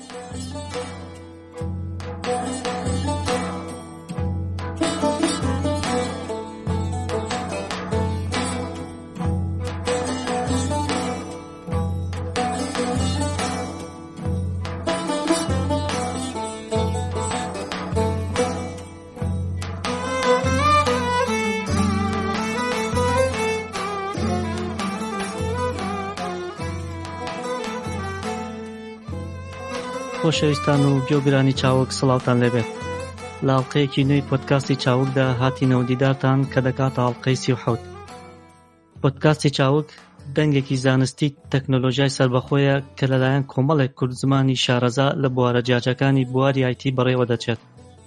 خۆشەویستان و گوێگرانی چاوک سڵاوتان لێبێت. لە ئەڵقەیەکی نوێی پۆدکاستی چاوکدا هاتینەوە دیدارتان کە دەکاتە ئەڵقەی 37. پۆدکاستی چاوک دەنگێکی زانستی تەکنۆلۆژیای سەربەخۆیە کە لەلایەن کۆمەڵێک کورد زمانی شارەزا لە بوارە جیاجەکانی بواری آیتی بەڕێوە دەچێت.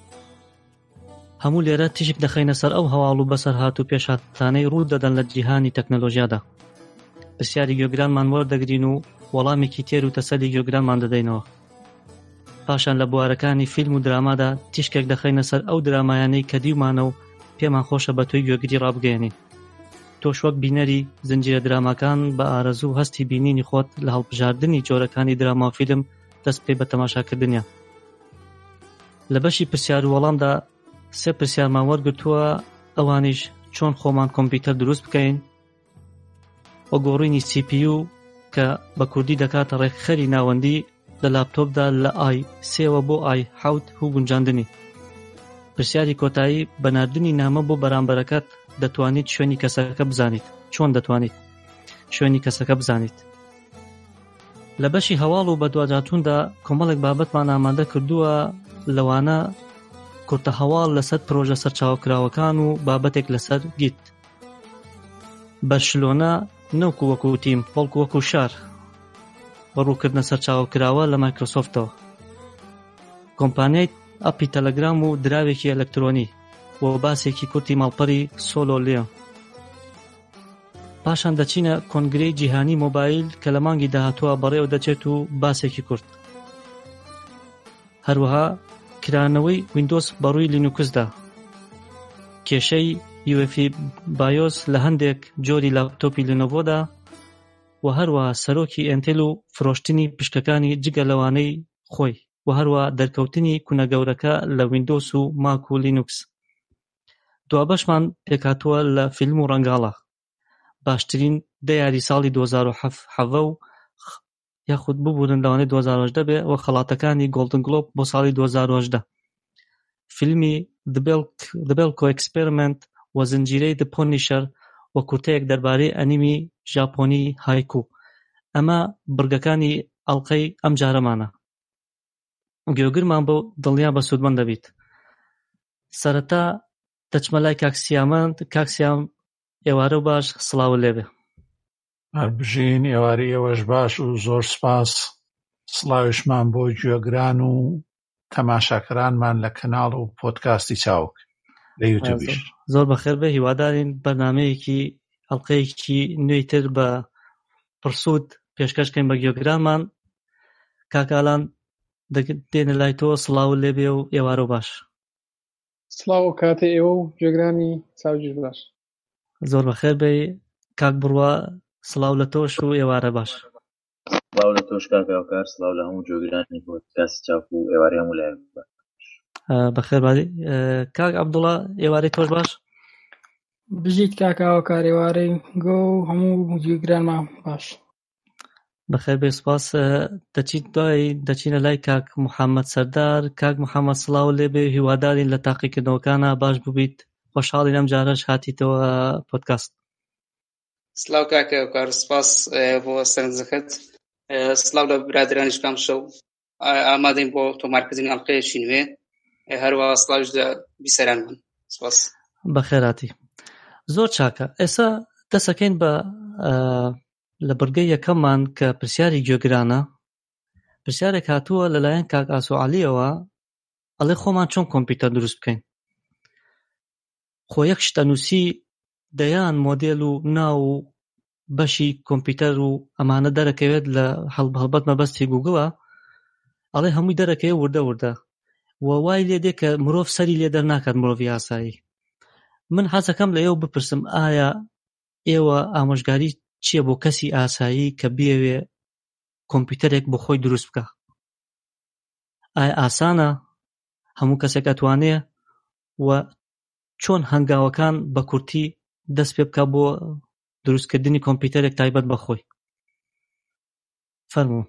هەموو لێرە تیشک دەخەینە سەر ئەو هەواڵ و بەسەرهات و پێشهاتانەی ڕوو دەدەن لە جیهانی تەکنۆلۆژیادا. پرسیاری گوێگرانمان وەردەگرین و وەڵامێکی تێر و تەسەلی گوێگرانمان دەدەینەوە. پاشان لە بوارەکانی فیلم و درامادا تیشکێک دەخەینە سەر ئەو درامایانەی کە دیومانە و پێمان خۆشە بە توی گوێگری ڕابگەێنین. تۆش وەک بینەری زنجیرە دراماکان بە ئارەزوو هەستی بینینی خۆت لە هەڵبژاردننی جۆرەکانی دراما و فیلم دەست پێ بە تەماشاکردنیە. لە بەشی پرسیار و وەڵامدا 3 پرسیارمان وەرگرتووە، ئەوانیش چۆن خۆمان کۆمپیوتەر دروست بکەین، وەگۆڕینی CPU کە بە کوردی دەکاتە ڕێکخەری ناوەندی لە لاپتۆپدا لە i3 بۆ i7 و گونجاندنی. پرسیاری کۆتایی بەناردنی نامە بۆ بەرامبەرەکەت دەتوانیت شوێنی کەسەکە بزانیت. چۆن دەتوانیت شوێنی کەسەکە بزانیت؟ لە بەشی هەواڵ و بەدواجاتوندا کۆمەڵێک بابەتمان ئامادە کردووە، لەوانە کورتە هەواڵ لەسەر پرۆژە سەرچاوکراوەکان و بابەتێک لەسەر گیت. بەرشلۆنە نەوەکو وەکو تیم بەڵکو وەکو شار بەڕووکردنە سەرچاوکراوە لە مایکرۆسۆفتەوە. کۆمپانیای ئەپی تەلەگرام و دراوێکی ئەلەکترۆنی و باسێکی کورتی ماڵپەری سۆلۆ لێ. پاشان دەچینە کۆنگرەی جیهانی مۆبایل کە لە مانگی داهاتووە بەڕێوە دەچێت و باسێکی کورت. هەروەها کرانەوەی ویندۆز بەڕووی لینوکسدا، کێشەی UEFI بایۆس لە هەندێک جۆری لاپتۆپی لێنۆڤۆدا و هەروەها سەرۆکی ئێنتێل و فرۆشتنی پشکەکانی جگە لەوانەی خۆی و هەروەها دەرکەوتنی کونەگەورەکە لە ویندۆس و ماک و لینوکس. دوابەشمان پێکاتووە لە فیلم و ڕەنگاڵە، باشترین دەیاری ساڵی 2007 و یاخود ببوورن لەوانەی 2018 بێ و خەڵاتەکانی گۆڵدن گلۆب بۆ ساڵی 2018. فیلمی The Belko Experiment و زنجیرەی The Punisher و کورتەیەک دەربارەی ئەنیمی ژاپۆنی هایکو. ئەمە بڕگەکانی ئەڵقەی ئەم جارەمانە. گوێگرمان بۆ دڵنیا بە سوودمەند دەبیت. سەرەتا دەچمە لای کاکسیام ئێوارە و باش، سڵاو لێبێ. هەربژین ئێواری ئێوەش باش و زۆر سپاس. سڵاویشمان بۆ گوێگران و تەماشاکەرانمان لە کەناڵ و پۆدکاستی چاوک لە یوتیوبیش. زۆر بەخێر بێ. هیوادارین بەرنامەیەکی ئەڵقەیەکی نوێی تر بە پرسوود پێشکەشکەین بە گوێگرانمان. کاکالان دێنە لای تۆ، سڵاو لێبێ و ئێوارە باش. سڵاو کاتێ ئێوە و گوێگرانی چاوجیر باش. زۆر بەخێر بێ. کاک بڕوا، سڵاو لە تۆش و ئێوارە باش. سڵاو لە تۆش کاکاوکار، سڵاو لە هەموو گوێگرانی پۆدکاستی چاوک و ئێوارەی هەموو لای باش. بەخێر بادی. کاک عەبدوڵڵا، ئێوارەی تۆش باش. بژیت کاکاوکار، ئێوارەی گۆ و هەموو گوێگرانمان باش. بەخێر بێ، سپاس. دەچینە لای کاک محەممەد سەردار. کاک محەممەد، سڵاو لێبێ. هیوادارین لە تاقیکردنەوەکانە باش ببیت. خۆشحاڵین ئەم جارەش هاتیتەوە پۆدکاست. سڵاو کاکاوکار، سپاس بۆ سەرنجەکەت. سڵاو لە برادرانیش کام شەو ئامادەین بۆ تۆمارکردنی ئەڵقەیەکی نوێ. هەروەها سڵاوش لە بیسەرانمان. سپاس. بەخێراتی. زۆر چاکە. ئێستا دەسەکەین بە لە بڕگەی یەکەممان کە پرسیاری گوێگرانە. پرسیارێک هاتووە لەلایەن کاک ئاسوعەلیەوە، ئەڵێ خۆمان چۆن کۆمپیوتەر دروست بکەین؟ خۆ یەک شتەنووسی دەیان مۆدێل و ناو و بەشی کۆمپیوتەر و ئەمانە دەرەکەوێت لە هەڵبەت مەبەستی گوگڵە، ئەڵێ هەمووی دەرەکەوێت وردە و وای لێ دێ کە مرۆڤ سەری لێ دەرناکات، مرۆڤی ئاسایی. من حەزەکەم لە ئێوە بپرسم، ئایا ئێوە ئامۆژگاری چییە بۆ کەسی ئاسایی کە بیەوێ کۆمپیوتەرێک بۆ خۆی دروست بکە؟ ئایا ئاسانە هەموو کەسێک ئەتوانێ و چۆن هەنگاوەکان بە کورتی دەست پێ بکە بۆ دروستکردنی کۆمپیوتەرێک تایبەت بەخۆی؟ فەرموو.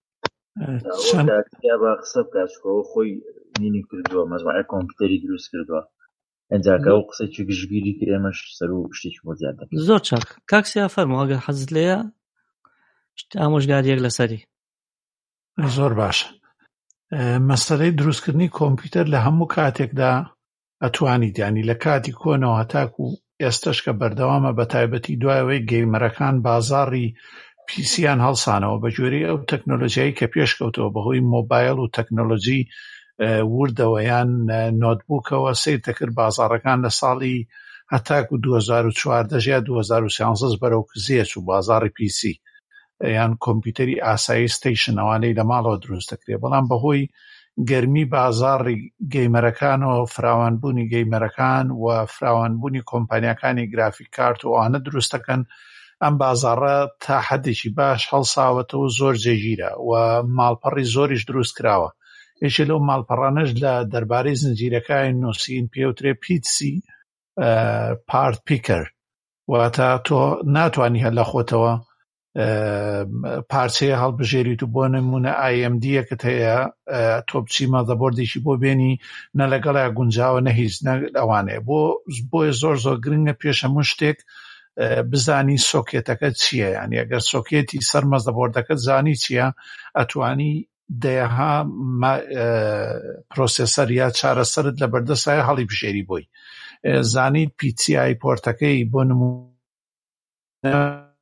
بە قسە بکاتەوە خۆی نینی کردووە مەزمعە کۆمپیوتەری دروست کردووە ئەنجاکە و قسەی گشتگیری کرد ئێمەش سەر و شتێکی بۆ زیاد دەکەین. زۆر چاک کاکسیا فەرموو ئەگەر حەزت لێیە ئامۆژگاریەک لەسەری. زۆر باشە. مەسەلەی دروستکردنی کۆمپیوتەر لە هەموو کاتێکدا ئەتوانیت ینی لە کاتی کۆنەوە هەتاکو ئێستش کە بەردەوامە بە تایبەتی دوایەوەی گەیمەرەکان بازاڕی پیسیان هەڵسانەوە بە جۆری ئەو تەکنۆلۆژیایی کە پێشکەوتەوە بەهۆی مۆبایل و تەکنۆلۆژی وردەوە یان نۆتبووکەوە سیر دەکرد بازاڕەکان لە ساڵی هەتاکو 2014 یا 2013 بەرەو کزیەچ و بازاڕی پیسی یان کۆمپیوتەری ئاسایی ستیشن ئەوانەی لە ماڵەوە دروست دەکرێت بەڵام بەهۆی گەرمی بازاڕی گەیمەرەکانەوە فراوانبوونی گەیمەرەکان و فراوانبوونی کۆمپانیاکانی گرافیک کارت و ئەوانە دروست دەکەن ئەم بازاڕە تا حەدێکی باش هەڵساوەتەوە زۆر جێگیرە و ماڵپەڕی زۆریش دروست کراوە. یەکێ لەو ماڵپەڕانەش لە دەربارەی زنجیرەکانی نووسین پێوترێ پیسی پارت پیکەر واتە تۆ ناتوانی هەر لە خۆتەوە پارچەیە هەڵبژێریت و بۆ نمونە AMD-یەکت هەیە تۆ بچی مەدەبۆردێکی بۆ بێنی نە لەگەڵای گونجاوە نە هیچ ئەوانەیە بۆیە زۆر زۆر گرنگە پێش هەموو شتێک بزانی سۆکێتەکە چییە ینی ئەگەر سۆکێتی سەر مەدەبۆردەکەت زانی چییە ئەتوانی دەیەها پرۆسێسەر یا چارەسەرت لە بەردەستایە هەڵی بژێری بۆی زانیت PCI پۆرتەکەی بۆ نمونە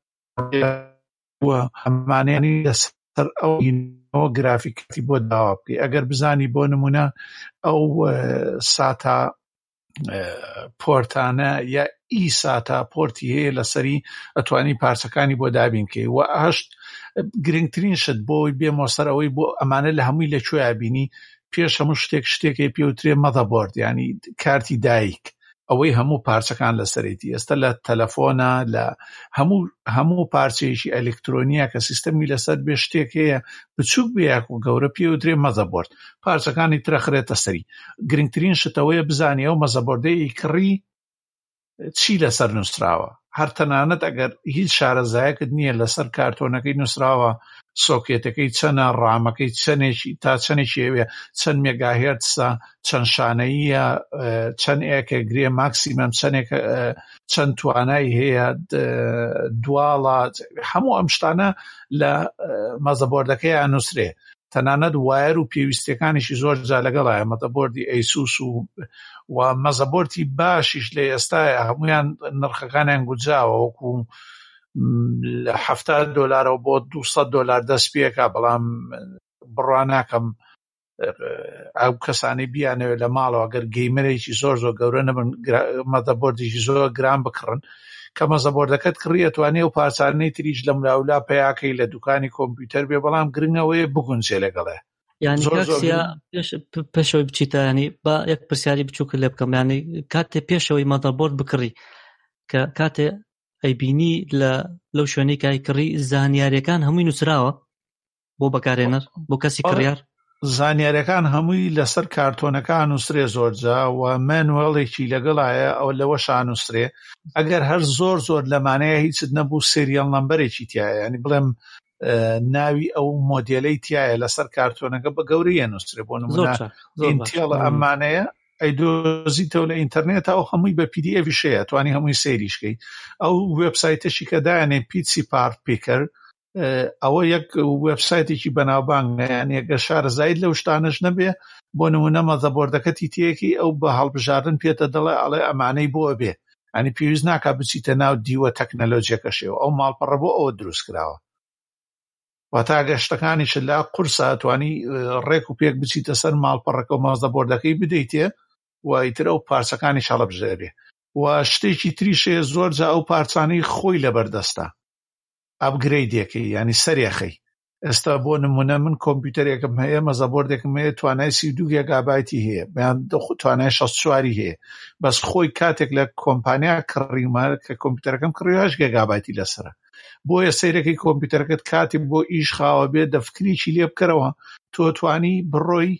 هەمانێنی لەسەر ئەو گرافیکەتی بۆ داوا بکەی ئەگەر بزانی بۆ نمونە ئەو ساتا پۆرتانە یا ساتا پۆرتی هەیە لەسەری ئەتوانی پارچەکانی بۆ دابینکەی و هەشت گرنگترین شت بۆی بێمەوە سەر ئەوەی بۆ ئەمانە لە هەمووی لەکوێ بینی پێش هەموو شتێکی پێوترێ مەدەبۆرد ینی کارتی دایک ئەوەی هەموو پارچەکان لەسەرێتی ئێستا لە تەلەفۆنە لە هەموو پارچەیەکی ئەلکترۆنیە کە سیستەمی لەسەر بێ شتێک هەیە بچووک بێک و گەورە پێوترێ مەدەبۆرد پارچەکانی ترەخرێتە سەری گرنگترین شتەوەیە بزانی ئەو مەدەبۆردەی کڕی چی لەسەر نووسراوە هەر تەنانەت ئەگەر هیچ شارەزایەکت نییە لەسەر کارتۆنەکەی نووسراوە سۆکێتەکەی چەنە ڕامەکەی چەندێکی تا چەندێکی ئەوێ چەند مێگاهێرتسە چەند شانەیە چەند ئێکەگرێ ماکسیمەم چەند توانای هەیە دواڵە هەموو ئەم شتانە لە مەدەبۆردەکەیان نووسرێ تەنانەت وایر و پێویستیەکانیشی زۆر جا لەگەڵایە مەدەبۆردی ئەیسوس و مەدەبۆردی باشیش لە ئێستایە هەمویان نرخەکانیان گوجاوە وەکو $70 بۆ $200 دەست پێکا بەڵام بڕوا ناکەم ئەو کەسانی بیانەوێت لە ماڵەوە ئەگەر گەیمەرێکی زۆر زۆر گەورە نەبن مەدەبۆردێکی زۆر گران بکڕن کە مەدەبۆردەکەت کڕی ئەتوانێ و پارچانەی تریش لە ملاولا پەیاکەی لە دوکانی کۆمپیوتەر بێ بەڵام گرنگەوەیە بگونجێ لەگەڵێ یعنی کاکسیا پێشەوەی بچیتە ینی با یەک پرسیاری بچووکە لێ بکەم ینی کاتێ پێشەوەی مەدەبۆرد بکڕی کە کاتێ ئەیبینی لەو شوێنەی کای کڕی زانیاریەکان هەمووی نووسراوە بۆ بەکارهێنەر بۆ کەسی کڕیار زانیاریەکان هەمووی لەسەر کارتۆنەکان نووسرێ زۆرجا و مانوێڵێکی لەگەڵایە ئەو لەوەشان نووسرێ ئەگەر هەر زۆر زۆر لەمانەیە هیچت نەبوو سریەڵ نەمبەرێکی تایە ینی بڵێم ناوی ئەو مۆدێلەی تایە لەسەر کارتۆنەکە بە گەورەیە نووسرێ بۆ نمونە ئینتێڵە ئەمانەیە ئەیدۆزیتەوە لە ئینتەرنێت ئەو هەمووی بە PDF شەیە توانی هەمووی سەیریشکەی ئەو وێبسایتەشی کە دایانێ پیسی پارت پیکەر ئەوە یەک وێبسایتێکی بەناوبانگە یعنی ئەگەر شارەزایت لەو شتانەش نەبێ بۆ نمونە مەدەبۆردەکەتی تێکی ئەو بە هەڵبژاردن پێتە دەڵێ ئەڵێ ئەمانەی بۆ بێ ینی پێویست ناکا بچیتە ناو دیوە تەکنەلۆجیەکەشەوە ئەو ماڵپەڕە بۆ ئەوە دروست کراوە واتە گەشتەکانیش لا قورسە توانی ڕێک و پێک بچیتە سەر ماڵپەڕەکە و مەدەبۆردەکەی بدەیتێ و ئیتر ئەو پارچەکانیش هەڵبژێرێ و شتێکی تریشەیە زۆر جا ئەو پارچانەی خۆی لەبەردەستە ئەپگرەیدێکی ینی سەرێخەی ئێستا بۆ نمونە من کۆمپیوتەرێکم هەیە مەدەبۆردێکم هەیە توانای 32 گیگابایتی هەیە بەیان توانای 64 هەیە بەس خۆی کاتێک لە کۆمپانیا کڕیمە کە کۆمپیوتەرەکەم کڕی 8 گیگابایتی لەسرە بۆیە سەیرەکەی کۆمپیوتەرەکەت کاتی بۆ ئیش خاوە بێت دەفکریکی لێ بکەرەوە تۆ توانی بڕۆی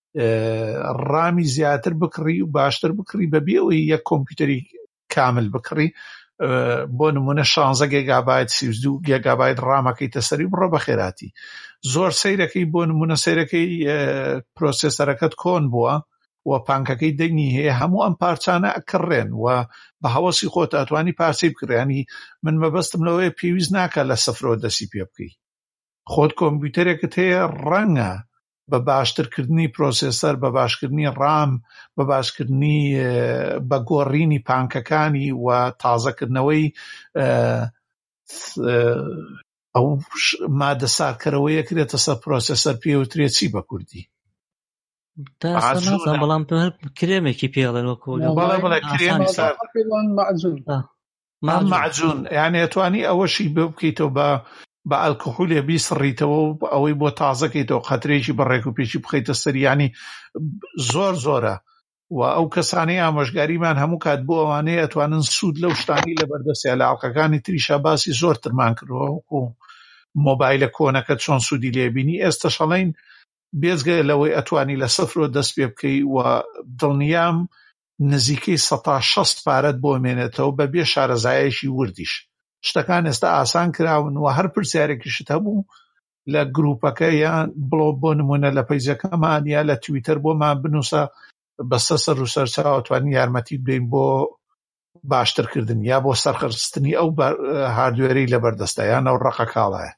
ڕامی زیاتر بکڕی و باشتر بکڕی بەبێ ئەوەی یەک کۆمپیوتەری کامل بکڕی. بۆ نمونە 16 گیگابایت 32 گیگابایت ڕامەکەیتە سەری بڕۆ بە خێراتی. زۆر سەیرەکەی بۆ نمونە سەیرەکەی پرۆسێسەرەکەت کۆن بووە و پانکەکەی دەنگی هەیە، هەموو ئەم پارچانە ئەکڕێن و بە هەوەسی خۆت ئەتوانی پارچەی بکڕیانی. من مەبەستم لەوەیە پێویست ناکە لە سەفرۆ دەسی پێ بکەی. خۆت کۆمپیوتەرێکت هەیە ڕەنگە بە باشترکردنی پرۆسێسەر، بە باشکردنی ڕام، بە باشکردنی بە گۆڕینی پانکەکانی و تازەکردنەوەی ئەو مادە ساردکەرەوەیە کرێتە سەر پرۆسێسەر پێوترێ چی بە کوردی؟ بەڵام کرێمێکی پێڵێن وەکو بەڵێ کرێمی سارد معجون، یعنی ئەتوانی ئەوەشی بکەیتەوە بە ئەلکۆحۆلێ بیسڕیتەوە و ئەوەی بۆ تازەکەیتەوە قەترێکی بەڕێک و پێشی بخەیتە سەری، ینی زۆر زۆرە. و ئەو کەسانەی ئامۆژگاریمان هەموو کات بۆ ئەوانەیە ئەتوانن سوود لەو شتانی لەبەردەستیان لە ئاڵلقەکانی تریشا باسی زۆرترمان کردووە، وەکو مۆبایلە کۆنەکە چۆن سوودی لێبینی. ئێستا شەڵێن بێزگە لەوەی ئەتوانی لە سەفرۆ دەست پێ بکەی و دڵنیام نزیکەی 160 پارەت بۆ مێنێتەوە بەبێ شارەزایەکی وردیش. شتەکان ئێستا ئاسان کراون و هەر پرسیارێکیشت هەبوو لە گروپەکە یان بڵۆ بۆ نمونە لە پەیجەکەمان یا لە تویتەر بۆمان بنووسە بەسە سەر و سەرچاو ئەتوانی یارمەتی بدەین بۆ باشترکردن یا بۆ سەرخستنی ئەو هاردوێرەی لەبەردەستە یان ئەو ڕقە کاڵایە.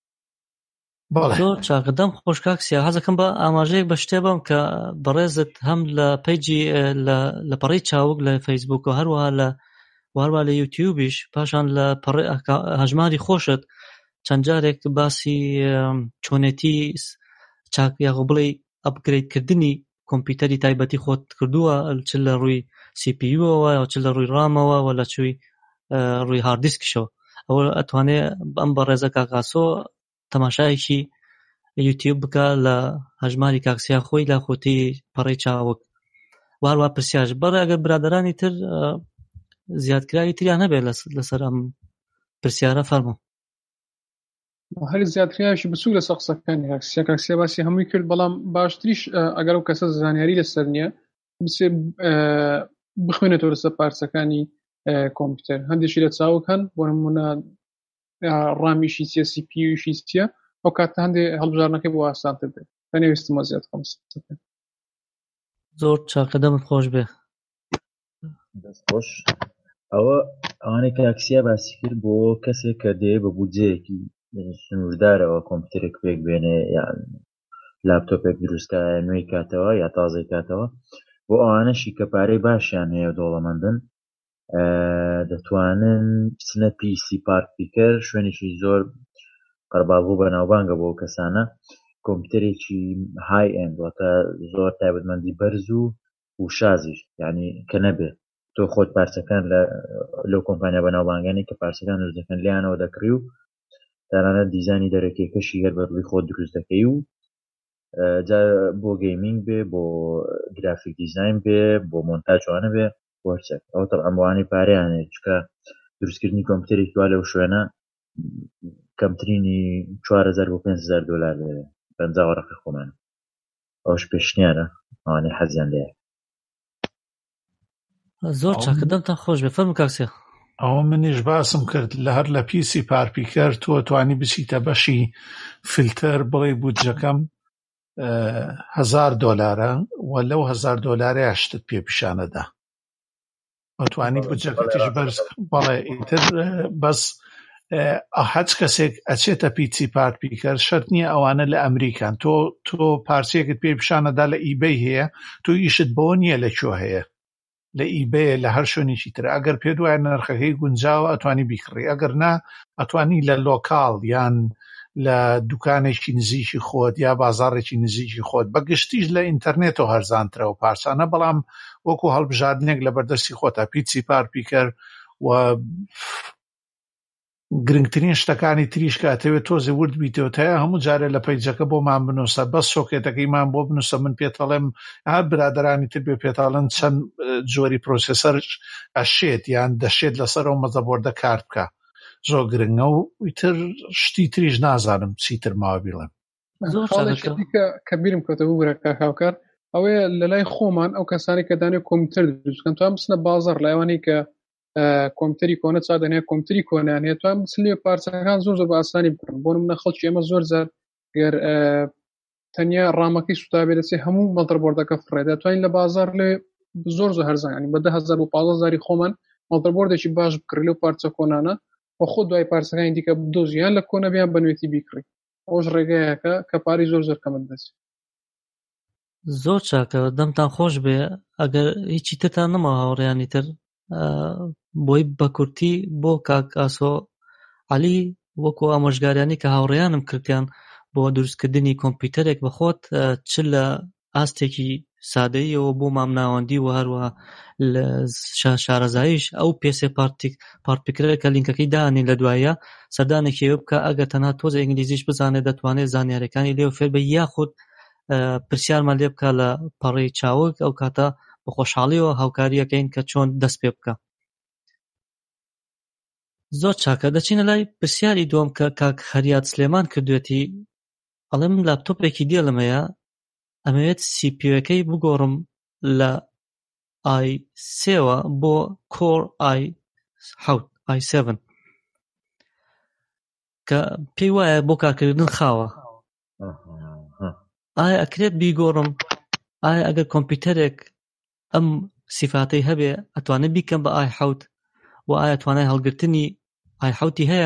زۆر چاکدەم خۆش کاکسیا، حەزەکەم بە ئاماژەیەک بە شتێ بم کە بەڕێزت هەم لە پەیجی لە پەڕی چاوک لە فەیسبوک و هەروە لە یوتیوبیش، پاشان لە هەژماری خۆشت چەند جارێک باسی چۆنێتی چاک یاغۆ بڵێ ئەپگرێدکردنی کۆمپیوتەری تایبەتی خۆت کردووە، چ لە ڕووی CPU-ەوە یا چ لە ڕووی ڕامەوە و لە چووی ڕووی هاردیسکشەوە. ئەوە ئەتوانێت ئەم بەڕێزە کاکاسۆ تەماشایەکی یوتیوب بکە لە هەژماری کاکسیا خۆی لا خۆتی پەڕی چاوک. واروە پرسیارش بەڕێ ئەگەر برادرانی تر زیادکراوی تریان هەبێت لەسەر ئەم پرسیارە فەرموو. هەر زیاتریایشی بچوو لە سەقسەکانی کاکسیا باسی هەمووی کرد، بەڵام باشتریش ئەگەر ئەو کەسە زانیاری لەسەر نییە بچێ بخوێنێتەوە لەسەر پارچەکانی کۆمپیوتەر. هەندێکی لە چاوک هەن بۆ نمونە ڕامیشی چیە، CPUشی چیە، ئەو کاتە هەندێک هەڵبژارنەکەی بۆ ئاسانتر بێت. پێنەویستمە زیاد خەمسەکە. زۆر چاکەدەمت خۆش بێ. دەست خۆش. ئەوانەی کاکسیا باسی کرد بۆ کەسێک کە دێ بە بودجەیەکی سنووردارەوە کۆمپیوتەرێک پێک بێنێ یان لاپتۆپێک دروستکە نوێی کاتەوە یا تازەی کاتەوە، بۆ ئەوانەشی کە پارەی باشیان هەیە دۆڵەمەندن دەتوانن بچنە PC پارک پیکەر، شوێنێکی زۆر قەرباڵبوو بەناوبانگە بۆ کەسانە. کۆمپیوتەرێکی های ئێند واتە زۆر تایبەتمەندی بەرز و شازیش، یعنی کە نەبێت تۆ خۆت پارچەکان لەو کۆمپانیا بەناوبانگانی کە پارچەکان دروست دەکەن لیانەوە دەکڕی و تەنانەت دیزانی دەرەکێکەشی هەر بە ڕووی خۆت دروست دەکەی و بۆ گەیمینگ بێ، بۆ گرافیک دیزاین بێ، بۆ مۆنتاژوانە بێ، بۆ هەرچێک. ئەو تەڵعەن بۆوانەی پارەیانێت چکە دروستکردنی کۆمپیوتەرێکی وا لەو شوێنە کەمترینی 4000 بۆ 5000 دۆلار لێرە 50 وەرەقی خۆمانە. ئەوش پێشنیارە ئەوانەی حەزیان لێیە. زۆر چاکەدەمتان خۆش بێ. فەرموو کاکسیا. ئەوە منیش باسم کرد لە هەر لە پیسی پارپیکەر تۆ توانی بچیتە بەشی فیلتەر بڵێ بودجەکەم 1000 دۆلارە و لەو 1000 دۆلارە شتت پێ پیشانەدا ئەتوانی بودجەکەتیش بەرز بەڵێ ئیتر بەس هەچ کەسێک ئەچێتە پیسی پارپیکەر شەرت نییە ئەوانە لە ئەمریکان. تۆ پارچەیەکت پێ پیشانەدا لە ئیبەی هەیە، تۆ ئیشت بۆ نییە لەکوێ هەیە، لە ئیبەیە لە هەر شوێنێکی تر. ئەگەر پێ دوایە نرخەکەی گونجاوە ئەتوانی بیکڕی، ئەگەر نا ئەتوانی لە لۆکاڵ یان لە دوکانێکی نزیکی خۆت یا بازاڕێکی نزیکی خۆت بەگشتیش لە ئینتەرنێتەوە هەرزانترەوە پارچانە، بەڵام وەکو هەڵبژاردنێک لە بەردەستی خۆتە پیسی پارپیکەر و گرنگترین شتەکانی تریش کاتەوێت تۆزێ ورد بیتەوە هەیە هەموو جارێ لە پەیجەکە بۆمان بنووسە، بەس سۆکێتەکەیمان بۆ بنووسە، من پێتەڵێم هەر برادرانی تر بێ پێتاڵن چەند جۆری پرۆسێسەر ئەشێت یان دەشێت لەسەر ئەو مەزەبۆردە کارت بکە. زۆر گرنگە و ئیتر شتی تریش نازانم چیتر ماوە بیڵێم. خاڵێکی کە بیرم کەوتە بوو برە کاکاوکار ئەوەیە لە لای خۆمان ئەو کەسانی کە دانێ کۆمپیوتەر دروستکەن توان بچنە بازاڕ لایوانی کە کۆمپیوتەری کۆنە چادەنێ کۆمپیوتەری کۆنیانێت توان بچن لێ پارچەکان زۆر بە ئاسانی بکڕن. بۆ نمونە خەڵکی ئێمە زۆر جار گەر تەنیا ڕامەکەی سوتابێ دەچێت هەموو مەڵتەربۆردەکە فڕێ دەتوانین لە بازاڕ لێ زۆر هەرزان ینی بە 10,000 و 15,000 خۆمان مەڵتەربۆردێکی باش بکڕی لەو پارچە کۆنانە و خۆ دوای پارچەکانی دیکە بدۆزیان لە کۆنە بیان بەنوێتی بیکڕی. ئەوش ڕێگایەکە کە پاری زۆر کەمت دەچێت. زۆر چاکە، دەمتان خۆش بێ. ئەگەر هیچی ترتان نەما هاوڕێیانی تر بۆی بە کورتی بۆ کاک ئاسۆ عەلی وەکو ئامۆژگاریانی کە هاوڕێیانم کردیان بۆ دروستکردنی کۆمپیوتەرێک بەخۆت چ لە ئاستێکی سادەییەوە بۆ مامناوەندی و هەروەها لە شارەزاییش ئەو پێسێ پارتپیکرە کە لینکەکەی دانێ لە دوایە سەردانێکی ئەوە بکە ئەگەر تەنها تۆزە ئینگلیزیش بزانێت دەتوانێت زانیاریەکانی لێو فێر بە یاخود پرسیارمان لێ بکە لە پەڕەی چاوک ئەو کاتە بە خۆشحاڵیەوە هاوکاریەکەین کە چۆن دەست پێ بکە. زۆر چاکە. دەچینە لای پرسیاری دووەم کە کاک خەریات سلێمان کردوێتی. ئەڵێم لاپتۆپێکی دێڵمەیە ئەمەوێت CPU-یەکەی بگۆڕم لە i3 بۆ Core i7 کە پێی وایە بۆ کارکردن خاوە. ئایا ئەکرێت بیگۆڕم؟ ئایا ئەگەر کۆمپیوتەرێک ئەم سیفاتەی هەبێ ئەتوانێت بیکەم بە i7 و ئایا توانای هەڵگرتنی i7 هەیە؟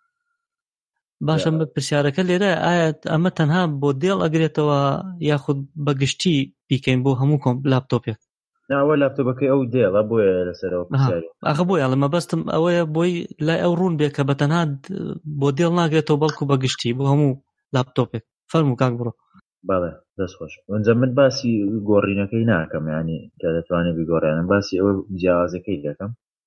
باشە پرسیارەکە لێرە ئایا ئەمە تەنها بۆ دێڵ ئەگرێتەوە یاخود بەگشتی بیکەین بۆ هەموو لاپتۆپێک؟ ناوە لاپتۆپەکەی ئەو دێڵە بۆیە لەسەرەوە پرسیاری. ئاخە بۆیە ئەڵێ مەبەستم ئەوەیە بۆی لای ئەو ڕوون بێ کە بە تەنها بۆ دێڵ ناگرێتەوە بەڵکو بەگشتی بۆ هەموو لاپتۆپێک. فەرموو کاک بڕۆ. بەڵێ دەست خۆش. ئەوەنجا من باسی گۆڕینەکەی ناکەم، یعنی کە دەتوانێت بیگۆڕیانم باسی ئەوە جیاوازەکەی دەکەم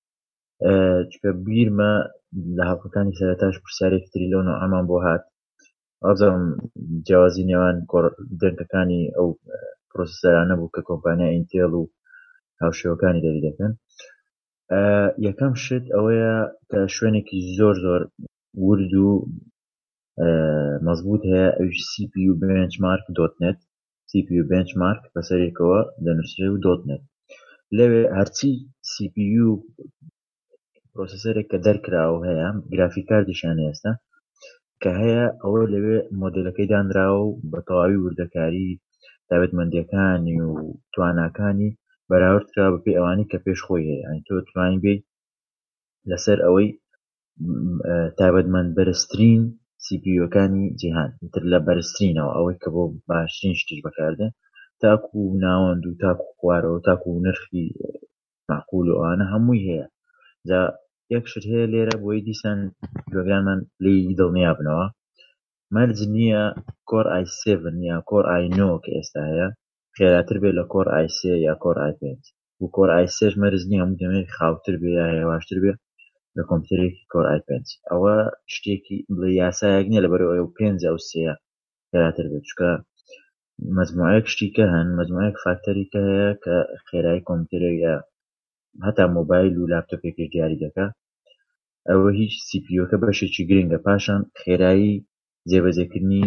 چکە بیرمە لە هەڵقەکانی سەرەتاش پرسیارێکی تری لەو نوعەمان بۆ هات. ئازم جیاوازی نێوان دەنگەکانی ئەو پرۆسەسەرانە بوو کە کۆمپانیا ئینتێڵ و هاوشێوەکانی دەری دەکەن. یەکەم شت ئەوەیە کە شوێنێکی زۆر ورد و مەزبوط هەیە ئەوش CPU benchmark.net CPU benchmark بەسەرێکەوە دەنووسرێ و .net لەوێ هەرچی CPU پرۆسەسەرێک کە دەرکراوە هەیە گرافیک کاردیشان ئێستا کە هەیە ئەوە لەوێ مۆدلەکەی دانراوە و بە تەواوی وردەکاری تایبەتمەندیەکانی و تواناکانی بەراوردکرا بە پێی ئەوانی کە پێش خۆی هەیە. ئەنی تۆ توانین بێ لەسەر ئەوەی تایبەتمەند بەرزترین CPU-ەکانی جیهان تر لە بەرزترینەوە ئەوەی کە بۆ باشترین شتیش بەکاردێن تاکو ناوەند و تاکو خوارەوە تاکو نرخی معقول و ئەوانە هەمووی هەیە. جا یەک شت هەیە لێرە بۆی دیسان گوێگرانمان لی دڵنیا بنەوە مەرج نییە کۆر i7 یا کۆر i9 کە ئێستا هەیە خێراتر بێت لە کۆر i3 یا کۆر i5 و کۆر i3 مەرج نییە هەموو دەمێت خاوتر بێ یا هێواشتر بێ لە کۆمپیوتەرێکی کۆر i5. ئەوە شتێکی بڵێ یاسایەک نییە لەبەرەوە ئەو 5 ئەو 3 خێراتر بێت چکە مەجموعەیەک شتی کە هەن مەجموعەیەک فاکتەری کە هەیە کە خێرایی کۆمپیوتەرێک یا هەتا مۆبایل و لاپتۆپێکی دیاری دەکات. ئەوە هیچ CPU-کە بەشێکی گرنگە پاشان خێرایی جێبەجێکردنی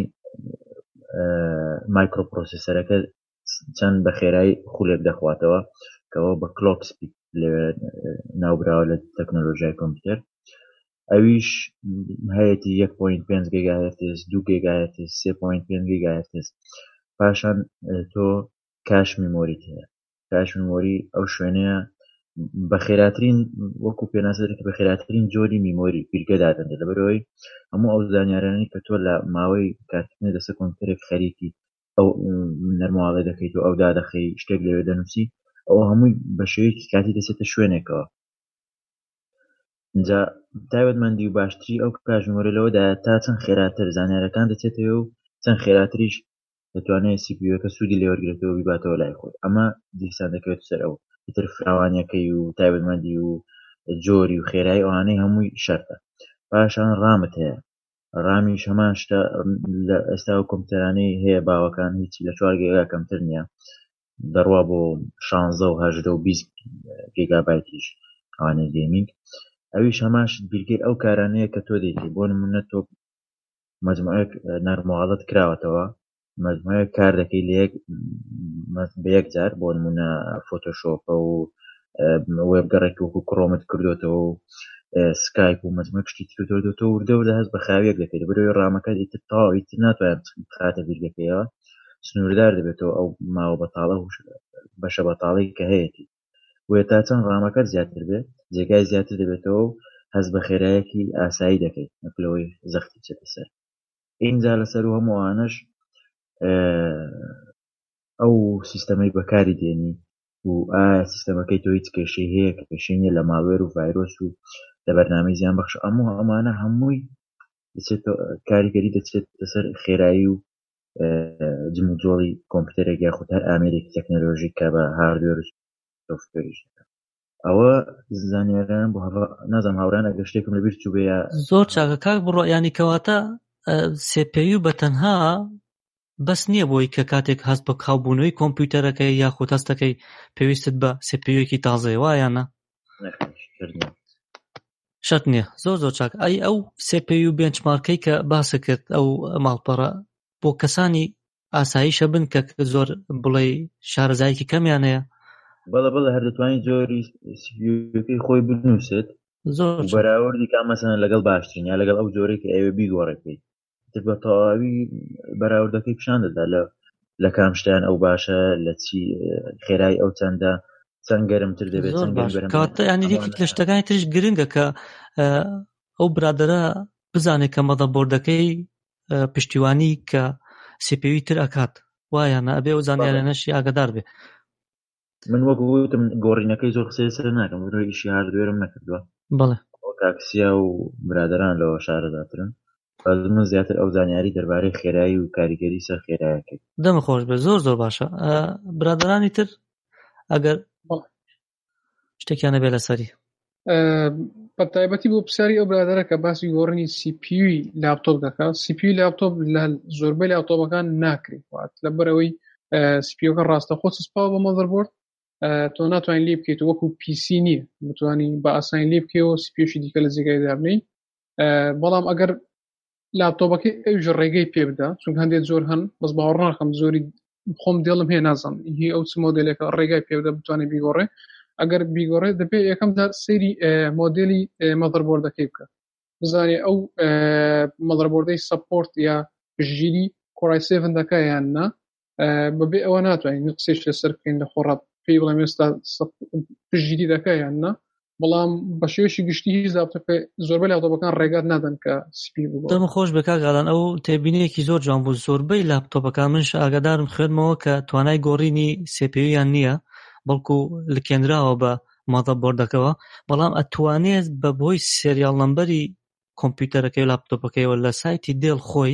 مایکرۆپرۆسەسەرەکە چەند بە خێرایی خولێک دەخواتەوە کەەوە بە کلۆک سپید ناوبراوە لە تەکنۆلۆژیای کۆمپیوتەر. ئەویش هەیەی 1.5 گیگاهرتز 2 گیگاهرتز 3.5 گیگاهرتز. پاشان تۆ کاش میمۆریت هەیە. کاش میمۆری ئەو شوێنەیە بە خێراترین وەکو پێناسەرێک بە خێراترین جۆری میمۆری بیرگەدادەن لەبەرەوەی هەموو ئەو زانیارانەی کە تۆ لە ماوەی کارکردنە دەسە کۆمپیوتەرێک خەریکی ئەو نەرماڵە دەکەیت و ئەو دادەخەی شتێک لەوێ دەنووسی ئەوە هەمووی بە شێوەیەکی کاتی دەچێتە شوێنێکەوە. اینجا تایبەتمەندی و باشتری ئەو کاژ میمۆریەوەدایە تا چەند خێراتر زانیارەکان دەچێتەوە و چەند خێراتریش دەتوانێت CPU-یەکە سوودی لێوەرگرێتەوە بیباتەوە لای خۆی. ئەمە دیسان دەکەوێت سەر ئەو تر فراوانیەکەی و تایبەتمەندی و جۆری و خێرایی ئەوانەی هەمووی شەرتە. پاشان ڕامت هەیە. ڕامیش هەمان شتە لە ئێستا و کۆمپیوتەرانەی هەیە باوەکان هیچی لە 4 گیگا کەمتر نییە دەڕوا بۆ 16 و 18 و 20 گیگابایتیش ئەوانەی گەیمینگ. ئەویش هەماش بیرگەی ئەو کارانەیە کە تۆ دەیتی بۆ نمونە تۆ مەجموعەیەک نەرماڵەت کراوەتەوە مەجموعەیەک کار دەکەی لە یەک بە یەکجار بۆ نمونە فۆتۆشۆپە و وێبگەڕێکی وەکو کڕۆمت کردوێتەوە و سکایپ و مەجموعە شتی کردوێتەوە وردە وردە هەست بە خاویەک دەکەیت بەرەوەی ڕامەکە ئیتر تەواو ئیتر ناتوانێت بخاتە ڤیرگەکەیەوە سنووردار دەبێتەوە ئەو ماوە بەتاڵە و بەشە بەتاڵی کە هەیەی وێ تا چەند ڕامەکەت زیاتر بێت جێگای زیاتر دەبێتەوە و هەست بە خێرایەکی ئاسایی دەکەیت نەکلەوەی زەختی چێتە سەر اینجا لەسەر و هەمووانش ئەو سیستەمەی بەکاری دێنی و ئایا سیستەمەکەی تۆ هیچ کێشەی هەیە کە کێشەی نیە لە ماڵوێر و ڤایرۆس و لە بەرنامەی زیان بەخش ئەمانە هەمووی کاریگەری دەچێت لەسەر خێرایی و جموجۆڵی کۆمپیوتەرێک یاخود هەر ئامێرێکی تەکنۆلۆژیک کە بە هاردوێر و سۆفتوێریش دەکات ئەوە زانیاریان بۆ نازانم هاوران ئەگەر شتێکم لەبیر چوو بێ زۆر چاکە کاک بڕۆ یانی کەواتە CPU بەتەنها بەس نییە بۆی کە کاتێک هەست بە کاوبوونەوەی کۆمپیوتەرەکەی یاخود هەستەکەی پێویستت بە CPUیەکی تازەی وایانە شەرت نییە زۆر چاک ئەو CPU بێنچمارکەی کە باسە کرد ئەو ماڵپەڕە بۆ کەسانی ئاساییشە بن کە زۆر بڵێ شارەزایەکی کەمیان هەیە بەڵە هەر دەتوانێت جۆری CPUەکەی خۆی بنووسێت زۆر بەراوردی کا مەسەن لەگەڵ باشترین یا لەگەڵ ئەو جۆرەی کە ئەوێ بیگۆڕێتی تر بە تەواوی بەراوردەکەی پیشان دەدا لە کام شتیان ئەو باشە لە چی خێرای ئەو چەندە چەند گەرمتر دەبێت کاتە ینی یەکێک لە شتەکانی ترش گرنگە کە ئەو برادەرە بزانێت کە مەدەبۆردەکەی پشتیوانی کە CPUی تر ئەکات وایانە ئەبێ ئەو زانیاریانەشی ئاگادار بێ من وەکو وتم گۆڕینەکەی زۆر قسەی سەر ناکەم بۆ ئیشی هاردوێرم نەکردووە بەڵێ تاکسیا و برادران لەوە شارەداترن من زیاتر ئەو زانیاری دەربارەی خێرایی و کاریگەری سەر خێرایەکەی دەمە خۆش بێ زۆر باشە برادرانی تر ئەگەر شتێکیانە بێ لەسەری بە تایبەتی بۆ پرسیاری ئەو برادەرە کە باسی گۆڕینی CPUی لاپتۆپ دەکات CPUی لاپتۆپ لە زۆربەی لاپتۆپەکان ناکرێت لەبەرەوەی CPUەکە ڕاستەخۆ سوسپاوە بە مەدەربۆرد تۆ ناتوانین لێ بکەیت وەکو PC نییە بتوانین بە ئاسانی لێ بکەیەوە CPUشی دیکە لە جێگای دابنەی بەڵام ئەگەر لاپتۆپەکەی ئەوژ ڕێگەی پێ بدا چونکە هەندێک زۆر هەن بەس باوەڕ ناکەم زۆری خۆم دێڵم هەیە نازانم هی ئەو چ مۆدێلێکە ڕێگای پێ بدا بتوانێت بیگۆڕێ ئەگەر بیگۆڕێ دەبێت یەکەمدا سەیری مۆدێلی مەدەربۆردەکەی بکە بزانێ ئەو مەدەربۆردەی سەپۆرت یا پشتگیری کۆڕای 7 دەکات یان نا بەبێ ئەوە ناتوانین قسەیش لەسەر بکەین لە خۆڕات پێی بڵێم ئێستا پشتگیری دەکات یان نا بەڵام بە شێوەیەکی گشتی هیچ زۆربەی لاپتۆپەکان ڕێگات نادەن کە CPU بگۆڕێت. دەمە خۆش بە کاگالان ئەو تێبینیەکی زۆر جوان بوو زۆربەی لاپتۆپەکان منش ئاگادارم خوێنمەوە کە توانای گۆڕینی CPUیان نییە بەڵکو لکێنراوە بە مەدەبۆردەکەوە بەڵام ئەتوانێت بە بۆی سێریال نەمبەری کۆمپیوتەرەکەی و لاپتۆپەکەیەوە لە سایتی دێڵ خۆی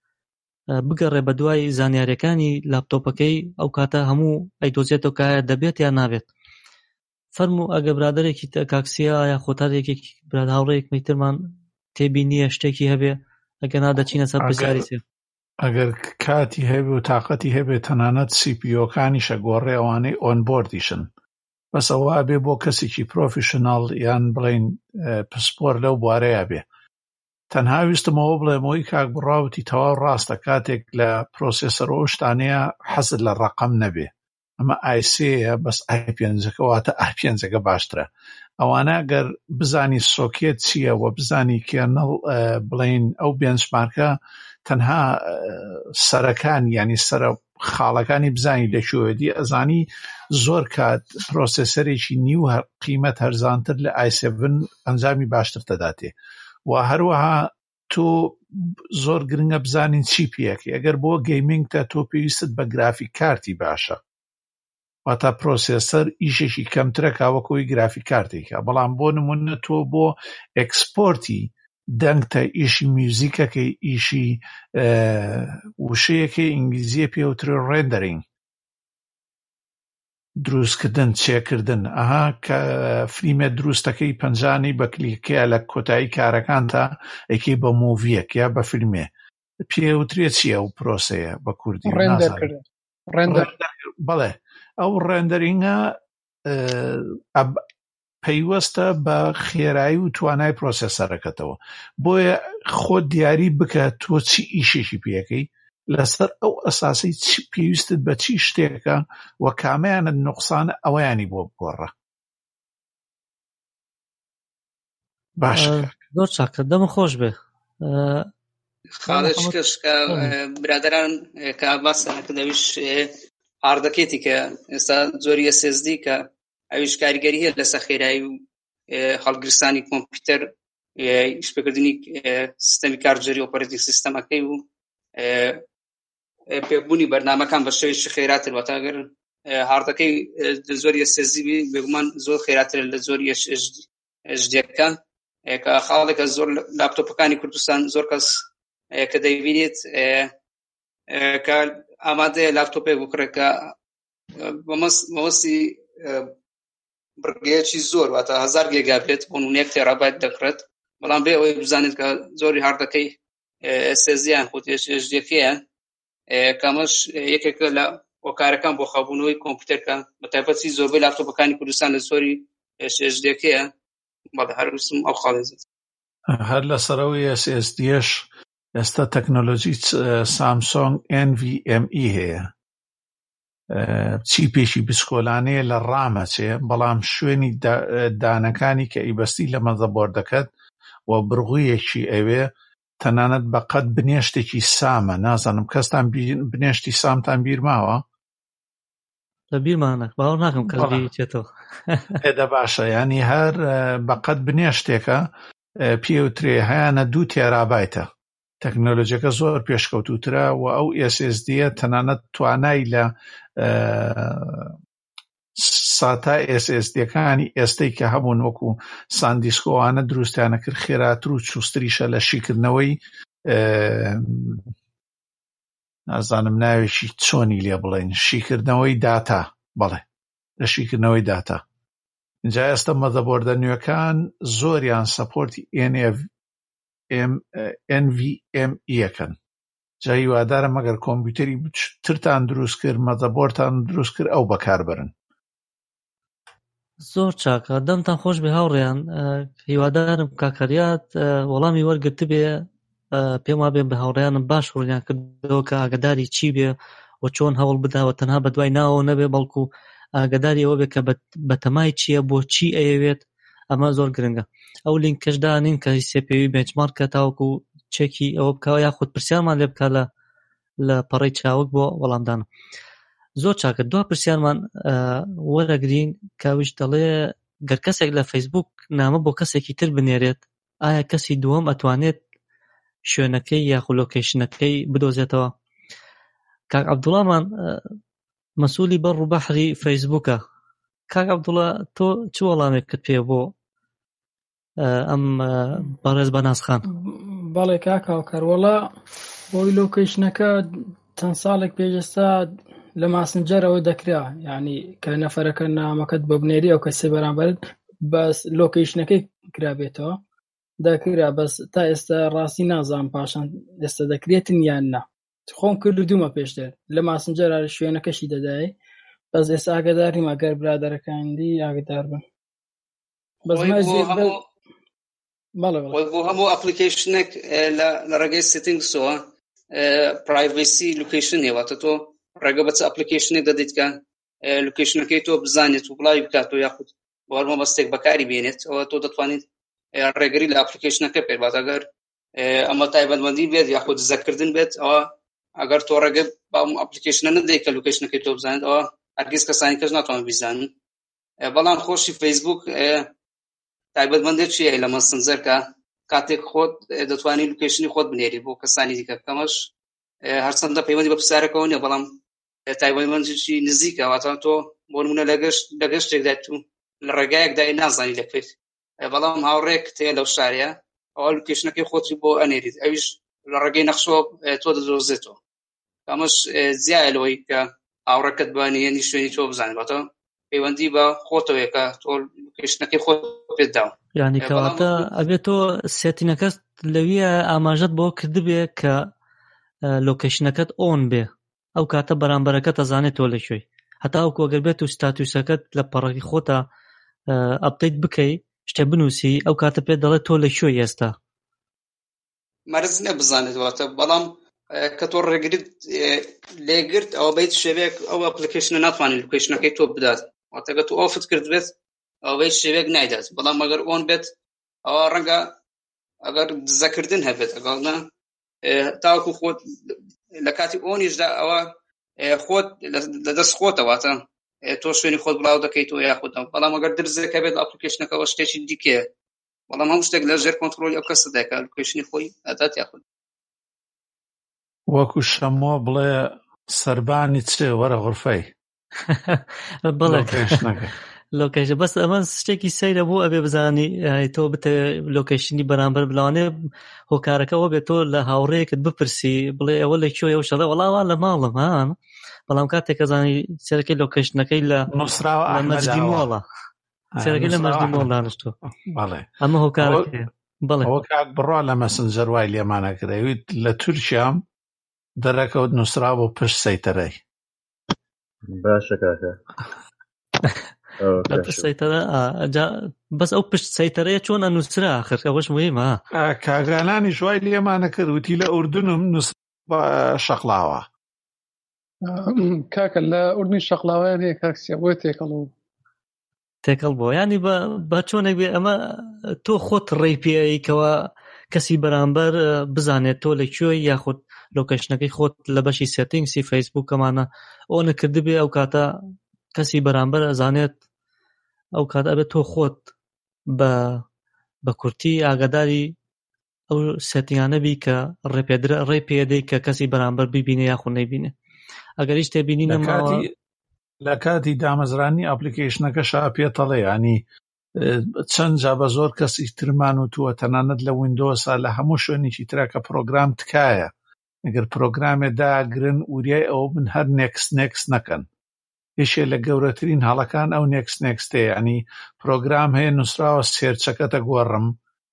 بگەڕێ بە دوای زانیاریەکانی لاپتۆپەکەی ئەو کاتە هەموو ئەیدۆزێتەوە کایە دەبێت یان نابێت. فەرموو ئەگە برادەرێکی کاکسیا یا خۆتارێکێکی براد هاوڕێیەکمی ترمان تێبینیە شتێکی هەبێ ئەگە نادەچینە سەر پرسیاری سێ ئەگەر کاتی هەبێ و تااقەتی هەبێت تەنانەت CPUەکانیشە گۆڕێ ئەوانەی ئۆنبۆردیشن بەس ئەوە بێ بۆ کەسێکی پرۆفیشناڵ یان بڵین پسپۆر لەو بوارەیە بێ تەنها ویستمەوە بڵێمەوەی کاک بڕاوتی تەواو ڕاستە کاتێک لە پرۆسێسەرەوە شتانەیە حەزت لە ڕەقەم نەبێ ئەمە I3ەیە بەس I5-کەواتە I5 باشترە ئەوانە گەر بزانی سۆکێت چییە و بزانی کێرنەڵ بڵین ئەو بێنچمارکە تەنها سەرەکان ینی سەرە خاڵەکانی بزانی لەکوێدی ئەزانی زۆر کات پرۆسێسەرێکی نیو قیمەت هەرزانتر لە I7 ئەنجامی باشتر دەداتێ و هەروەها تۆ زۆر گرنگە بزانین چی پێیەکەی ئەگەر بۆ گەیمینگتە تۆ پێویستت بە گرافیک کارتی باشە واتە پرۆسێسەر ئیشێکی کەمترە کاوەکەوەی گرافیک کارتێکە بەڵام بۆ نمونە تۆ بۆ ئەکسپۆرتی دەنگتە ئیشی میوزیکەکەی ئیشی وشەیەکەی ئینگلیزیە پێوترە ڕێندەرینگ دروستکردن چێکردن ئەها کە فلیمە دروستەکەی پەنجانی بە کلیکەیە لە کۆتایی کارەکانتە ئەیکەی بە موڤیەک یا بە فیلمێ پێوترێت چییە ئەو پرۆسەیە بە کوردی ڕێندەر بەڵێ ئەو ڕێندەرینگە پەیوەستە بە خێرایی و توانای پرۆسێسەرەکەتەوە بۆیە خۆت دیاری بکە تۆ چی ئیشێکی پێەکەی لەسەر ئەو ئەساسی پێویستت بە چی شتێکە و کامیانە نوقسانە ئەویانی بۆ بگۆڕە. باشە زۆر چاکە، دەمە خۆش بێ. خاڵش کە برادران کە باسەکە دەویش هاردەکێتی کە ئێستا زۆری SSD کە ئەویش کاریگەری هەیە لەسەر خێرایی و هەڵگرستانی کۆمپیوتەر شپێکردنی سیستەمی کارژێری ئۆپەرێتینگ سیستەمەکەی و پێبوونی بەرنامەکان بە شێوەیەکی خێراتر واتە ئەگەر هاردەکەی زۆری SSD بێگومان زۆر خێراتر لە زۆری HDD-ەکە کە خاڵێکە زۆر لاپتۆپەکانی کوردستان زۆر کەس کە دەیبینێت کە ئامادەیە لاپتۆپێک بکڕێت کە مەوەستی بڕگەیەکی زۆر واتە 1000 گیگا بێت بۆ 1 تێرابایت دەکڕێت، بەڵام بێ ئەوەی بزانێت کە زۆری هاردەکەی SSD-یان خۆ HDD-یان کامەش یەکێکە لە هۆکارەکان بۆ خەبوونەوەی کۆمپیوتەرکە بە تایبەتی زۆربەی لاپتۆپەکانی کوردستان لە زۆری HDD-یە بەڵێ هەروسم ئەو خاڵێزێت. هەر لەسەرەوەی SSD-ش ئێستا تەکنۆلۆژی سامسۆنگ NVMe هەیە، چیپێکی بچکۆلانەیە لە ڕامەچێ، بەڵام شوێنی دانەکانی کە ئیبەستی لە مەزەبۆردەکەت و بڕغویەکی ئەوێ تەنانەت بەقەت بنێشتێکی سامە. نازانم کەستان بنێشتی سامتان بیر ماوە؟ لە بیرمانە باوەڕ ناکەم کەس بیرێتەوە. ئێدە باشە، ینی هەر بەقەت بنێشتێکە پێوترێ هەیەنە 2 تێرابایتە. تەکنۆلۆژیەکە زۆر پێشکەوتوترە و ئەو SSD-ە تەنانەت توانای لە ساتا SSD-ەکانی ئێستەی کە هەبوون وەکو ساندیسکۆوانە دروستیانە کرد خێراتر و چوستریشە لە شیکردنەوەی نازانم ناوێکی چۆنی لێ بڵێن، شیکردنەوەی داتا، بەڵێ لە شیکردنەوەی داتا. اینجا ئێستا مەزەبۆردە نوێکان زۆریان سەپۆرتی NVMe-یەکەن. جا هیوادارم ئەگەر کۆمپیوتەری ترتان دروست کرد، مەزەبۆردتان دروست کرد، ئەو بەکاربرن. زۆر چاکە، دەمتان خۆش بێ هاوڕێیان. هیوادارم کاکەریات وەڵامی وەرگرت بێ، پێم وابێ بە هاوڕێیانم باش ڕوونیان کردەوە کە ئاگاداری چی بێ و چۆن هەوڵ بداوە تەنها بە دوای ناوە نەبێ، بەڵکو ئاگاداری ئەوە بێ کە بە تەمای چییە، بۆ چی ئەیەوێت. ئەمە زۆر گرنگە. ئەو لینکەش دانین کە سێپێوی بێنچمارکە تاوەکو چێکی ئەوە بکەوە یاخود پرسیارمان لێ بکە لە پەڕەی چاوک بۆ وەڵامدانە. زۆر چاکە. دوا پرسیارمان وەرەگرین کاویش دەڵێ گەر کەسێک لە فەیسبوک نامە بۆ کەسێکی تر بنێرێت، ئایا کەسی دووەم ئەتوانێت شوێنەکەی یاخود لۆکیشنەکەی بدۆزێتەوە؟ کاک عەبدوڵڵامان مەسئولی بەڕ و بەحری فەیسبوکە. کاک عەبدوڵڵا تۆ چ وەڵامێکت پێ بۆ ئەم بەڕێز بەنازخان؟ بەڵێ کاک هاوکەروەڵا بۆی لۆکیشنەکە چەند ساڵێک پێشەستا لە ماسنجەرەوە دەکرا، یعنی کە نەفەرەکە نامەکەت بە بنێری ئەو کەسێ بەرامبەرت بەس لۆکیشنەکەی کرابێتەوە دەکرا، بەس تا ئێستا ڕاستی نازانم پاشان ئێستا دەکرێتن یان نا. خۆم کردومە پێشتر لە ماسنجەرە شوێنەکەشی دەدای، بەس ئێستا ئاگاداریم ئەگەر برادەرەکانی ئاگادار بن. بەس بۆ هەموو ئەپلیکیشنێک لە ڕێگەی سێتینگسەوە پرایڤسی لوکیشن هێواتە تۆ ڕێگە بە چ ئەپلیکیشنێک دەدەیت کە لوکیشنەکەی تۆ بزانێت و بڵاوی بکاتەوە یاخود بۆ هەر مەبەستێک بەکاری بێنێت، ئەوە تۆ دەتوانیت ڕێگەری لە ئەپلیکیشنەکە پێ بات. ئەگەر ئەمە تایبەتمەندی بێت یاخود دزەکردن بێت، ئەوە ئەگەر تۆ ڕێگە بە ئەپلیکیشنە نەدەیت کە لوکیشنەکەی تۆ بزانێت، ئەوە هەرگیز کەسانی کەس ناتوانن بیزانن. بەڵام خۆشی فەیسبوک تایبەتمەندێکی هەیە لە مەسنجەر کە کاتێک خۆت دەتوانانی لوکیشنی خۆت بنێری بۆ کەسانی دیکە، کەمەش هەرچەندە پەیوەندی بە پرسیارەکەەوە نیە، بەڵام تایبەتمەندێکی نزیکە. واتە تۆ بۆ نمونە لە گەشتێکدا تو لە ڕێگایەکدا نازانی لەکوێت، بەڵام هاوڕێک تێ لەو شارەیە، ئەوە لوکیشنەکەی خۆتی بۆ ئەنێریت، ئەویش لە ڕێگەی نەخشەوە تۆ دەدۆزێتەوە. ئەمەش زیایە لەوەی کە هاوڕێکت بانیێنی شوێنی تۆ بزانێت، واتە پەیوەندی بە خۆتەوەیە کە تۆ لوکیشنەکەی خۆت پێت داوە. یعنی کەواتە ئەبێت تۆ سێتینەکەت لەویە ئاماژەت بۆ کردبێ کە لۆکیشنەکەت ئۆن بێ، ئەو کاتە بەرامبەرەکەت ئەزانێت تۆ لەکوێی، هەتا ئەو کۆگەر بێت و ستاتوسەکەت لە پەڕەکی خۆتە ئەپدەیت بکەی، شتێ بنووسی، ئەو کاتە پێت دەڵێت تۆ لەکوێی ئێستا. مەرز نەبزانێت واتە، بەڵام کە تۆ ڕێگریت لێگرت ئەوە بیت شێوەیەک ئەو ئەپلیکیشنە ناتوانێت لوکیشنەکەی تۆ بدات واتەگە تو ئۆفت کرد بێت ئەوە بیت شێوەیەک نایدات بەڵام ئەگەر ئۆن بێت ئەوە ڕەنگە ئەگەر دزەکردن هەبێت ئەگەڵنا تاوەکو خۆت لە کاتی ئۆنیشدا ئەوە خۆت لەدەست خۆتەواتە تۆ شوێنی خۆت بڵاو دەکەیت و یاخودەوە بەڵام ئەگەر درزەکە بێت ئەپلیکیشنەکەەوە شتێکی دیکەیە بەڵام هەموو شتێک لە ژێر کۆنتڕۆلی ئەو کەسە دەکات لوکیشنی خۆی ئەدات یاخود وەکو شەمۆ بڵێ سەربانی چێ وەرە غورفەی بەڵێ لۆکیشنەکە لۆکیشن بەس ئەمە شتێکی سەیرە بوو ئەبێ بزانی تۆ بتە لۆکیشنی بەرامبەر بڵاوانێ هۆکارەکەەوە بێت تۆ لە هاوڕێیەکت بپرسی بڵێ ئەوە لەکوێ و شەڵێ وەڵاوە لە ماڵم هان بەڵام کاتێک کەزانی سەرەکەی لۆکیشنەکەی لە مەجدی مۆڵە سەرەکەی لە مەجدی مۆڵ دانیشتۆ ئەمە هۆکارەکەیە بەڵێ ئەوە کاک بڕوا لە مەسنجەر وای لێمانە کردەویت لە تورکیام دەرەکەوت نووسرا بۆ پشت سەیتەرەی باشە کاکە بەس ئەو پشت سەیتەرەیە چۆن ئەنووسرا آخر ئەوەش مهمە کاگانانی شوای لێمانە کرد وتی لە ئوردنم نووسرا شەقڵاوە کاکە لە ئوردنی شەقڵاویان هەیە کاکسیە بۆی تێکەڵ بۆ ینی بە چۆنێک بێ ئەمە تۆ خۆت ڕێی پێیکەوە کەسی بەرامبەر بزانێت تۆ لەکوێ یاخود لۆکیشنەکەی خۆت لە بەشی سێتینگسی فەیسبوک ئەمانە ئەوە نەکردبێ ئەو کاتە کەسی بەرامبەر ئەزانێت ئەو کات ئەبێت تۆ خۆت بە کورتی ئاگاداری ئەو سێتینگانە بی کە ڕێ پێدەی کە کەسی بەرامبەر ببینێ یاخود نەیبینێ ئەگەر هیچ تێبینی نەماوە لە کاتی دامەزرانی ئەپلیکیشنەکە شاپێتەڵێ ینی چەند جا بە زۆر کەسی ترمان و تووە تەنانەت لە ویندۆسا لە هەموو شوێنێکی ترە کە پرۆگرام تکایە ئەگەر پرۆگرامێ داگرن وریای ئەو من هەر نێکس نەکەن یەکێ لە گەورەترین هەڵەکان ئەو نێکستەیە ینی پرۆگرام هەیە نووسراوە سێرچەکەتە گۆڕم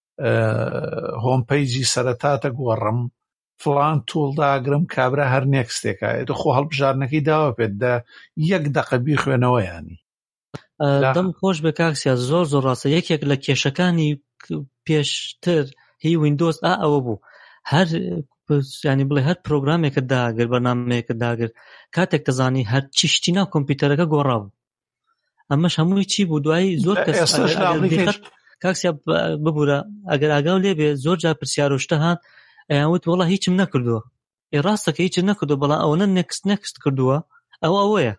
هۆم پیجی سەرەتاتە گۆڕم فڵان توڵ داگرم کابرا هەر نێکستێکە خۆ هەڵبژارنەکەی داوە پێت دا یەک دەقە بیخوێنەوە ینی دەم خۆش بە کاکسیا زۆر ڕاستە یەکێک لە کێشەکانی پێشتر هی ویندۆز ئەوە بوو هەر ینی بڵێ هەر پرۆگرامێکە داگر بەرنامەیەکە داگر کاتێک دەزانی هەر چی شتی ناو کۆمپیوتەرەکە گۆڕاو ئەمەش هەمووی چی بوو دوایی زۆر کەس کاکسیا ببوورە ئەگەر ئاگاو لێبێ زۆر جا پرسیار و شتە هات ئەیانوت وەڵا هیچم نەکردووە ڕاستەکە هیچم نەکردو بەڵام ئەوەنە نێکست کردووە ئەوەیە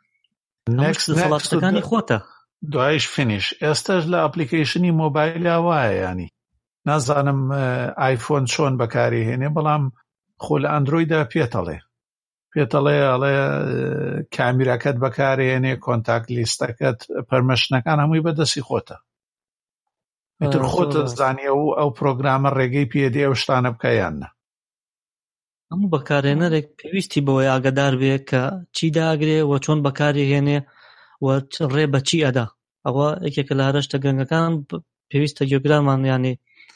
سەڵاتەکانی خۆتە دوایش فینیش ئێستاش لە ئەپلیکیشنی مۆبایلیا وایە ینی نازانم ئایفۆن چۆن بەکاری هێنێ بەڵام خۆ لە ئەندرۆیدا پێتەڵێ ئەڵێ کامیراکەت بەکارهێنێ کۆنتاکت لیستەکەت پەرمەشنەکان هەمووی بەدەستی خۆتە ئیتر خۆتە زانیە و ئەو پرۆگرامە ڕێگەی پێدێ ئەو شتانە بکەیانە هەموو بەکارهێنەرێک پێویستی بەوەی ئاگادار بێ کە چی داگرێ و چۆن بەکاری هێنێ و ڕێ بە چی ئەدا ئەوە یەکێکە لە هەرشتە گەنگەکان پێویستە گوێگرانمان ینی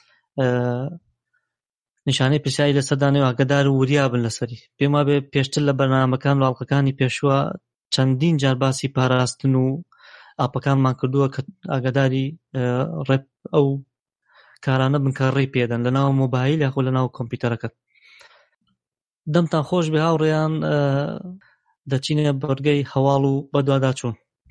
نیشانەی پرسیاری لەسەردانێ و ئاگادار و وریا بن لەسەری پێما بێ پێشتر لە بەرنامەکان و ئاڵلقەکانی پێشوە چەندین جار باسی پاراستن و ئاپەکانمان کردووە کە ئاگاداری ڕێ ئەو کارانە بن کە ڕێی پێدەن لە ناو مۆبایل یاخۆ لە ناو کۆمپیوتەرەکەت دەمتان خۆش بێ هاوڕێیان دەچینە بەرگەی هەواڵ و بەدواداچوون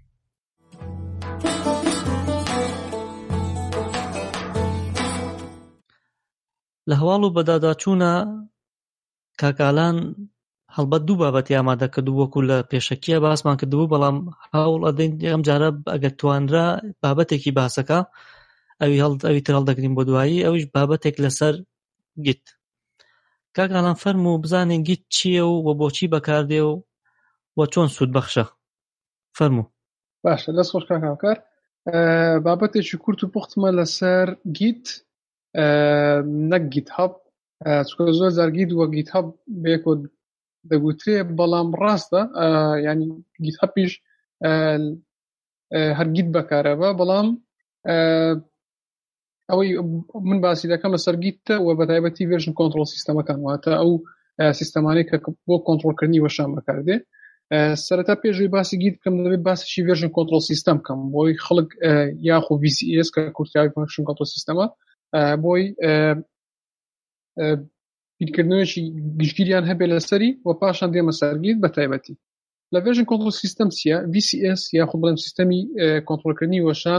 لە هەواڵ و بەداداچوونە کاکالان هەڵبەت دوو بابەتی ئامادە کردو وەکو لە پێشەکیە باسمان کردبوو بەڵام هەوڵ ئەدەین ئەم جارە ئەگەر توانرا بابەتێکی باسەکە ئەوی تر هەڵدەگرین بۆ دوایی ئەویش بابەتێک لەسەر گیت کاکالان فەرموو بزانین گیت چییە و بۆچی بەکاردێ و چۆن سوود بەخشە فەرموو باشە دەست خۆش کاکاوکار بابەتێکی کورت و پوختمە لەسەر گیت نەک گیت هەب چکە زۆر جار گیت وە گیت هەب بێکۆ دەگوترێ بەڵام ڕاستە ینی گیت هەبیش هەر گیت بەکارەبە بەڵام ئەوەی من باسی دەکەم لەسەر گیتە و بەتایبەتی ڤێرژن کۆنتڕۆڵ سیستەمەکان واتە ئەو سیستەمانەی کە بۆ کۆنتڕۆڵکردنی وەشان بەکاردێ سەرەتا پێشوی باسی گیت بکەم دەبێت باسیشی ڤێرژن کۆنتڕۆڵ سیستەم بکەم بۆی خەڵک یاخۆ VCS کە کورتیاوی ڤێرژن کۆنتڕۆڵ سیستەمە بۆی بیرکردنەوەیەکی گشتگیریان هەبێ لەسەری و پاشان دێمە سەرگیر بە تایبەتی لە ڤێژن کۆنترۆل سیستەم چییە VCS یاخود بڵێم سیستەمی کۆنترۆلکردنی وەشان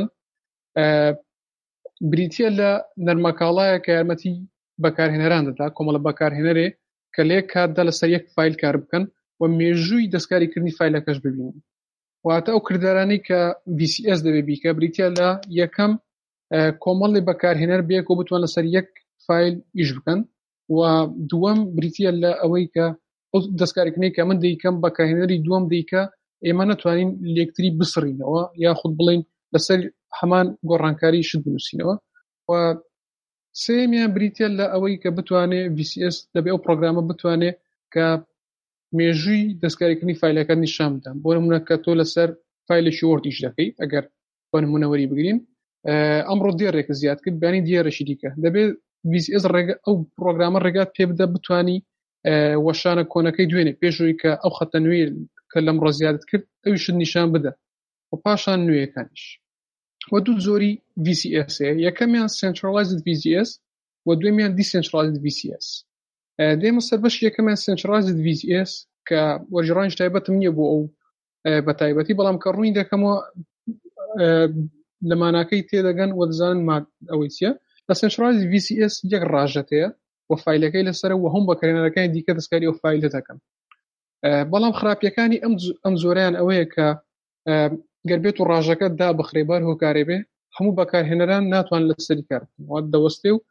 بریتیە لە نەرمەکاڵایە کە یارمەتی بەکارهێنەران دەدا کۆمەڵە بەکارهێنەرێ کە لێ کاتدا لەسەر یەک فایل کار بکەن و مێژووی دەستکاریکردنی فایلەکەش ببینن واتە ئەو کردارانەی کە VCS دەبێ بیکە بریتیە لە یەکەم کۆمەڵی بەکارهێنەر بێک و بتوان لەسەر یەک فایل ئیش بکەن و دووەم بریتیە لە ئەوەی کە ئەو دەستکاریکردنی کە من دەیکەم بەکارهێنەری دووەم دەیکە ئێمە نەتوانین لێکتری بسڕینەوە یاخود بڵین لەسەر هەمان گۆڕانکاری شت بنووسینەوە و سێمیان بریتیە لە ئەوەی کە بتوانێ VCS دەبێ ئەو پرۆگرامە بتوانێ کە مێژووی دەستکاریکردنی فایلەکە نیشان بدەن بۆ نمونە کە تۆ لەسەر فایلێکی وۆرد ئیش دەکەی ئەگەر بۆ نمونەوەری بگرین ئەمڕۆ دیێڕێک زیاد کرد بانی دیێڕێکی دیکە دەبێت VCS ئەو پرۆگرامە ڕێگات پێ بدە بتوانی وەشانە کۆنەکەی دوێنێ پێشووی کە ئەو خەتە نوێ کە لەمڕۆ زیادت کرد ئەویشت نیشان بدە و پاشان نوێیەکانیش و دوو زۆری VCS یەکەمیان centralized VCS و دوێمیان decentralized VCS دێمە سەر بەش یەکەمیان centralized VCS کە وەرجێڕانیش تایبەتم نییە بۆ ئەو بە تایبەتی بەڵام کە ڕووی دەکەمەوە لە ماناکەی تێدەگەن و دەزانن ئەوەی چییە لە centralized VCS یەک ڕاژەتەیە و فایلەکەی لەسەر و هەموو بەکارهێنەرەکانی دیکە دەستکاری ئەو فایلە دەکەن بەڵام خراپیەکانی ئەم زۆریان ئەوەیە کە گەر بێت و ڕاژەکە دا بخرێبار هۆکارێ بێ هەموو بەکارهێنەران ناتوان لەسەری کار بکەن دەوەستێ و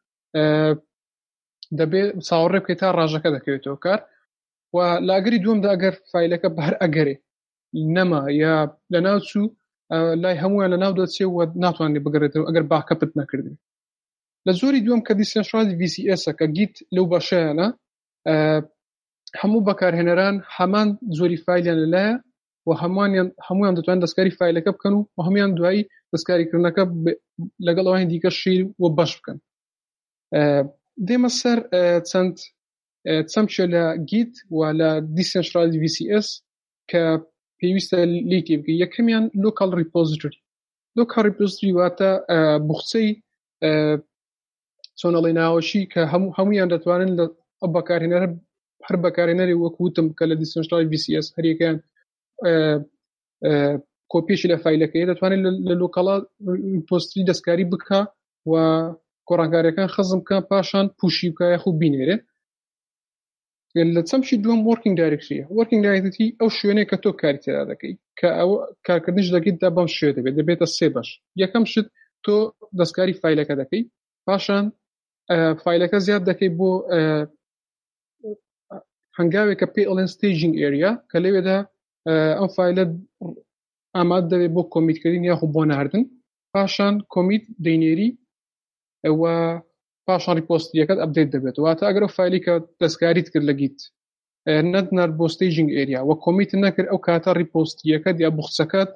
دەبێت چاوەڕێ بکەیت تا ڕاژەکە دەکەوێتەوە کار و لاگەری دووەمدا ئەگەر فایلەکە بەر ئەگەرێ نەما یا لەناو چوو لای هەمویان لەناو دەچێت و ناتوانێت بگەڕێتەوە ئەگەر باکەپت نەکردێت لە زۆری دووەم کە دیسنشڕازی VCS کە گیت لەو بەشەیانە هەموو بەکارهێنەران هەمان زۆری فایلیان لەلایە و هەمویان دەتوانن دەستکاری فایلەکە بکەن و هەمویان دوایی دەستکاریکردنەکە لەگەڵ ئەوانی دیکە شیر و بەش بکەن دێمە سەر چەمچە لە گیت و لە دیسنشڕازی VCS کە پێویستە لیتی بکە یەکەمیان لۆکال ریپۆزیتۆری واتە بوخچەی چۆنەڵی ناوەشی کە هەمویان دەتوانن لە بەکارهێنەر هەر بەکارهێنەری وەکوتم کە لە دیسنشڕازی VCS هەریەکەیان کۆپیشی لە فایلەکەی دەتوانێت لە لۆکاڵا ریپۆزیتۆری دەستکاری بکە و گۆڕانکاریەکان خەزم بکە پاشان پوشی بکە یاخو بینێرێ لە چەمشی دووەم working directory ئەو شوێنەیە کە تۆ کاری تێدا دەکەی کە ئەو کارکردنیش دەکەیتدا بەم شوێ دەبێتە سێ بەش یەکەم شت تۆ دەستکاری فایلەکە دەکەی پاشان فایلەکە زیاد دەکەی بۆ هەنگاوێک کە پێ ئەڵێن staging area کە لەوێدا ئەم فایلە ئامادە دەبێت بۆ کۆمیتکردن یاخو بۆ ناردن پاشان کۆمیت دەینێری و پاشان ریپۆستریەکەت ئەپدێت دەبێت واتە ئەگەر ئەو فایلی کە دەستکاریت کرد لە گیت نەدنار بۆ staging area و کۆمیت نەکرد ئەو کاتە ریپۆستریەکەت یا بوخچەکەت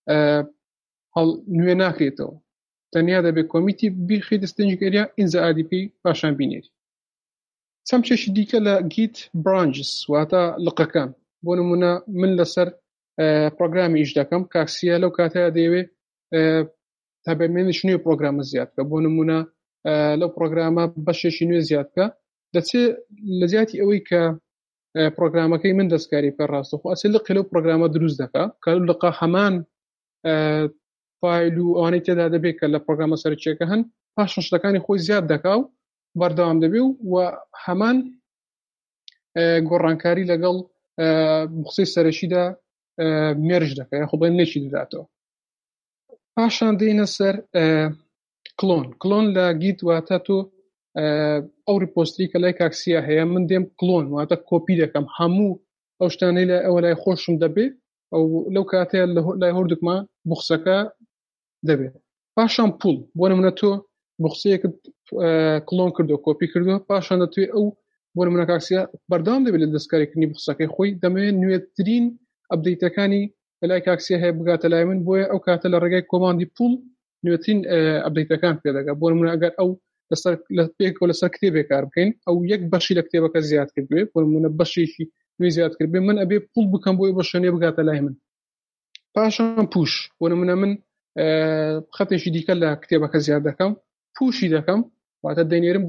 نوێ ناکرێتەوە تەنیا دەبێت کۆمیتی بیخیت staging area ئینجا ADP پاشان بینێری چەمچێکی دیکە لە گیت برانچز واتە لقەکان بۆ نمونە من لەسەر پرۆگرامی ئیش دەکەم کاکسیە لەو کاتەیە دەیەوێت تابێمێنش نوێ پرۆگرامە زیاد بکە بۆ نمونە لەو پرۆگرامە بەشێکی نوێ زیاد بکە دەچێت لە زیاتی ئەوەی کە پرۆگرامەکەی من دەستکاری پێ ڕاستەخۆ ئەچێ لقی لەو پرۆگرامە دروست دەکە کە لقە هەمان فایل و ئەوانەی تێدا دەبێت کە لە پرۆگرامە سەرچیەکە هەن پاشان شتەکانی خۆی زیاد دەکا و بەردەوام دەبێ و هەمان گۆڕانکاری لەگەڵ بخسەی سەرەکیدا مێرج دەکە یاخۆ بڵێن نێکی دەداتەوە پاشان دێنە سەر کلۆن لە گیت واتە تۆ ئەو ریپۆستری کە لای کاکسیا هەیە من دێم کلۆن واتە کۆپی دەکەم هەموو ئەو شتانەی لە ئەوە لای خۆشم دەبێت ئەو لەو کاتەیە لای هەردووکمە بوخچەکە دەبێت پاشان پوڵ بۆ نمونە تۆ بوخچەیەکت کلۆن کردو کۆپی کردو پاشان دەتوێت ئەو بۆ نمونە کاکسیا بەردەوام دەبێت لە دەستکاریکردنی بوخچەکەی خۆی دەمەوێت نوێترین ئەپدەیتەکانی لای کاکسیا هەیە بگاتە لای من بۆیە ئەو کاتە لە ڕێگای کۆماندی پوڵ نوێترین ئەپدەیتەکان پێدەگات بۆ نمونە ئەگەر ئەو پێکەوە لەسەر کتێبێک کار بکەین ئەو یەک بەشی لە کتێبەکە زیاد کردوێت بۆ نمونە بەشێکی نوێ زیاد کردبێ من ئەبێ پوڵ بکەم بۆی بە شوێنێ بگاتە لای من پاشان پوش بۆ نمونە من خەتێکی دیکە لە کتێبەکە زیاد دەکەم پوشی دەکەم واتە دەینێرم بۆ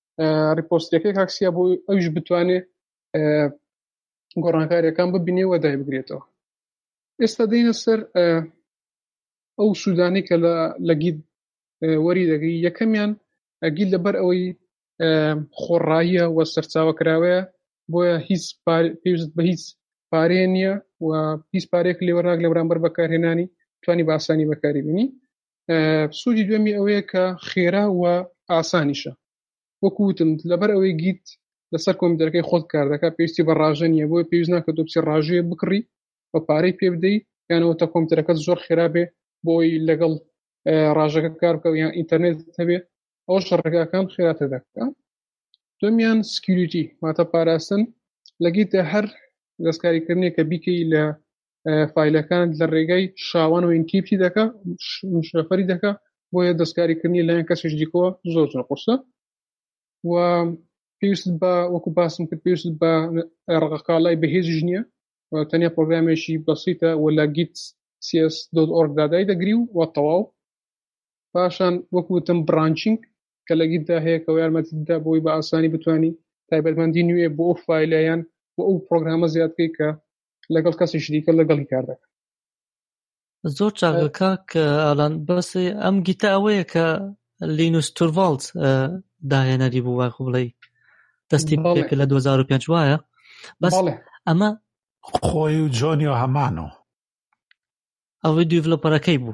ریپۆستەکەی کاکسیا بۆ ئەوش بتوانێت گۆڕانکاریەکان ببینێ و دای بگرێتەوە. ئێستا دێنە سەر ئەو سوودانی کە لە گید وەری دەگری. یەکەمیان گید لەبەر ئەوەی خۆڕاییە و سەرچاوەکراوەیە بۆیە هیچ پێویست بە هیچ پارەیە نییە و هیچ پارێک لێوەڕاک لە بەرامبەر بەکارهێنانی توانی بە ئاسانی بەکاری بینی. سوودی دوێمی ئەوەیە کە خێرا و ئاسانیشە. وەکوتم لەبەر ئەوەی گیت لەسەر کۆمپیوتەرەکەی خۆت کار دەکات پێویستی بە ڕاژە نییە بۆیە پێویست ناکە تۆ بچی ڕاژەیە بکڕی بە پارەی پێ بدەیت یانەوە تا کۆمپیوتەرەکەت زۆر خێرا بێ بۆی لەگەڵ ڕاژەکە کار بکەوە یان ئینتەرنێت هەبێ ئەوە ڕێگاکان خێراتر دەکات. دومیان سکیوریتی واتە پاراستن. لە گیتە هەر دەستکاریکردنێک کە بیکەی لە فایلەکان لە ڕێگای شاوان و ئینکریپتی دەکا شەفەری دەکا بۆیە دەستکاریکردنی لایەن کەسێک دیکەوە زۆر قورسە و پێویست بە وەکو باسم کرد پێویست بە ڕقەقاڵای بەهێزیش نییە تەنیا پرۆگرامێکی بەسیتە و لە گیت cs.org دادای دەگری و تەواو. پاشان وەکوتم برانچینگ کە لە گیتدا هەیە کە یارمەتیدا بۆی بە ئاسانی بتوانی تایبەتمەندی نوێ بۆ ئەو فایلەیان بۆ ئەو پرۆگرامە زیادکەی کە لەگەڵ کەسێکی دیکە لەگەڵی کار دەکات. زۆر چاکەکە کە ئالان بەسێ ئەم گیتە ئەوەیە کە لینوس تورڤالدز داهێنەری بوو واخ بڵێ دەستی پێ لە 2005 وایە بەس ئەمە خۆی و جۆنی و هەمانەوە ئەوەی دیڤلۆپەرەکەی بوو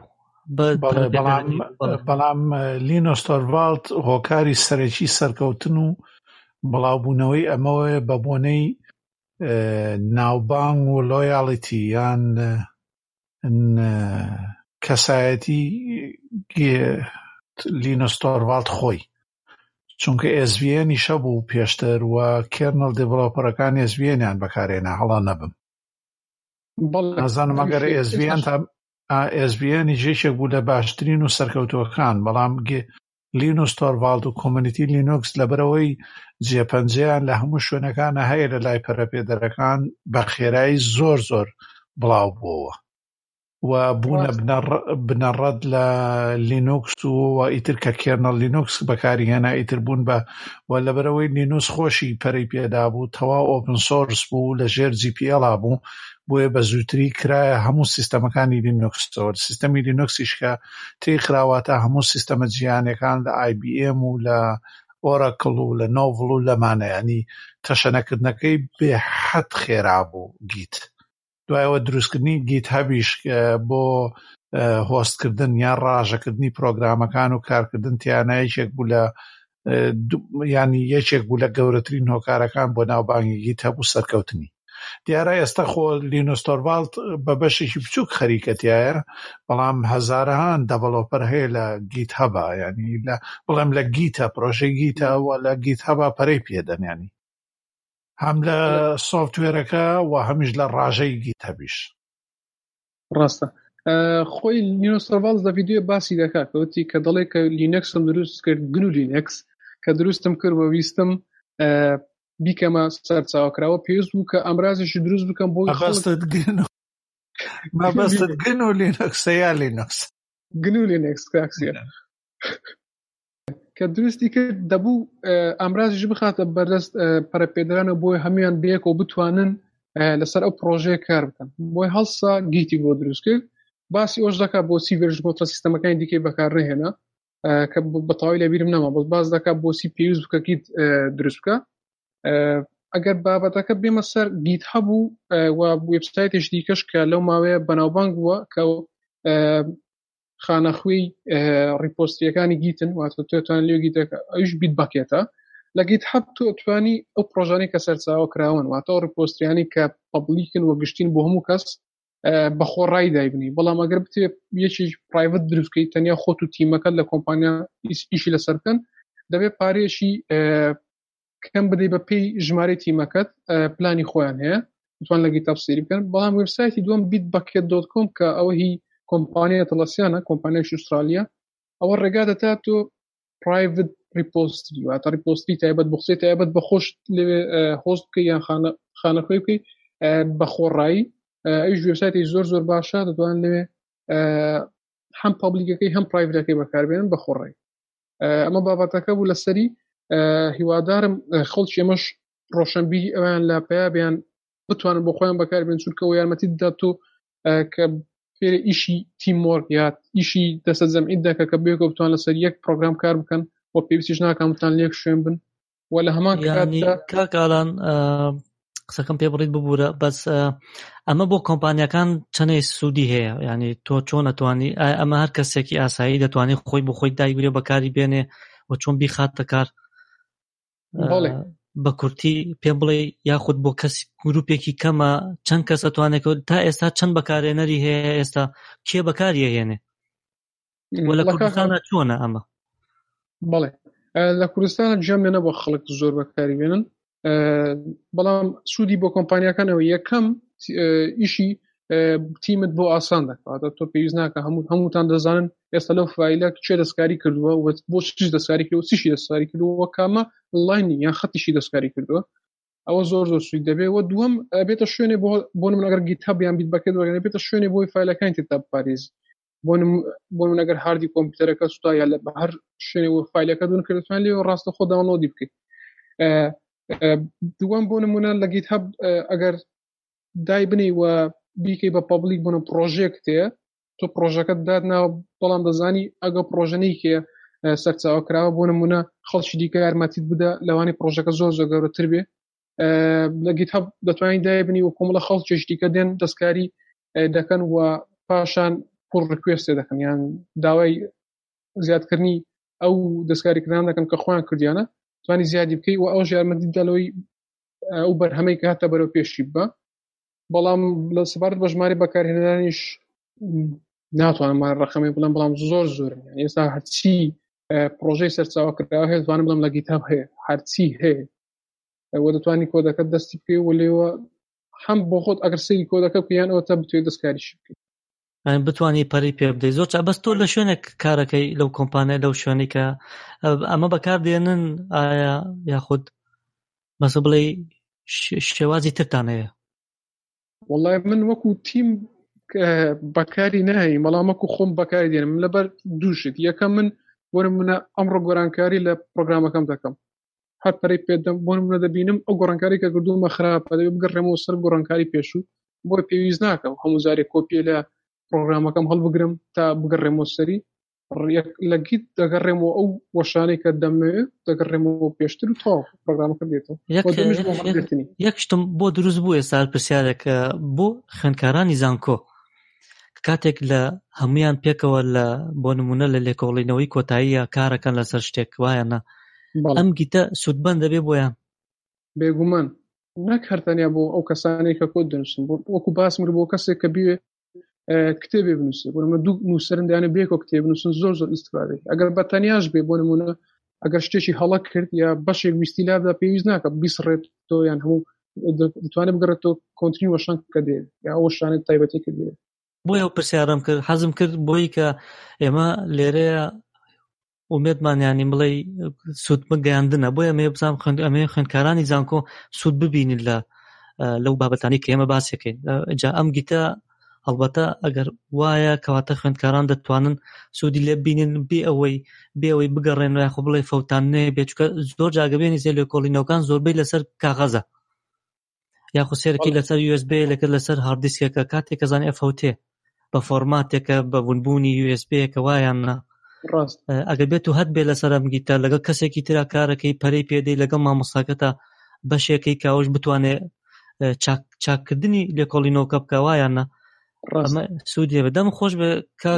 بەڵام لینوس تورڤالد هۆکاری سەرەکی سەرکەوتن و بڵاوبوونەوەی ئەمەوەیە بە بۆنەی ناوبانگ و لۆیاڵیتی یان کەسایەتی لینوس تورڤالد خۆی چونکە SVN ئیشە بوو پێشتر و کێرنل دیڤلۆپەرەکان SVN-یان بەکارێنا هەڵا نەبم نازانم ئەگەر SVN جێشێک بوو لە باشترین و سەرکەوتوەکان بەڵام لینوس تورڤالد و کۆمونیتی لینوکس لەبەرەوەی جێپەنجەیان لە هەموو شوێنەکانە هەیە لە لای پەرەپێدەرەکان بە خێرایی زۆر بڵاو بووەوە و بوونە بنەڕەت لە لینوکس و ئیتر کە کێرنل لینوکس بەکاری هێنا ئیتر بوون بە و لەبەرەوەی لینوکس خۆشی پەرەی پێدا بوو تەواو ئۆپن سۆرس بوو لە ژێر GPL بوو بۆیە بە زووتری کرایە هەموو سیستەمەکانی لینوکسەوە سیستەمی لینوکسیش کە تێخراواتە هەموو سیستەمە جیهانیەکان لە IBM و لە ئۆراکڵ و لە نۆڤڵ و لەمانە ینی تەشەنەکردنەکەی بێحەد خێرا بوو گیت. دوایەوە دروستکردنی گیت هەبیش بۆ هۆستکردن یان ڕاژەکردنی پرۆگرامەکان و کارکردن تیانە یەکێک بوو لە ینی یەکێک بوو لە گەورەترین هۆکارەکان بۆ ناوبانگی گیت هەبوو سەرکەوتنی. دیارە ئێستا خۆ لینوس تورڤالد بە بەشێکی بچووک خەریکەتیایە بەڵام هەزارەهان دەڤەلۆپەر هەیە لە گیت هەبە ینی بڵێم لە گیتە پرۆژەی گیتە و لە گیت هەبە پەرەی پێدەن ینی هەم لە سۆفتوێرەکە و هەمیش لە ڕاژەی گیت هەبیش. ڕاستە خۆی لینوس تورڤالدز لە ڤیدیۆ باسی دەکات کەوتی کە دەڵێ کە لینەکسم دروست کرد گنو لینەکس کە دروستم کرد و ویستم بیکەمە سەرچاوکراوە پێویست بوو کە ئەمرازێکی دروست بکەم بۆ مەبەستت گن و لینوکسە یا لینوکس گن و لینەکس کاکسیە کە دروستی کرد دەبوو ئەمرازیش بخاتە بەردەست پەرەپێدەرانە بۆی هەمویان بەیەکەوە بتوانن لەسەر ئەو پرۆژەیە کار بکەن بۆی هەڵسا گیتی بۆ دروست کرد. باسی ئەوش دەکات بۆ سی ڤێرژن کۆنترە سیستەمەکانی دیکەی بەکارڕێهێنا کە بەتەواوی لەبیرم نەما بەس باز دەکات بۆ سی پێویست بکە گیت دروست بکە. ئەگەر بابەتەکە بێمە سەر گیت هەبوو و وێبسایتێش دیکەش کە لەو ماوەیە بەناوبانگ بووە کە خانەخوێی ریپۆستریەکانی گیتن واتە توێتوان لێو گیتەکە ئەوش بیت بەکێتە لە گیت هەب توانی ئەو پرۆژانەی کە سەرچاوە کراون واتە ئەو ریپۆستریانی کە پەبلیکن و گشتین بۆ هەموو کەس بەخۆڕایی دایبنی بەڵام ئەگەر بتێ یەکی پرایڤەت دروستکەی تەنیا خۆت و تیمەکەت لە کۆمپانیا ئیشی لەسەر بکەن دەبێت پارێشی کەم بدەی بە پێی ژمارەی تیمەکەت پلانی خۆیان هەیە بتوان لە گیتاب سێری بکەن. بەڵام وێبسایتی دووەم bitbucket.com کە ئەوە هی کۆمپانیە تەلەسیانە کۆمپانیایکی ئوسترالیا ئەوە ڕێگا دەدات تۆ private repository واتە ریپۆستری تایبەت بۆ قسەی تایبەت بە خۆش لێوێ هۆست بکەی یان خانەخوێی بکەی بە خۆڕایی. ئەویش وێبسایتی زۆر باشە دەتوانن لێوێ هەم پابلیکەکەی هەم پرایڤەتەکەی بەکاربێنن بە خۆڕایی. ئەمە بابەتەکە بوو لەسەری هیوادارم خەڵکی ئێمەش ڕۆشنبیری ئەویان لاپەیە بیان بتوانن بۆ خۆیان بەکاربێن چونکە ئەوە یارمەتی دەدات تۆ کە فێرە ئیشی تیموەرک یا ئیشی دەستە جەمعی دەکە کە بێکەوە بتوان لەسەر یەک پرۆگرام کار بکەن و پێویستیش ناکەم بتان لێک شوێن بن و لە هەمان کاتدا کاکاڵان قسەکەم پێ بڕیت ببوورە بەس ئەمە بۆ کۆمپانیەکان چەندەی سوودی هەیە یعنی تۆ چۆن ئەتوانی ئەمە هەر کەسێکی ئاسایی دەتوانێت خۆی بۆ خۆی دایگرێ بەکاری بێنێ و چۆن بیخاتە کار بە کورتی پێ بڵێ یاخود بۆ کەس گروپێکی کەمە چەند کەس ئەتوانێت تا ئێستا چەند بەکارێنەری هەیە ئێستا کێ بەکاری هێنێ و لە کوردستانە چۆنە ئەمە؟ بەڵێ لە کوردستانە جەمێنە بۆ خەڵک زۆر بەکاری بێنن بەڵام سوودی بۆ کۆمپانیەکانەوە یەکەم ئیشی تیمت بۆ ئاسان دەکات تۆ پێویست ناکە هەمووتان دەزانن ئێستا لەو فایلە چێ دەستکاری کردووە و بۆ چیش دەستکاری کردووە چیشی دەستکاری کردووە کامە لاینی یان خەتیشی دەستکاری کردووە ئەوە زۆر زۆر سوود دەبێت و دووەم بێتە شوێنێ بۆ من ئەگەر گیتهاب یان بیت بەکێت وەرگێنێ بێتە شوێنێ بۆی فایلەکانی تێدا بپارێزی بۆ من ئەگەر هاردی کۆمپیوتەرەکە سوتا یا لە هەر شوێنێ بۆ فایلەکە دون کردوان لێ ڕاستە خۆ داونلۆدی بکەیت دووەم بۆ نمونە لە گیتهاب ئەگەر دای بنی و بیکەی بە پابلیک بوون پرۆژێکتەیە تۆ پرۆژەکەت دادناوە بەڵام دەزانی ئەگە پرۆژەنەی کێ سەرچاوە کراوە بۆ نمونە خەڵکی دیکە یارمەتیت بدە لەوانی پرۆژەکە زۆر زۆر گەورەتر بێ لە گیتهاب دەتوانین دای بنی و کۆمەڵە خەڵکیش دیکە دێن دەستکاری دەکەن و پاشان پڕ ڕکوێستێ دەکەن یان داوای زیادکردنی ئەو دەستکاریکردان دەکەن کە خۆیان کردیانە توانی زیادی بکەی و ئەوش یارمەتی دەلەوەی ئەو بەرهەمەی کە هاتە بەرەو پێشی بە بەڵام لە سەبارەت بە ژمارە بەکارهێنانیش ناتوانم ڕقەمی بڵێم بەڵام زۆر زۆرن یعنی ئێستا هەرچی پرۆژەی سەرچاوە کراوە هەیە دەتوانم بڵێم لە گیتهاب هەیە هەرچی هەیە و دەتوانی کۆدەکەت دەستی بکەی و لێوە هەم بۆ خۆت ئەگەر سەیری کۆدەکە بکەیان ئەوە تا بتوێت دەستکاریش بکەیت بتوانی پەری پێ بدەیت زۆر بەس تۆ لە شوێنێک کارەکەی لەو کۆمپانیای لەو شوێنی کە ئەمە بەکاردێنن ئایا یاخود بەسە بڵێ شێوازی ترتان هەیە؟ وەڵای من وەکو تیم بەکاری ناهی مەڵامەکو خۆم بەکاری دێنم لەبەر دووشت یەکەم من وەرم منە ئەمڕۆ گۆرانکاری لە پرۆگرامەکەم دەکەم هەر پەرەی پێدەم بۆ منە دەبینم ئەو گۆڕانکاری کە کردومە خراپە دەبێت بگەڕێمەوە سەر گۆڕانکاری پێشوو بۆ پێویست ناکەم هەموو جارێک کۆپیە لە پرۆگرامەکەم هەڵبگرم تا بگەڕێمەوە سەری لە گیت دەگەڕێمەوە ئەو وەشانەی کە دەمەوێت دەگەڕێمەوە پێشتر و تەواو پرۆگرامەکە دێتەوە یەک شتم بۆ دروست بوو ئێستا پرسیارێکە بۆ خوێندکارانی زانکۆ کاتێک لە هەمویان پێکەوە لە بۆ نمونە لە لێکۆڵینەوەی کۆتاییە کارەکەن لەسەر شتێک وایەنە ئەم گیتە سوودبەن دەبێ بۆیان بێگومان نەک هەرتەنیا بۆ ئەو کەسانەی کە کۆت دەنووسن وەکو باسم کرد بۆ کەسێک کە بیوێ کتێبێ بنووسێ بۆ نمونە دوو نووسەرن دەیانێت بێکەوە کتێب بنووسن زۆر زۆر ئیستیفادەی ئەگەر بەتەنیاش بێ بۆ نمونە ئەگەر شتێکی هەڵە کرد یا بەشێک ویستی لابدا پێویست ناکە بیسڕێت تۆ یان هەموو دەتوانێت بگەڕێتەوە کۆنتینی وەشان کە دێ یا ئەو شانێت تایبەتی کە دێ بۆی ئەو پرسیارم کرد حەزم کرد بۆی کە ئێمە لێرەیە ومێدمانیانی بڵێ سوود گەیاندنە بۆی ئەمێ بزانم ئەمێ خوێندکارانی زانکۆ سوود ببینن لەو بابەتانی کە ئێمە باسێکین جا ئەم گیتە هەڵبەتە ئەگەر وایە کەواتە خوێندکاران دەتوانن سوودی لێ ببینن بێ ئەوەی بگەڕێن و یاخۆ بڵێ فەوتاننێ بێ چونکە زۆر جاگەبێنی زێ لێکۆڵینەوەکان زۆربەی لەسەر کاغەزە یاخۆ سێرەکی لەسەر USB لەکە لەسەر هاردیسکێکە کاتێک کەزانێ FOT بە فۆرماتێکە بە ونبوونی USB کە وایانە ئەگەر بێت و هەت بێ لەسەر ئەم گیتە لەگەڵ کەسێکی ترا کارەکەی پەرەی پێدەی لەگەڵ مامۆستاکەتە بەشێکی کاوش بتوانێ چاککردنی لێکۆڵینەوەکە بکە وایانە ئەمە سوودیە بەدەم خۆش بە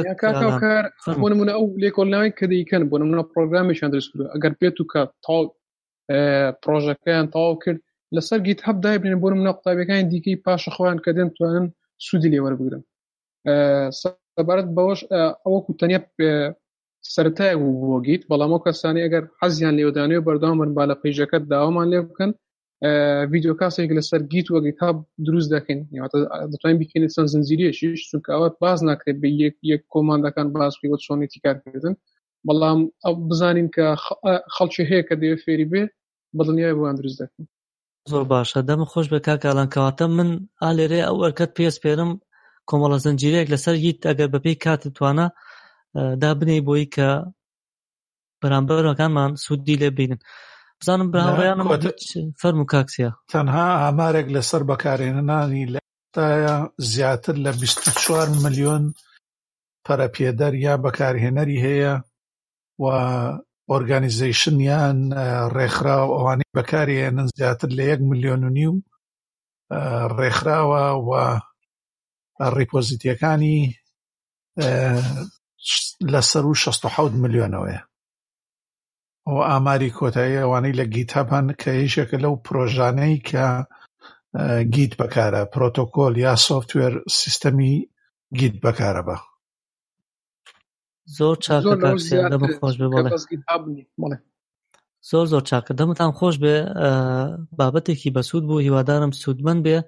کار بۆ نمونە ئەو لێکۆڵینەوەی کە دەیکەن بۆ نمونە پرۆگرامیشیان دروست کردووە ئەگەر بێت و کە تاڵ پرۆژەکەیان تەواو کرد لەسەر گیتهاب دایبرێن بۆ نمونە قوتابیەکانی دیکەی پاشە خۆیان کە دێن توانن سوودی لێ وەربگرن سەبارەت بەوەش ئەوەکو تەنیا سەرەتای بۆ گیت بەڵام ئەو کەسانی ئەگەر حەزیان لێودانێ بەردەوام بن با لە پەیژەکەت داوامان لێ بکەن ڤیدیۆ کاسێک لەسەر گیت و گیتهاب دروست دەکەین دەتوانین بکەین چەند زنجیرەیەشیش چونکە ئەوە باز ناکرێت بە یەک کۆماندەکان باز بکەیت بۆ چۆنێتی کارکردن بەڵام ئەو بزانین کە خەڵکی هەیە کە دەوێت فێری بێ بەدڵنیای بۆیان دروست دەکەین زۆر باشە دەم خۆش بە کاکاڵان کەواتە من ئالێرێ ئەو ئەرکەت پێسپێرم کۆمەڵە زنجیرەیەک لەسەر گیت ئەگەر بەپێی کاتت توانە دابنێ بۆی کە بەرامبەرەکانمان سوودی لێ بینن بزانم براوڕیانم فەرموو کاکسیا تەنها ئامارێک لەسەر بەکارهێنانی لەتایە زیاتر لە 24 ملیۆن پەرەپێدەر یا بەکارهێنەری هەیە و ئۆرگانیزیشن یان ڕێکخراو ئەوانەی بەکارهێنن زیاتر لە 1.5 ملیۆن ڕێکخراوە و ڕیپۆزیتیەکانی لەسەر و 67 ملیۆنەوەیە. و ئاماری کۆتایی ئەوانەی لە گیت هەبن کە یەکێکە لەو پرۆژانەی کە گیت بەکارە، پرۆتۆکۆل یا سۆفتوێر سیستەمی گیت بەکارە بە. زۆر چاکە کاکسیا، دەمە خۆش بێ. بەڵێ زۆر چاکە، دەمتان خۆش بێ. بابەتێکی بەسوود بوو، هیوادارم سوودمەند بێ.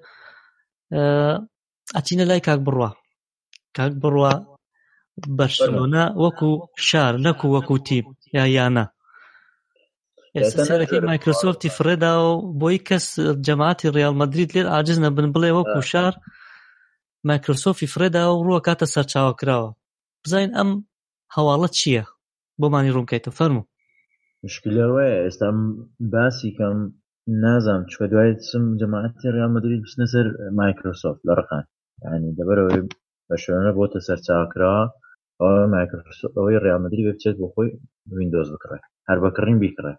ئەچینە لای کاک بڕوا بەرشلۆنە وەکو شار نەکو وەکو تیم یانە. ئێستا سەرەکەی مایکرۆسۆفتی فرێدا و بۆی کەس جەماعەتی ڕیال مەدرید لێر عاجز نەبن بڵێ وەکو شار مایکرۆسۆفتی فرێدا و ڕووە کاتە سەرچاوە کراوە. بزاین ئەم هەواڵە چییە بۆمانی ڕوونکەیتە؟ فەرموو. مشکلەوەیە ئێستا باسی کەم نازانم چکە دوای چم جەماعەتی ڕیال مەدرید بچنە سەر مایکرۆسۆفت لە ڕقان، یعنی دەبەرەوەی بەرشلۆنە بۆتە سەرچاوکراوە ئەوەی ڕیال مەدرید بچێت بۆ خۆی ویندۆز بکڕێ، هەر بەکڕین بیکڕێ.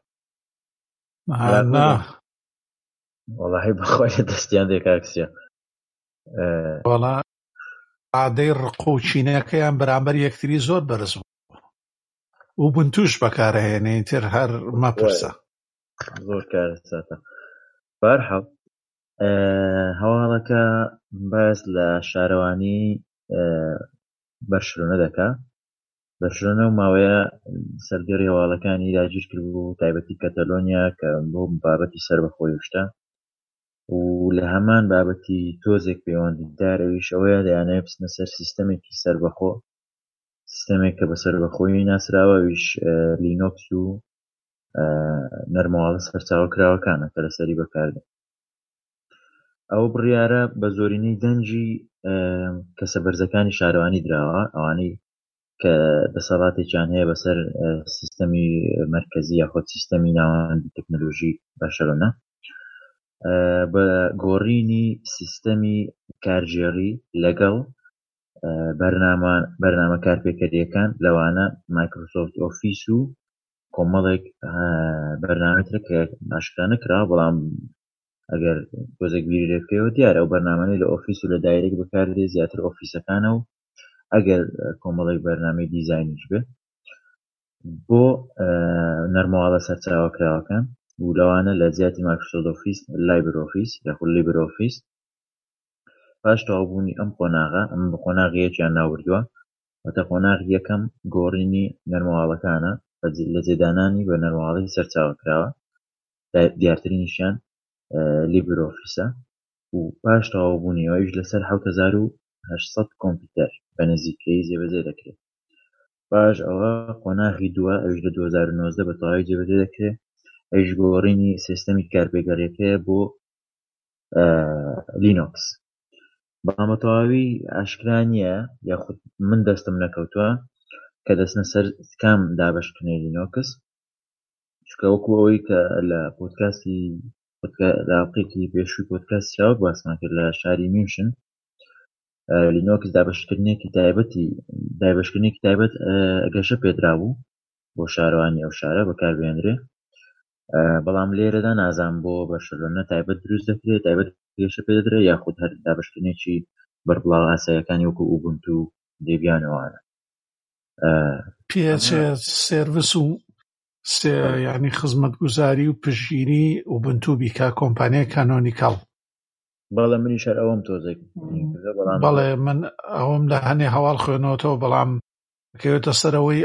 وەڵاهی بەخۆی دەستیان دێ کاکسیا. وەڵا عادەی ڕق و چینەکەیان بەرامبەر یەکتری زۆر بەرز بوو و بنتوش بەکارهێنێ تر هەر مەپرسە. زۆر کارە ساتە. بەرحەڵ هەواڵەکە باس لە شارەوانی بەرشلۆنە دەکا. بەرشلۆنە و ماوەیە سەردێڕی هەواڵەکانی داگیر کرد بوو، تایبەتی کەتەلۆنیا کە بۆ بابەتی سەربەخۆی وشتە و لە هەمان بابەتی تۆزێک پەیوەندیدارەویش ئەوەیە دەیانەوێت بچنە سەر سیستەمێکی سەربەخۆ، سیستەمێک کە بە سەربەخۆی ناسراوە، ویش لینۆکس و نەرمەواڵە سەرچاوەکراوەکانە کە لەسەری بەکاردێن. ئەو بڕیارە بە زۆرینەی دەنجی کەسە بەرزەکانی شارەوانی درراوە، ئەوانەی کە دەسەڵاتێکیان هەیە بەسەر سیستەمی مەرکەزی یاخۆت سیستەمی ناوەندی تەکنۆلۆژی بەرشلۆنە بە گۆڕینی سیستەمی کارژێڕی لەگەڵ بەرنامە کارپێکەریەکان لەوانە مایکرۆسۆفت ئۆفیس و کۆمەڵێک بەرنامەترە کە ئاشکرا نەکراوە، بەڵام ئەگەر تۆزێک بیری لێ بکەیەوە دیارە ئەو بەرنامانەی لە ئۆفیس و لە دایرێک بەکاردێ زیاتر ئۆفیسەکانە و ئەگەر کۆمەڵێک بەرنامەی دیزاینیش بێ بۆ نەرمەواڵە سەرچاوەکراوەکان و لەوانە لە جیاتی مایکرۆسۆفت ئۆفیس، لایبر ئۆفیس یاخود لیبر ئۆفیس. پاش تەواوبوونی ئەم قۆناغە، ئەم قۆناغیەکیان ناوردووە، واتە قۆناغی یەکەم گۆڕینی نەرمەواڵەکانە لە جێدانانی بە نەرمەواڵی سەرچاوەکراوە، دیارترینیشیان لیبر ئۆفیسە و پاش تەواوبوونی ئەوەیش لەسەر 7800 کۆمپیوتەر بە نزیکەیی جێبەجێ دەکرێت. پاش ئەوە قۆناغی دووە، ئەوش لە 2019 بە تەواوی جێبەجێ دەکرێت، ئەوش گۆڕینی سیستەمی کارپێگەریەکەیە بۆ لینۆکس. بەڵام بە تەواوی ئاشکرا نییە یاخود من دەستم نەکەوتووە کە دەستنە سەر کام دابەشکردنەوەی لینۆکس، چونکە وەکو ئەوەی کە لە پۆدکاستی لاڵقێکی پێشووی پۆدکاستی چاوە باسمان کرد لە شاری میوشن، لینۆکس دابەشکردنێکی تایبەت گەشە پێدرا بوو بۆ شارەوانی ئەو شارە بەکاربێنرێ، بەڵام لێرەدا نازان بۆ بەرشلۆنە تایبەت دروست دەکرێت، تایبەت گەشە پێدرێ یاخود هەر دابەشکردنێکی بەربڵاو ئاساییەکانی وەکو ئوبونتو و دێبیانەوەوانە پێچێ سێڤیس و یعنی خزمەتگوزاری و پشگیری ئوبونتو بیکا کۆمپانیای کانۆنیکاڵ. بەڵێ منیش هەر ئەوەم تۆزێک بەڵێ من ئەوم لە هەنێ هەواڵ خوێنەوەتەوە، بەڵام کەوێتە سەرەوەی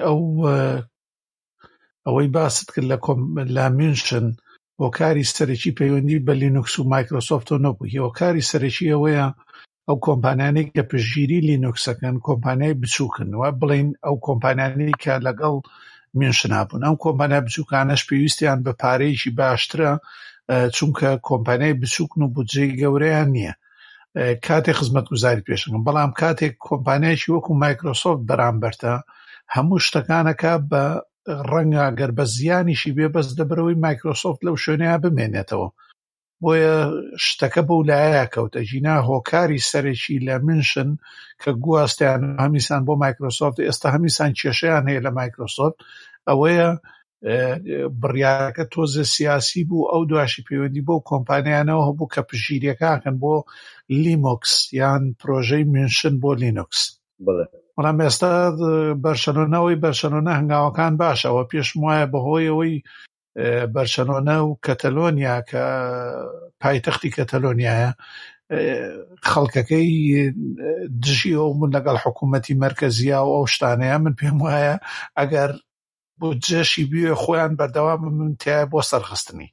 ئەوەی باست کرد لە میونشن هۆکاری سەرەکی پەیوەندی بە لینوکس و مایکرۆسۆفتەوە نەبوو. هۆکاری سەرەکی ئەوەیە ئەو کۆمپانیانەی کە پشگیری لینوکسەکەن کۆمپانیای بچووکن، و بڵین ئەو کۆمپانیانەی کە لەگەڵ میونشنا بوون. ئەم کۆمپانیا بچووکانەش پێویستیان بە پارەیەکی باشترە، چونکە کۆمپانیای بچووکن و بودجەی گەورەیان نییە کاتێک خزمەتگوزاری پێشەکەن. بەڵام کاتێک کۆمپانیایکی وەکو مایکرۆسۆفت بەرامبەرتە هەموو شتەکانەکە بە ڕەنگە گەر بە زیانیشی بێ بەس دەبرەوەی مایکرۆسۆفت لەو شوێنەیە بمێنێتەوە بۆیە شتەکە بەو لایە کەوتە ژینا هۆکاری سەرێکی لە منشن کە گواستیان هەمیسان بۆ مایکرۆسۆفت ئێستا هەمیسان کێشەیان هەیە لە مایکرۆسۆفت ئەوەیە بڕیارەکە تۆزە سیاسی بوو ئەو دواشی پەیوەندی بۆ کۆمپانیانەوە هەبوو کە پژیرەکەکەن بۆ لیمۆکس یان پرۆژەی منشن بۆ لینوکس بەڵام ئێستا بەرشەلۆنە هەنگاوەکان باشەوە پێشم وایە بەهۆی ئەوەی بەرشەلۆنە و کەتەلۆنیا کە پایتەختی کەتەلۆنیایە خەڵکەکەی دژیەوە من لەگەڵ حکوومەتی مەرکەزیە و ئەو شتانەیە من پێم وایە ئەگەر بۆ جێشی بیوێ خۆیان بەردەوام من تایە بۆ سەرخستنی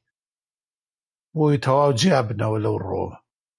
بۆی تەواو جیا بنەوە لەو ڕۆوە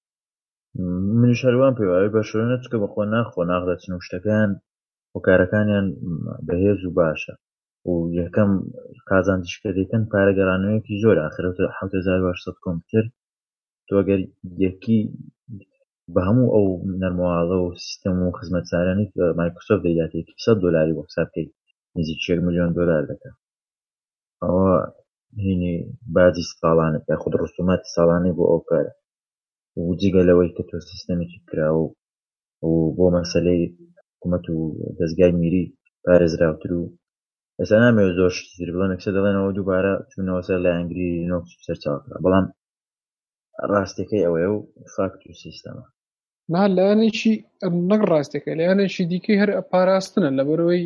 من شەروان پێوای بەشۆنە چکە بەخۆ ناخدەچن و شتەکان هۆکارەکانیان بەهێز و باشە و یەکەم قازانجیشکە دەکەن پارەگەڕانەوەیەکی زۆر ئاخرەوە 7800 کۆمپیوتەر تۆ ئەگەر یەکی بە هەموو ئەو نەرمەواڵە و سیستەم و خزمەتسارانی مایکرۆسۆفت دەیداتێت $100 بۆ حساب بکەیت نزیک $1 ملیۆن دەکات ئەوە هینی باجی ساڵانە یا خود ڕسوماتی ساڵانەی بۆ ئەو کارە و جگە لەوەی کە تۆ سیستەمێکی کراوە و بۆ مەسەلەی حکوومەت و دەستگای میری پارێزراوتر و ئێستا نامەوێت زۆر شتر بڵێن ئەکسە دەڵێنەوە دووبارە چوونەوە سەر لایەنگری لینۆکس سەرچاوکرا بەڵام ڕاستەکەی ئەوەیە و فاکت و سیستەمە لایەنێکی نەک ڕاستەکە لایەنێکی دیکەی هەر پاراستنە لەبەرەوەی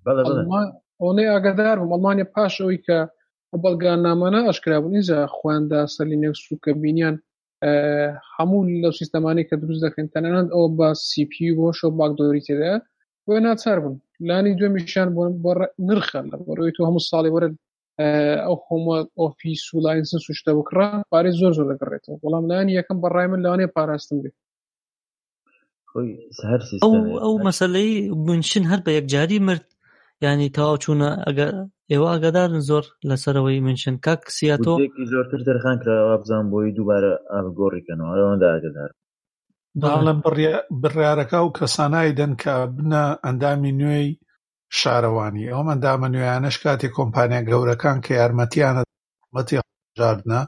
ئەوەی ئاگادار بووم ئەڵمانیا پاش ئەوەی کە بەڵگانامانە ئەشکرا بوو نیزە خواندا سەر لینۆکس و کە بینیان هەموو لەو سیستەمانەی کە دروست دەکەن تەنانەت ئەوە بە CPU بۆ شۆ باکدۆری تێدایە بۆیە ناچار بوون لانی دوێمیشیان بۆ نرخە لەبەرەوەی تۆ هەموو ساڵی وەرە ئەو هەموو ئۆفیس و لاینسنس و شتە بکڕا پارەی زۆر دەگەڕێتەوە بەڵام لایەنی یەکەم بەڕای من لەوانەیە پاراستن بێت ئەو مەسەلەی منشن هەر بە یەکجاری مرد یعنی تەواو چوونە ئێوە ئاگادارن زۆر لەسەرەوەی منشن کاک سیاتۆ زۆرتر دەرخان کراوە بزان بۆی دووبارە ئاڵگۆڕیکەنەوە ئەوەندا ئاگادار باڵم بڕیارەکە و کەسانایی دەن کە بنە ئەندامی نوێی شارەوانی ئەوم ئەندامە نوێیانەش کاتێک کۆمپانیا گەورەکان کە یارمەتیانە جاردنە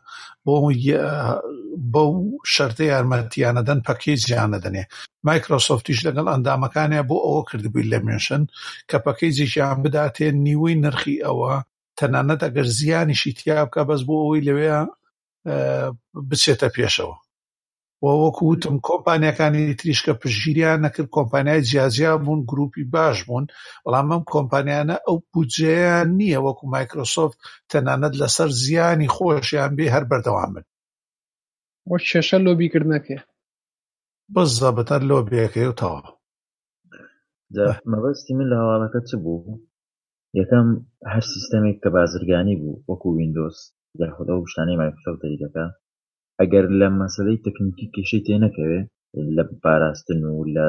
بۆ شەرتە یارمەتیانە دەن پەکیجیانە دەنێ مایکرۆسۆفتیش لەگەڵ ئەندامەکانیە بۆ ئەوە کردبووی لە منشن کە پەکیجیان بداتێن نیوەی نرخی ئەوە تەنانەت ئەگەر زیانیشی تیا بکە بەس بۆ ئەوەی لەوێ بچێتە پێشەوە وەکو وتم کۆمپانیەکانی تریشکە پشگیریان نەکرد کۆمپانیای جیاجیا بوون گروپی باش بوون بەڵام ئەم کۆمپانیانە ئەو بودجەیان نییە وەکو مایکرۆسۆفت تەنانەت لەسەر زیانی خۆشیان بێ هەر بەردەوامن وە کێشە لۆبیکردنەکەی بەزەبەتەر لۆبیەکەی و تەواو مەبەستی من لە هەواڵەکە چ بوو یەکەم هەر سیستەمێک کە بازرگانی بوو وەکو ویندۆز یاخود ئەو شتانەی مایکرۆسۆفت دەکا ئەگەر لە مەسەلەی تەکنیکی کێشەی تێنەکەوێ لە پاراستن و لە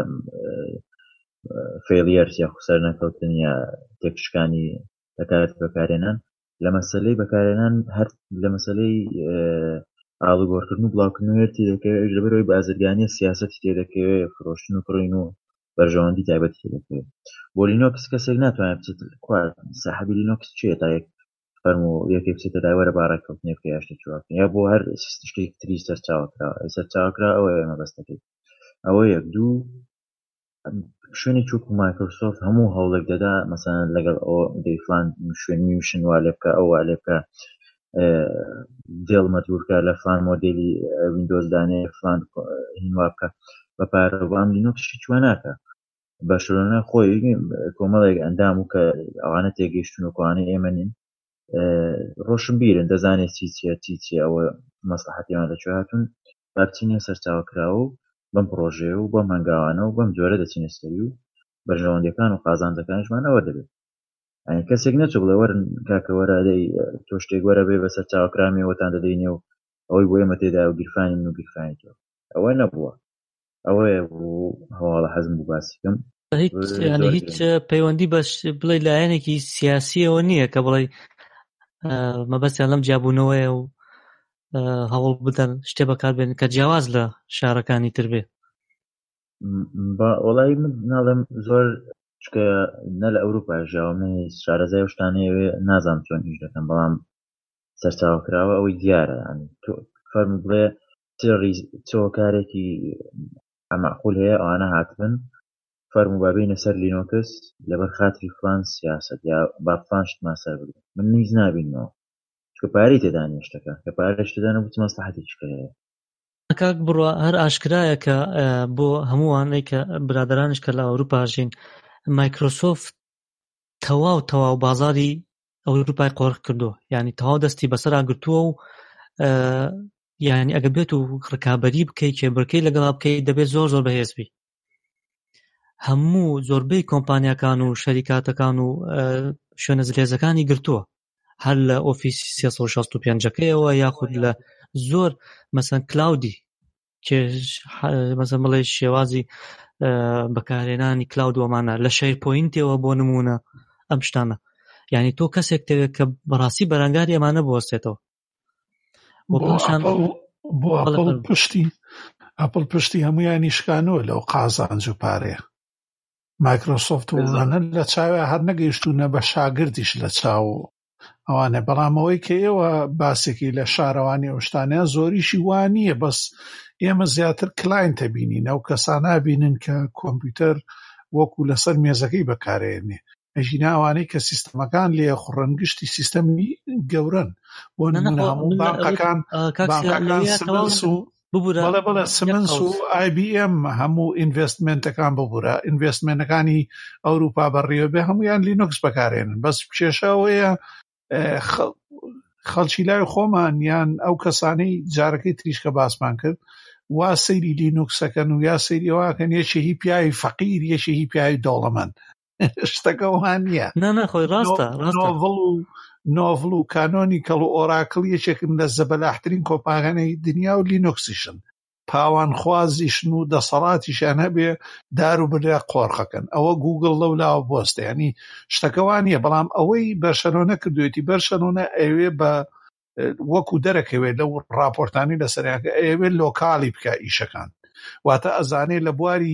فێلیەرس یا خوسەر نەکەوتن یا تێکشکانی دەکارێت بەکارێنان لە مەسەلەی بەکارێنان هەر لە مەسەلەی ئاڵوگۆڕکردن و بڵاوکردنەوەی تێدەکەوێت لەبەرەوەی بازرگانی سیاسەتی تێدەکەوێت فرۆشتن و کڕین و بەرژەوەندی تایبەتی تێدەکەوێت بۆ لینۆکس کەسێک ناتوانێت بچێت ساحەبی لینۆکس چێت تا یەک فەرمو یەکێک بچێتە داوەرە باڕێککەوتنێ بکە یا شتێکی واکەن یا بۆ هەر شتێک تری سەرچاوکرا ئەوەیە مەبەستەکەی ئەوە یەک دوو شوێنی چووکو مایکرۆسۆفت هەموو هەوڵێک دەدا مەسەڵەن لەگەڵ ئەوە دەیفلان شوێنی وشن وا لێ بکە ئەو وا لێ بکە دێڵ مەجبورکە لە فلان مۆدێلی ویندۆز دانێ فلان هینوا بکە بە پارەوام لینۆکسشی چوە ناکە بەشەرۆنە خۆی کۆمەڵێک ئەندام و کە ئەوانە تێگەیشتن و کۆوانەی ئێمە نین ڕۆشن بیرن دەزانێت چی ئەوە مەسلحەتیان دەچوە هاتون بچینە سەرچاوکراوە و بەم پرۆژێ و بەم هەنگاوانە و بەم جۆرە دەچینە سەری و بەرژەوەندەکان و قازانجەکانیشمانەوە دەبێت ئەنی کەسێک نەچوو بڵێ وەرن کاکە وەرە دەی تۆ شتێک وەرە بێ بە سەرچاوکرامیەوەتان دەدەینێ و ئەوەی بۆ ئێمە تێدا و گیرفانی من و گیرفانی تۆ ئەوە نەبووە ئەوەیە بوو هەواڵە حەزم بوو باسیکەم هیچ پەیوەندی بە بڵێ لایەنێکی سیاسیەوە نییە کە بڵێ مەبەستیان لەم جیابوونەوەیە و هەوڵ بدەن شتێ بەکاربێن کە جیاواز لە شارەکانی تر بێ وەڵای من ناڵێم زۆر چکە نە لە ئەوروپا ژاومەی شارەزای و شتانەیەوێ نازانم چۆن ئیش دەکەن بەڵام سەرچاوکراوە ئەوەی دیارە فەرم بڵێ چۆ کارێکی ئەمەقول هەیە ئەوانە هاتبن فەرم و بابینە سەر لینۆکس لەبەر خاتری فلان سیاست یا با فلان شتمان سەر بگرن من نیز نابینەوە چکە پارەی تێدا نیە شتەکە کە پارەش تێدا نەبوو چ مەسلحەتێکی هەیە. کاک بڕوا هەر ئاشکرایە کە بۆ هەمووانەی کە برادرانش کە لە ئەوروپا ژین مایکرۆسۆفت تەواو بازاری ئەوروپای قۆرق کردووە، یعنی تەواو دەستی بەسەرا گرتووە و یعنی ئەگە بێت و ڕکابەری بکەی کێبڕکەی لەگەڵا بکەی دەبێت زۆر بەهێزبی. هەموو زۆربەی کۆمپانیاکان و شەریکاتەکان و شوێنە زلێزەکانی گرتووە، هەر لە ئۆفیسی 365ەکەیەوە یاخود لە زۆر مەسەن کلاودی مەسەن بڵێ شێوازی بەکارهێنانی کلاود وەمانە لە شەیر پۆینتەوە بۆ نمونە ئەم شتانە، یعنی تۆ کەسێک دەوێت کە بەڕاستی بەرەنگاری ئەمانە بوەستێتەوە. بۆ ئەپڵ پشتی هەمویانی شکانەوە لەو قازانج و پارەیە. مایکرۆسۆفت وڵانە لە چاوێ هەر نەگەیشتوونە بە شاگردیش لە چاو ئەوانە، بەڵام ئەوەی کە ئێوە باسێکی لە شارەوانی ئەوشتانەیە زۆریشی وانییە، بەس ئێمە زیاتر کلاینتە بینین، ئەو کەسانە بینن کە کۆمپیوتەر وەکو لەسەر مێزەکەی بەکارێنێ. ئەژینا ئەوانەی کە سیستەمەکان لێ خوڕنگشتی سیستەمی گەورن بۆ نمونە هەموو بانقەکان سمنس و بەڵێ سمنس و IBM هەموو ئینڤێستمنتەکان ببوورە، ئینڤێستمنتەکانی ئەوروپا بەڕێوەبێ هەمویان لینوکس بەکارێنن. بەس کێشەوەیە خەڵکی لای خۆمان یان ئەو کەسانەی جارەکەی تریشکە باسمان کرد وا سەیری لینوکسەکەن و یا سەیری ئەوواکەن یەکێکی پیاوی فەقیر یەکێکی پیاوی دەوڵەمەند شتەکە وان نییە. خۆی ڕاستە نۆڤڵ و کانۆنیکەڵ و ئۆراکڵ یەکێکن لە زەبەلاحترین کۆمپانیای دنیا و لینوکسیشن پاوان خوازیشن و دەسەڵاتیشان هەبێ دار و برا قۆرخەکەن. ئەوە گوگڵ لەولاوە بۆستە، ینی شتەکەوانیە. بەڵام ئەوەی بەرشەلۆنە کردوێتی بەرشەلۆنە ئەوێ بە وەکو دەرەکەوێت لەو راپۆرتانی لەسەریانکە ئەوێ لۆکاڵی بکە ئیشەکان، واتە ئەزانێ لە بواری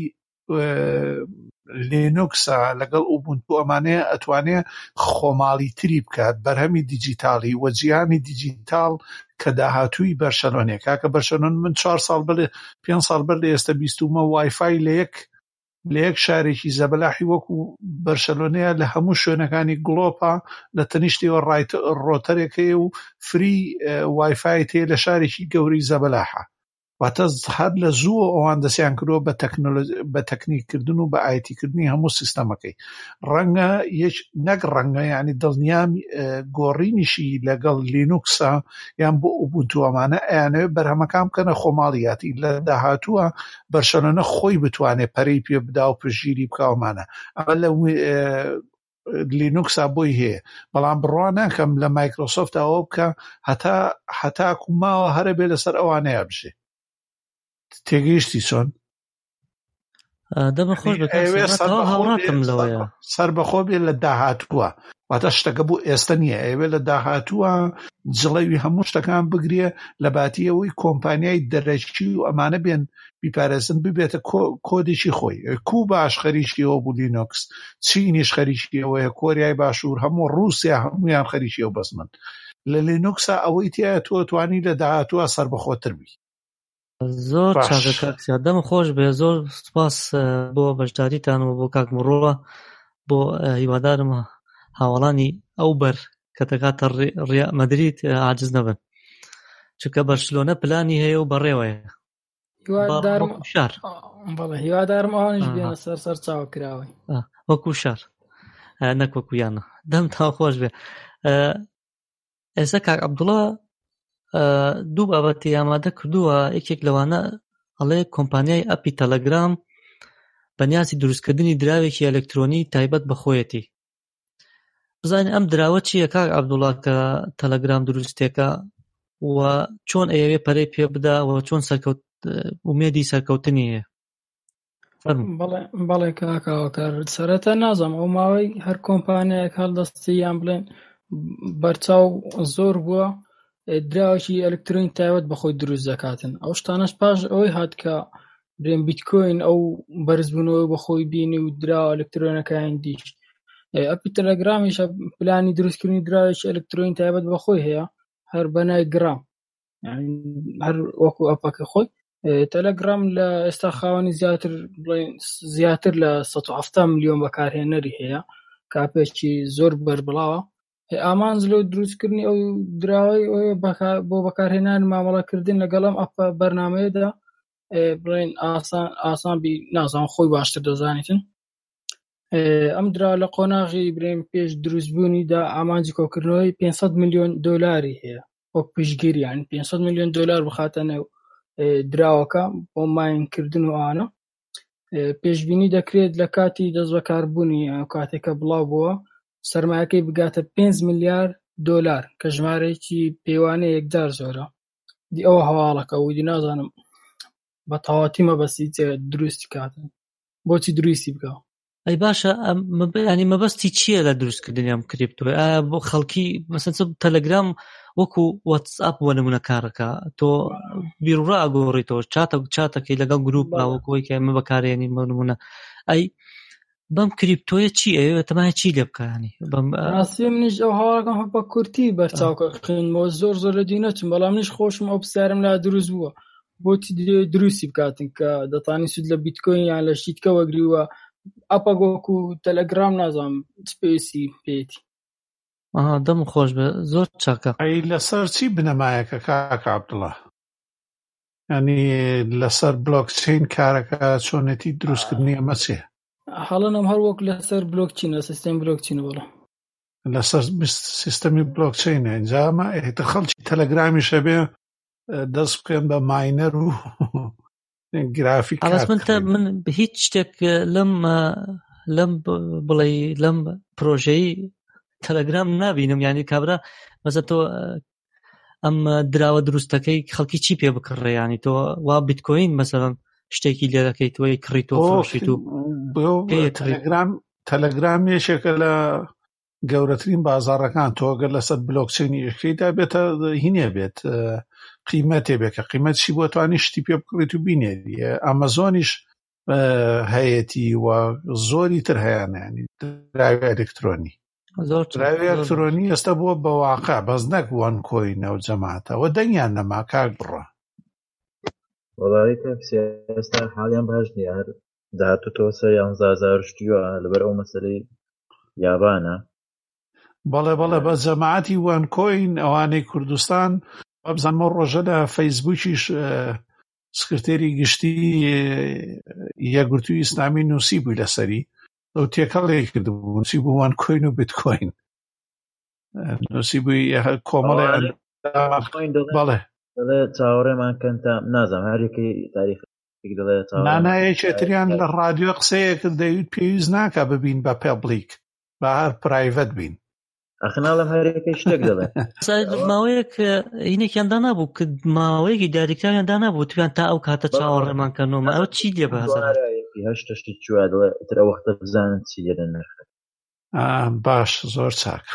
لینوکسە لەگەڵ ئوبونتو ئەمانەیە ئەتوانێ خۆماڵی تری بکات بەرهەمی دیجیتاڵی وە جیهانی دیجیتاڵ کە داهاتووی بەرشەلۆنێک. کاکە بەرشەلۆن من 4 ساڵ بەر 5 ساڵ بەر لە ئێستا بیستومە وایفای لە یەک شارێکی زەبەلاحی وەکو بەرشەلۆنەیە لە هەموو شوێنەکانی گڵۆپا لە تەنیشتیەوە ڕۆتەرێکەیە و فری وایفای تێ لە شارێکی گەوری زەبەلاحە. واتە هەر لە زوو ئەوان دەسیان کردووە بە تەکنیککردن و بە ئایتیکردنی هەموو سیستەمەکەی. ڕەنگە نەک ڕەنگە یعنی دڵنیام گۆڕینیشی لەگەڵ لینوکسە یان بۆ ئوبونتو ئەمانە ئەیانەوێت بەرهەمەکان بکەنە خۆماڵیاتی لە داهاتووە بەرشەلۆنە خۆی بتوانێت پەرەی پێ بدا و پشگیری بکاومانە. ئەمە لە لینوکسا بۆی هەیە، بەڵام بڕوا ناکەم لە مایکرۆسۆفت ئەوە بکە هەتاکو ماوە هەرە بێ لەسەر ئەوانەیە بژێ. تێگەیشتی چۆن؟ دەمەخۆش هاوڕاتم لەوەیە سەر بەخۆ بێ لە داهاتووە، واتە شتەکە بوو ئێستا نییە، ئەوێ لە داهاتووە جڵەوی هەموو شتەکان بگرێ لە باتیەوەی کۆمپانیای دەرەکی و ئەمانە بێن بیپارێزن ببێتە کۆدێکی خۆی. کووبا باش خەریکیەوە بوو لینوکس، چینیش خەریکیەوەیە، کۆریای باشوور، هەموو ڕووسیا هەمویان خەریکیەوە. بەس من لە لینوکسا ئەوەی تایە تۆ توانی لە داهاتووە سەر بەخۆتر بی. زۆر چاکەکە دەم خۆش بێ. زۆر سپاس بۆ بەشداریتان و بۆ کاک مرۆڤە، بۆ هیوادارم هاوڵانی ئەو بەر کە دەکاتە ڕێیا مەدرید عاجز نەبن، چونکە بەرشلۆنە پلانی هەیە و بەڕێوەیە. هیوادارم ئەوانیش بێنە سەر چاوەکراوەی وەکو شار نەک وەکو یانە. دەم تا خۆش بێ. ئێستا کاک عەبدوڵڵا دوو بابەتی ئامادە کردووە. یەکێک لەوانە ئەڵێ کۆمپانیای ئەپی تەلەگرام بەنیازی دروستکردنی دراوێکی ئەلکترۆنی تایبەت بە خۆیەتی. بزانین ئەم دراوە چییە کاک عەبدوڵڵا کە تەلەگرام دروستێکە و چۆن ئەیەوێ پەرەی پێ بدا و چۆن ئومێدی سەرکەوتنی هەیە؟ بەڵێ کاکاوەکار سەرەتا نازم ئەو ماوەی هەر کۆمپانیایەک هەڵدەستی یان بڵێن بەرچاو زۆر بووە دراوەکی ئەلکترۆنی تایبەت بە خۆی دروست دەکاتن. ئەو شتانەش پاش ئەوەی هات کە برێن بیتکۆین ئەو بەرزبوونەوەی بەخۆی بینی و درا ئەلکترۆنەکان دیش ئەپی تەلەگرامیش پلانی دروستکردنی دراوێکی ئەلکترۆنی تایبەت بەخۆی هەیە هەر بەنای گرام هەر وەکو ئەپەکە خۆی تەلەگرام لە ئێستا خاوەنی زیاتر لە 170 ملیۆن بەکارهێنەری هەیە کاپێکی زۆر بەربڵاوە ئامانج لەو دروستکردنی ئەو دراوەی بۆ بەکارهێنان مامەڵەکردن لەگەڵم ئەپە بەرنامەیەدا بڵێن ئاسان بی نازانم خۆی باشتر دەزانیتن ئەم درا لە قۆناغی برێن پێش دروستبوونیدا ئامانجی کۆکردنەوەی 500 ملیۆن دۆلاری هەیە وەک پشتگیری یعنی 500 ملیۆن دۆلار بخاتە نێو دراوەکە بۆ ماینکردن و ئانە پێشبینی دەکرێت لە کاتی دەست بەکاربوونی کاتێکە بڵاو بووە سەرمایەکەی بگاتە 5 ملیار دۆلار کە ژمارەیەکی پێوانەیە یەکجار زۆرە دی ئەوە هەواڵەکە ویدی نازانم بە تەواتی مەبەستی دروستی کاتن بۆچی دروستی بکە ئەی باشە ینی مەبەستی چییە لە دروستکردنی ئەم کریپتۆ بۆ خەڵکی مەسەن تەلەگرام وەکو واتساپ بۆ نمونە کارەکە تۆ بیرڕا ئەگۆڕیتەوە چاتەکەی لەگەڵ گروپ لاوەکەوەی کە ئێمە بەکارێنی نمونە ئەی بەم کریپتۆیە چی ئەوێ تەمای چی لێ بکانی ڕاستی منیش ئەو هەواڵەکەم بە کورتی بەرچاوکە خوێنمەوە زۆر لە دیونەتم بەڵام منیش خۆشم ئەو پرسیارم لا دروست بووە بۆچی دروستی بکاتن کە دەتانی سود لە بیتکۆین یان لە شیتکە وەگریوە ئەپە گۆکو تەلەگرام نازانم سپێسی پێیەتی دەم خۆش بە زۆر چاکە ئەی لەسەر چی بنەمایەکە کاکە عەبدوڵڵا ینی لەسەر بلۆکچین کارەکە چۆنێتی دروستکردنی ئەمە چێ حاڵەنم هەر وەک لەسەر بلۆکچینە سیستەمی بلۆکچینە بڵە لەسەر سیستەمی بلۆکچینە اینجا ئەمە خەڵکی تەلەگرامی شەبێ دەست بکەن بە ماینەر و گرافیک من هیچ شتێک لەم بڵێ لەم پرۆژەی تەلەگرام نابینم یعنی کابرا مەسە تۆ ئەم دراوە دروستەکەی خەڵکی چی پێ بکڕێ ینی تۆ وا بیتکۆین مەسەڵەن شتێکی لێ دەکەی توی کڕیت و فڕۆشیت و تەلەگرام یەکێکە لە گەورەترین بازاڕەکان تۆ ئەگەر لەسەر بلۆکچینی یەکەیدا بێتە هینێ بێت قیمەتێ بێت کە قیمەتشی بۆ توانی شتی پێ بکڕیت و بینێری ئەمەزۆنیش هەیەتی و زۆری تر هەیەیانی دراوی ئەلکترۆنی دراوی ئەلکترۆنی ئێستا بووە بە واقع بەس نەک وان کۆینە و جەماتەوە دەنگیان نەما کاک بڕە وەڵامی کەپسی ئێستا حاڵیان باش نییە هەر داهاتوتەوە سەر 11,000 شتیوە لەبەر ئەو مەسەلەی یابانە بەڵێ بە جەماعەتی وان کۆین ئەوانەی کوردستان بزانمە ڕۆژە لە فەیسبووکیش سکرتێری گشتی یەکگرتووی ئیسلامی نووسی بووی لەسەری ئەو تێکەڵێک کردبوو نووسی بوو وان کۆین و بیتکۆین نووسی بووی کۆمەڵێ بەڵێ چاوەڕێمان کەن تا نازانم هەرێکی تاریخ دەڵێ نانایەکێتریان لە ڕادیۆ قسەیەکرد دەیوت پێویست ناکە ببین بە پەبلیک بە هەر پرایڤەت بین ئەخناڵم هەرێکی شتێک دەڵێ ماوەیەک هینێکیاندا نبوو کە ماوەیەکی دیاریکراویاندا نبوو تویان تا ئەو کاتە چاوەڕێمان کەنەوە ئەو چی لێ بەهزار هەشت شتی چوە دەڵێ تر ئەو وەختە بزانن چی لێرە نرخێت باش زۆر چاک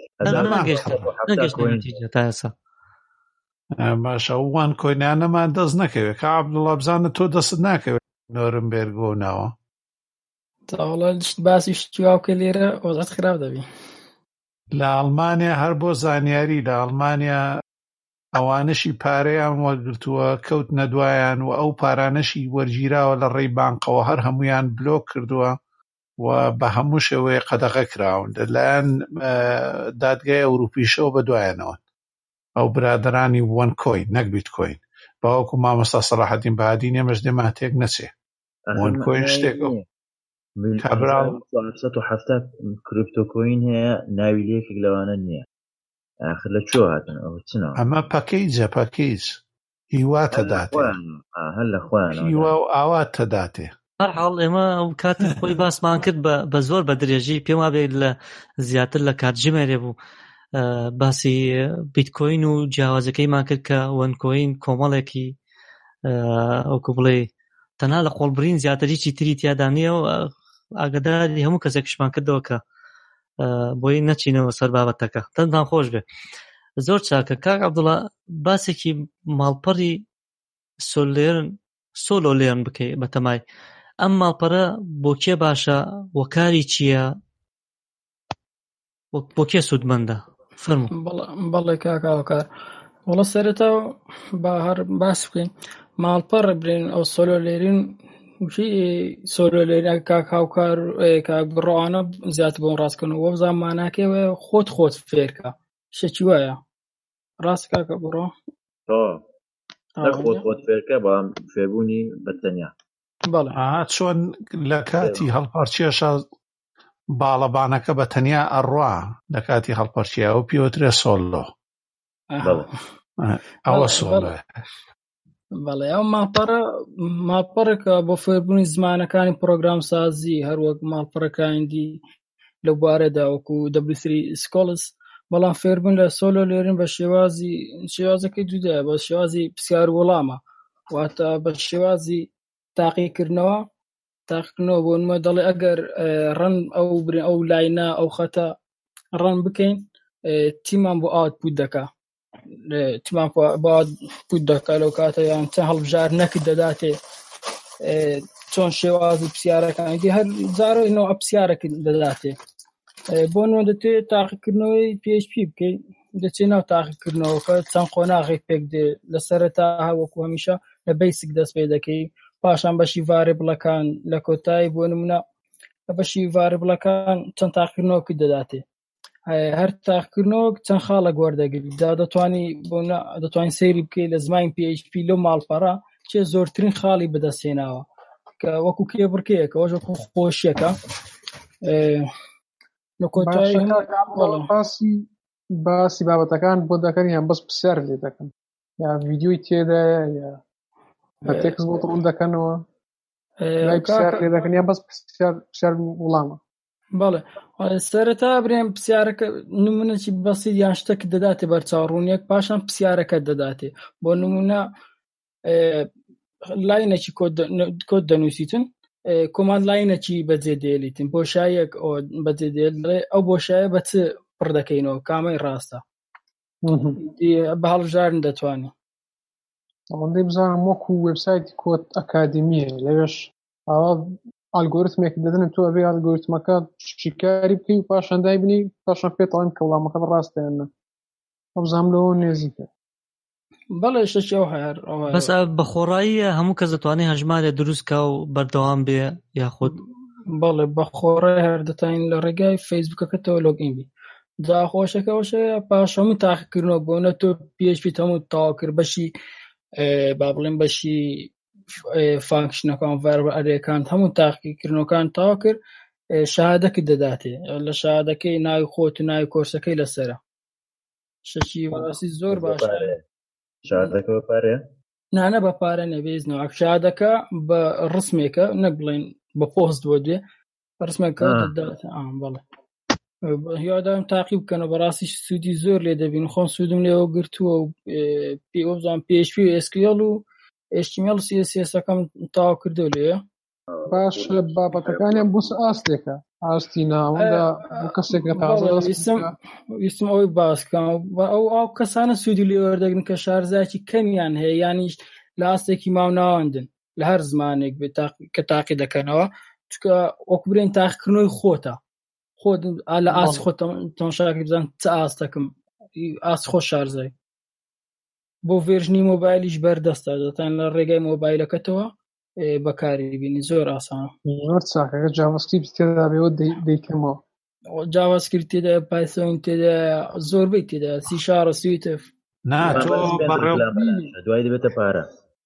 تا ئێستا باشە وان کۆینانەمان دەست نەکەوێت کە عەبدوڵڵا بزانە تۆ دەست ناکەوێت نۆرنبێرگ بۆ ناوە تاوەڵە باسی شتیواوکە لێرە ئۆزات خراپ دەبی لە ئەڵمانیا هەر بۆ زانیاری لە ئەڵمانیا ئەوانشی پارەیان وەرگرتووە کەوت نەدوایان و ئەو پارانەشی وەرگیراوە لە ڕێی بانقەوە هەر هەمویان بلۆک کردووە و بە هەموو شێوەیە قەدەغە کراون لەلایەن دادگای ئەوروپیشەوە بەدوایانەوە ئەو برادرانی وان کۆین نەک بیتکۆین باوەکو مامۆستا سەلاحەدین بەهادی نێمەش دێمان تێک نەچێ وان کۆین شتێکە کابراو 770 کریپتۆکۆین هەیە ناوی لێکێک لەوانە نییە ئاخر لە چۆ هاتن ئەو چنەوە ئەمە پەکەیجە پەکەیج هیواتە داتێ هەر لە خۆیان هیوا و ئاواتە داتێ هەرحاڵ ئێمە ئەو کاتی خۆی باسمان کرد بە زۆر بە درێژی پێم وابێ لە زیاتر لە کاتژمێرێ بوو باسی بیتکۆین و جیاوازەکەیمان کرد کە وەنکۆین کۆمەڵێکی ئەوکو بڵێ تەنها لە قۆڵبرین زیاتریی تری تیادا نییە و ئاگداری هەموو کەسێکشمان کردەوە کە بۆی نەچینەوە سەر بابەتەکە تەنتان خۆش بێ زۆر چاکە کاک عەبدوڵڵا باسێکی ماڵپەڕی سۆلۆ لێرن بکەی بەتەمای ئەم ماڵپەرە بۆ کێ باشە وەکاری چییە بۆ کێ سوودمەندە فەرموو. بەڵێ کاکاوەکار وەڵە سەرەتا با هەر باس بکەین ماڵپەڕ برێن ئەو سۆلۆ لێرین سۆلۆ لێرین کاک هاوکار کاک بڕۆوانە زیاتر بۆم ڕاستکردن وە بزان ماناکەوێ خۆت فێرکە شەکی وایە ڕاست کاکە بڕۆ خۆت فێرکە بەڵام فێربوونی بەتەنیا. بەڵێ چۆن لە کاتی هەڵپەرچێشە باڵەبانەکە بە تەنیا ئەڕوا لە کاتی هەڵپەرچیە و پیوترێ سۆلۆ ئەوە سۆلۆ. بەڵێ ئەو ماڵپەڕێکە بۆ فێربوونی زمانەکانی پرۆگرام سازی هەروەک ماڵپەڕەکانی لەو بارەدا وەکو W3 Scholars بەڵام فێربوون لە سۆلۆ لێرن بە شێوازەکەی دوودایە بە شێوازی پرسیار وەڵامە واتە بە شێوازی تاقیکردنەوە بۆ نمە دەڵێ ئەگەر ڕەن ئەو لاینە ئەو خەتە ڕەن بکەین تیمان بۆ ئاوتپوت دەکا تیمان بۆ ئاوتپوت دەکا لەو کاتە یان چەند هەڵبژار نەکرد دەداتێ چۆن شێوازی پرسیارەکانی هەر جارۆینەوە پرسیارەکە دەداتێ بۆ نمە دەتوێت تاقیکردنەوەی PHP بکەیت دەچێت ناو تاقیکردنەوەکە چەند قۆناغێک پێک دێ لە سەرەتا هەوەکو هەمیشە لە بیسک دەست پێ دەکەی پاشان بەشی ڤارێبڵەکان لە کۆتایی بۆ نمونە بەشی ڤارێبڵەکان چەند تاقیکردنەوەکی دەداتێ هەر تاقیکردنەوە چەند خاڵە گوەردەگری دەتوانین سەیری بکەیت لە زمانی PHP لەو ماڵپەڕە چێ زۆرترین خاڵی بەدەستێناوە کە وەکو کێبڕکەیەکە وەژە خۆشیەکە لە کۆتایی باسی بابەتەکان بۆ دەکەن یان بەس پرسیار لێ دەکەن یا ڤیدیۆی تێدایە یا بە تێکس بۆ ڕوون دەکەنەوە لای پرسیار لێ دەکەن یا بەس پرسیار وڵامە. بەڵێ سەرەتا برێن پرسیارەکە نمونەی بەسیط یان شتێک دەداتێ بەرچاوڕوونیەک پاشان پرسیارەکە دەداتێ بۆ نمونە لاینێکی کۆد دەنووسیتن کۆماند لاینێکی بەجێ دێلیتن بۆشایەک بەجێ دێڵێ ئەو بۆشایە بە چ پڕ دەکەینەوە کامەی ڕاستە بە هەڵبژارن دەتوانێت ئەوەندەی بزانم وەکو وێبسایتی کۆد ئەکادمیە لەوێش ئاوا ئالگۆریتمێک دەدەن تۆ ئەبێ ئالگۆریتمەکە شیکاری بکەی و پاشان دایبنی پاشان پێتەڵێن کە وەڵامەکە ڕاستە یان نە ئەوزام لەوە نێزیکە. بەڵێ شەکی ئەو هەیە بەس بە خۆڕایی هەموو کەس دەتوانێت هەژمارێ دروستکە و بەردەوام بێ یاخود بەڵێ بە خۆڕای هەر دەتوانین لە ڕێگای فەیسبوکەکەتەوە لۆگئین بی جاخۆشەکەەوەشەیە پاش هەموو تاقیکردنەوە بۆ نە تۆ PHP هەموو تاوا کرد بەشی با بڵێن بەشی فانکشنەکان ڤەربە ئەرێکان هەموو تاقیکردنەوەکان تاوا کرد شەهادەکە دەداتێ لە شەهادەکەی ناوی خۆت و ناوی کۆرسەکەی لەسەرە شەکی بەڕاستی زۆر باشە. شەهادەکە بە پارەیە؟ نانە بە پارە نەبێزنەوە شەهادەکە بە ڕسمێکە نەک بڵێن بە پۆست بۆ دوێ ڕسمێکە دەداتێ. بەڵێ هیوادارم تاقیب بکەنەوە بەڕاستی سوودی زۆر لێ دەبین خۆم سوودم لێەوە گرتووە و پێوەزان PHP و SQL و HTML و CSS-ەکەم تاوا کردو لێە باش لە بابەتەکانیان بوس ئاستێکە ئاستی ناوەندا کەسێکە تازە ویستم ئەوەی باسکەم ئەو کەسانە سوودی لێ وەردەگرن کە شارزایکی کەمیان هەیە یانیش لە ئاستێکی ماو ناوەندن لە هەر زمانێک کە تاقی دەکەنەوە چکە وەکو برێن تاقیکردنەوەی خۆتە خۆت لە ئاسی خۆت تەماشاکە بزان چ ئاستەکەم ئاسی خۆ شارزای بۆ ڤێرژنی مۆبایلیش بەردەستە دەتان لە ڕێگای مۆبایلەکەتەوە بەکاری بینی زۆر ئاسانە زۆر چاکەکە جاڤاسکریپت تێدا بێەوە دەیکەمەوە جاڤاسکریپت تێدا پایتۆن تێدا زۆربەی تێدا سی شارە سویتف دوای دەبێتە پارە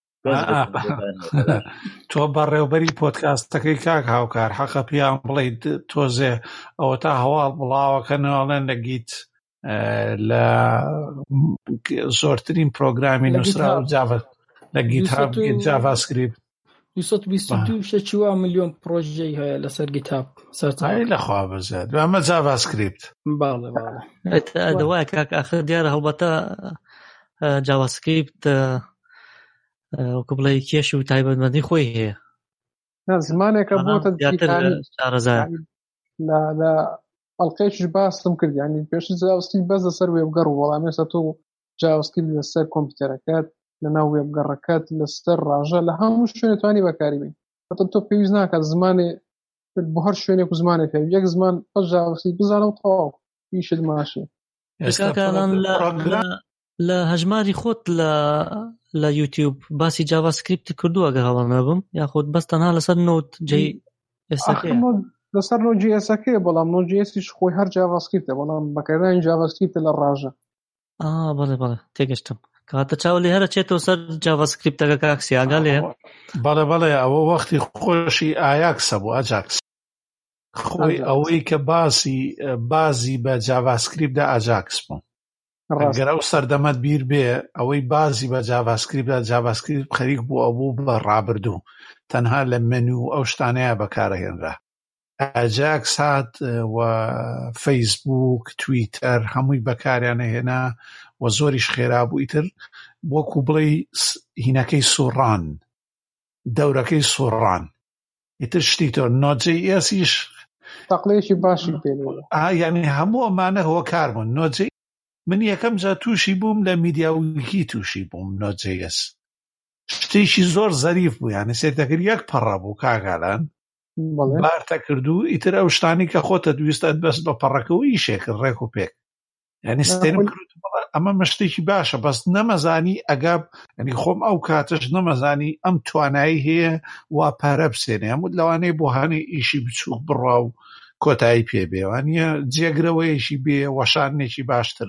تۆ بەڕێوبەری پۆدکاستەکەی کاک هاوکار حەقە پیان بڵێ تۆزێ ئەوە تا هەواڵ بڵاوەکەنەوەڵێن لە گیت لە زۆرترین پرۆگرامی نووسرا و لە گیتهاب جاڤاسکریپت 222 ملیۆن پرۆژەی هەیە لەسەر گیتهاب سەرچاوی لەخوا بەزێت ئەمە جاڤاسکریپت. باڵێ دەوایە کاک ئاخر دیارە هەڵبەتە جاڤاسکریپت وەکو بڵێ کێش و تایبەتمەندی خۆی هەیە زمانێکە بۆتە لە ئەڵلقەیەکیش باسم کرد ینی پێش جاڤاسکریپت بەس لەسەر وێبگەڕ و وەڵام ێستا تۆ جاڤاسکریپت لەسەر کۆمپیوتەرەکەت لەناو وێبگەڕەکەت لەسەر ڕاژە لە هەموو شوێنێ توانی بەکاری بێت تۆ پێویست ناکات زمانێ بۆ هەر شوێنێک و زمانێک یەک زمان بەژاوسی بزانە و تەواو ئیشت ماشێ. کاکەڵان لە هەژماری خۆت لە یوتیوب باسی جاڤاسکریپت کردووە ئەگەر هەڵە نەبم یاخود بەس تەنها لەسەر نۆت جێ ئێساکەیە لەسەر نۆجیئسەکەیە بەڵام نۆجیئسیش خۆی هەر جاڤاسکریپتە بەڵام بەکارهێنانی جاڤاسکریپتە لە ڕاژە. بەڵێ تێگەشتم کاتە چاو لێ هەرە چێتەوە سەر جاڤاسکریپتەکە کاکسی ئاگا لێ بەڵێ ئەوە وەختی خۆشی ئایاکسە بۆ ئاجاکس خۆی ئەوەی کە بازی بە جاڤاسکریپتدا ئاجاکس بوو ئەگەر ئەو سەردەمەت بیر بێ ئەوەی بازی بە جاڤاسکریپتدا جاڤاسکریپت خەریک بوو ئەوبوو بە ڕابردوو تەنها لە منو ئەو شتانەیە بەکارەهێنرا ئاجاکس هات و فەیسبوک تویتەر هەمووی بەکاریانە هێنا و زۆریش خێرا بوو ئیتر وەکو بڵێ هینەکەی سوڕان دەورەکەی سوڕان ئیتر شتی تۆ نۆجیئسیش تەقلێکی باشی پێ یعنی هەموو ئەمانە هۆکار بوون نۆجی من یەکەم جا تووشی بووم لە میدیاویکی تووشی بووم نۆجیئس شتێکی زۆر زەریف بوو یعنی سێتەکرد یەک پەڕە بوو کاگالان بارتە کردو ئیتر ئەو شتانی کە خۆتە دویستت بەست بە پەڕەکەەوە ئیشێکرد ڕێک و پێک یعنی ستێنم کرد ئەمە مشتێکی باشە بەس نەمەزانی ئەگاب ینی خۆم ئەو کاتش نەمەزانی ئەم توانایی هەیە وا پارە بسێنێ هەموو لەوانەیە بۆ هەنێ ئیشی بچووک بڕوا و کۆتایی پێ بێوانە جێگرەوەیەشی بێ وەشانێکی باشتر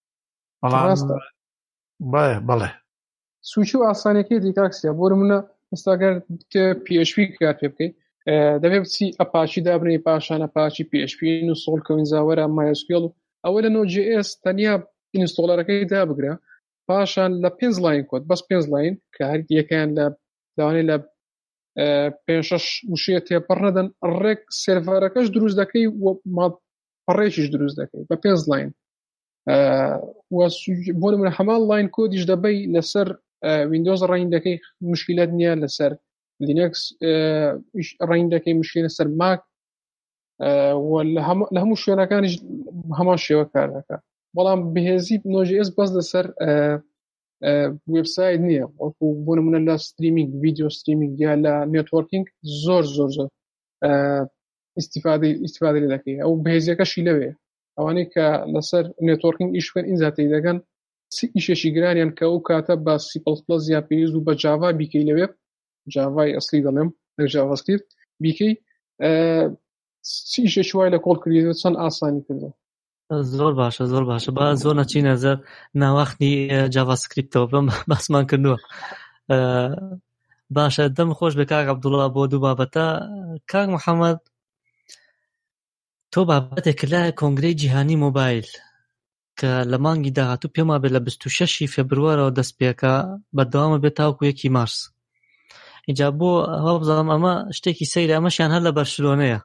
بەڵێ سوچی و ئاسانەکەی دیکاکسیا بۆ منە ئێستاگەر PHP کار پێ بکەیت دەبێت بچی ئەپاچی دابنەی پاشان ئەپاچی PHP ئینستۆڵ کەوینزاوەرە MySQL و ئەوە لە Node.js تەنیا ئینستۆڵەرەکەی دابگرە پاشان لە 5 لاین کۆد بەس 5 لاین کە هەر یەکیان لە داوانەی لە 5-6 وشەیە تێپەڕ نەدەن ڕێک سێرڤەرەکەش دروست دەکەی پەڕێکیش دروست دەکەی بە 5 لاین بۆ نمونە هەمان لاین کۆدیش دەبەی لەسەر ویندۆز ڕین دەکەی مشکلات نییە لەسەر لینکس ڕین دەکەی مشکل لەسەر ماک لە هەموو شوێنەکانیش هەمان شێوە کار دەکات بەڵام بەهێزی Node.js بەس لەسەر وێبسایت نییە وەکو بۆ نمونە لە ستریمینگ ڤیدیۆ ستریمینگ یا لە نێتوۆرکینگ زۆر ئیستیفادە لێ دەکەی ئەو بەهێزیەکەشی لەوێ ئەوانەی کە لەسەر نێتوۆرکینگ ئیش بکەن ئینزاتەی دەگەن ئیشێکی گرانیان کە ئەو کاتە بە C++ یا پێویست و بە جاوا بیکەی لەوێ جاوای ئەسلی دەڵێم لە جاڤاسکریپت بیکەی ئیشێکی وای لە کۆڵ کردێت چەند ئاسانی کردە زۆر باشە با زۆر نەچینە زەر ناوەختی جاڤاسکریپتەوە بم باسمان کردووە باشە دەم خۆش بێ کاک عەبدوڵڵا بۆ دوو بابەتە کاک محەممەد تۆ بابەتێک لای کۆنگرەی جیهانی مۆبایل کە لە مانگی داهاتوو پێما بێت لە 26 فێبروارەوە دەست پێکە بەردەوامە بێت تاوەکو 1 مارس اینجا بۆ هەڵ بزانم ئەمە شتێکی سەیرە ئەمەشیان هەر لە بەرشلۆنەیە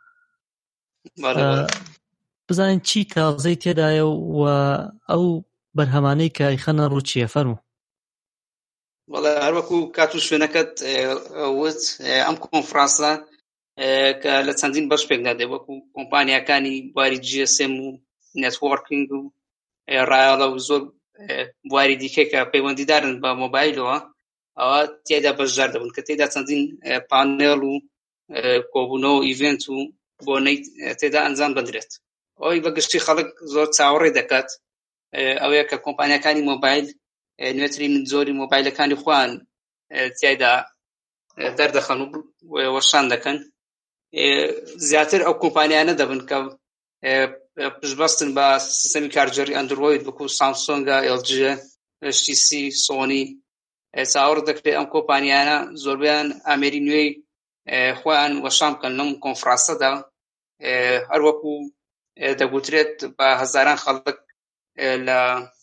بزانین چی تازەی تێدایە و ئەو بەرهەمانەی کە ئەیخەنە ڕوو چییە فەرموو وەڵا هەروەکو کات و شوێنەکەت وت ئەم کۆنفرانسە کە لە چەندین بەش پێکدا دێ وەکو کۆمپانیاکانی بواری GSM و نێتوۆرکینگ و ڕایەڵە و زۆر بواری دیکە کە پەیوەندیدارن بە مۆبایلەوە ئەوە تێدا بەشدار دەبن کە تێدا چەندین پانێڵ و کۆبوونەوە و ئیڤێنت و بۆنەی تێدا ئەنجام بدرێت ئەوەی بەگشتی خەڵک زۆر چاوەڕێ دەکات ئەوەیە کە کۆمپانیاکانی مۆبایل نوێترین زۆری مۆبایلەکانی خۆیان تێدا دەردەخەن و وەشان دەکەن زیاتر ئەو کۆمپانیانە دەبن کە پشتبەستن بە سیستەمی کارگەری ئەندروید وەکو سامسۆنگە LG HTC سۆنی چاوەڕ دەکرێت ئەم کۆمپانیانە زۆربیان ئامێری نوێی خۆیان وەشان بکەن لەم کۆنفرانسەدا هەروەکو دەگوترێت بە هەزاران خەڵک لە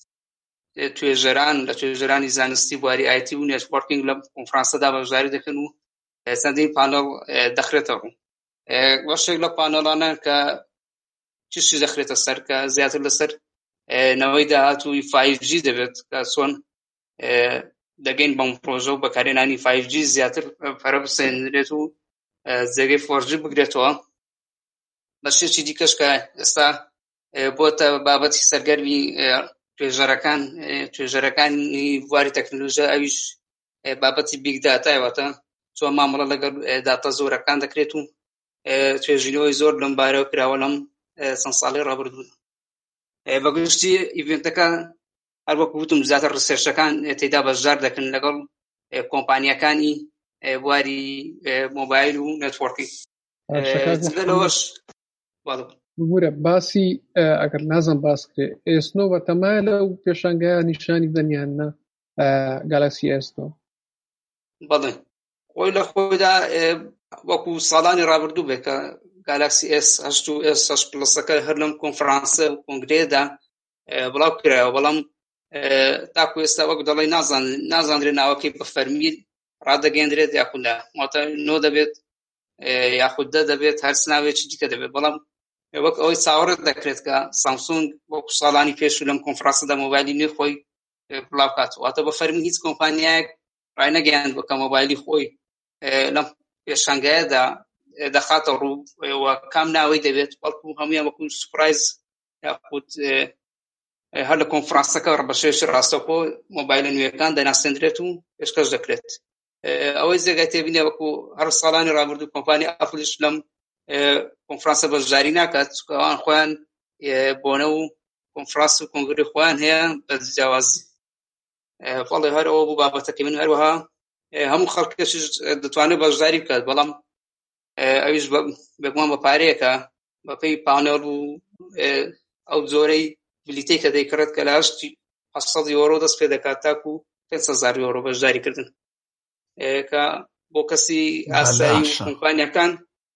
توێژەرانی زانستی بواری IT و نێتوۆرکینگ لە کۆنفرانسەدا بەشداری دەکەن و چەندین پانەڵ دەخرێتە ڕوو وەشێک لە پانەڵانە کە چیشی دەخرێتە سەر کە زیاتر لەسەر نەوەی داهاتووی 5G دەبێت کە چۆن دەگەین بەم پرۆژە و بەکارهێنانی 5G زیاتر پەرە بسێنرێت و جێگەی 4G بگرێتەوە بەشێکی دیکەش کە ئێستا بۆتە بابەتی سەرگەرمی توێژەرەکانی بواری تەکنۆلۆژیا ئەویش بابەتی بیگ داتایوەتە چۆن مامەڵە لەگەڵ داتە زۆرەکان دەکرێت و توێژینەوەی زۆر لەم بارەوە کراوە لەم چەند ساڵی ڕابردوو. بەگشتی ئیڤنتەکە هەر وەکو وتم زیاتر ڕسێرچەکان تێدا بەشدار دەکەن لەگەڵ کۆمپانیەکانی بواری مۆبایل و نێتوۆرکی. لەوەش بورە باسی ئەگەر نازم باس کرێ ئێسنۆ بەتەمایە لەو پێشانگایە نیشانی دەنیانە گالاکسی ئێسنۆ. بەڵێ خۆی لە خۆیدا وەکو ساڵانی ڕابردوو بێ کە گالاکسی S8 و S8 پلسەکە هەر لەم کۆنفرانسە و کۆنگرێدا بڵاو کرایەوە، بەڵام تاکو ئێستا وەک دەڵێ نازانرێت ناوەکەی بە فەرمی ڕادەگەێنرێت یاخوددا واتە نۆ دەبێت یاخود دەبێت هەر سناوێکی دیکە دەبێت، بەڵام وەک ئەوەی چاوەڕێت دەکرێت کە سامسونگ وەکو ساڵانی پێش و لەم کۆنفرانسەدا مۆبایلی نوێ خۆی بڵاو کات، واتە بە فەرمی هیچ کۆمپانیایەک ڕای نەگەیاند بکە مۆبایلی خۆی لەم پێشانگایەدا دەخاتە ڕوو کام ناوەی دەبێت، بەڵکو هەمویان وەکو سوپرایز یاخود هەر لە کۆنفرانسەکە بەشێش ڕاستەوخۆ مۆبایلە نوێەکان دەناسێنرێت و پێشکەش دەکرێت. ئەوەی جێگای تێبینێ وەکو هەر ساڵانی ڕابردوو کۆمپانی ئەپڵش لەم کۆنفرانسە بەشداری ناکات، ئەوان خۆیان بۆنە و کۆنفرانس و کۆنگری خۆیان هەیە بە جیاوازی. بەڵێ هەرەوە بوو بابەتەکە من هەروەها هەموو خەڵکێکیش دەتوانێت بەشداری بکات، بەڵام ئەویش بەگومان بە پارەیەکە بەپێی پانێڵ و ئەو جۆرەی بلیتەی کە دەیکڕێت کە لە 800 یۆرۆ دەست پێ دەکات تاکو 500 یۆرۆ بەشداریکردن کە بۆ کەسی ئاسایی و کۆمپانیەکان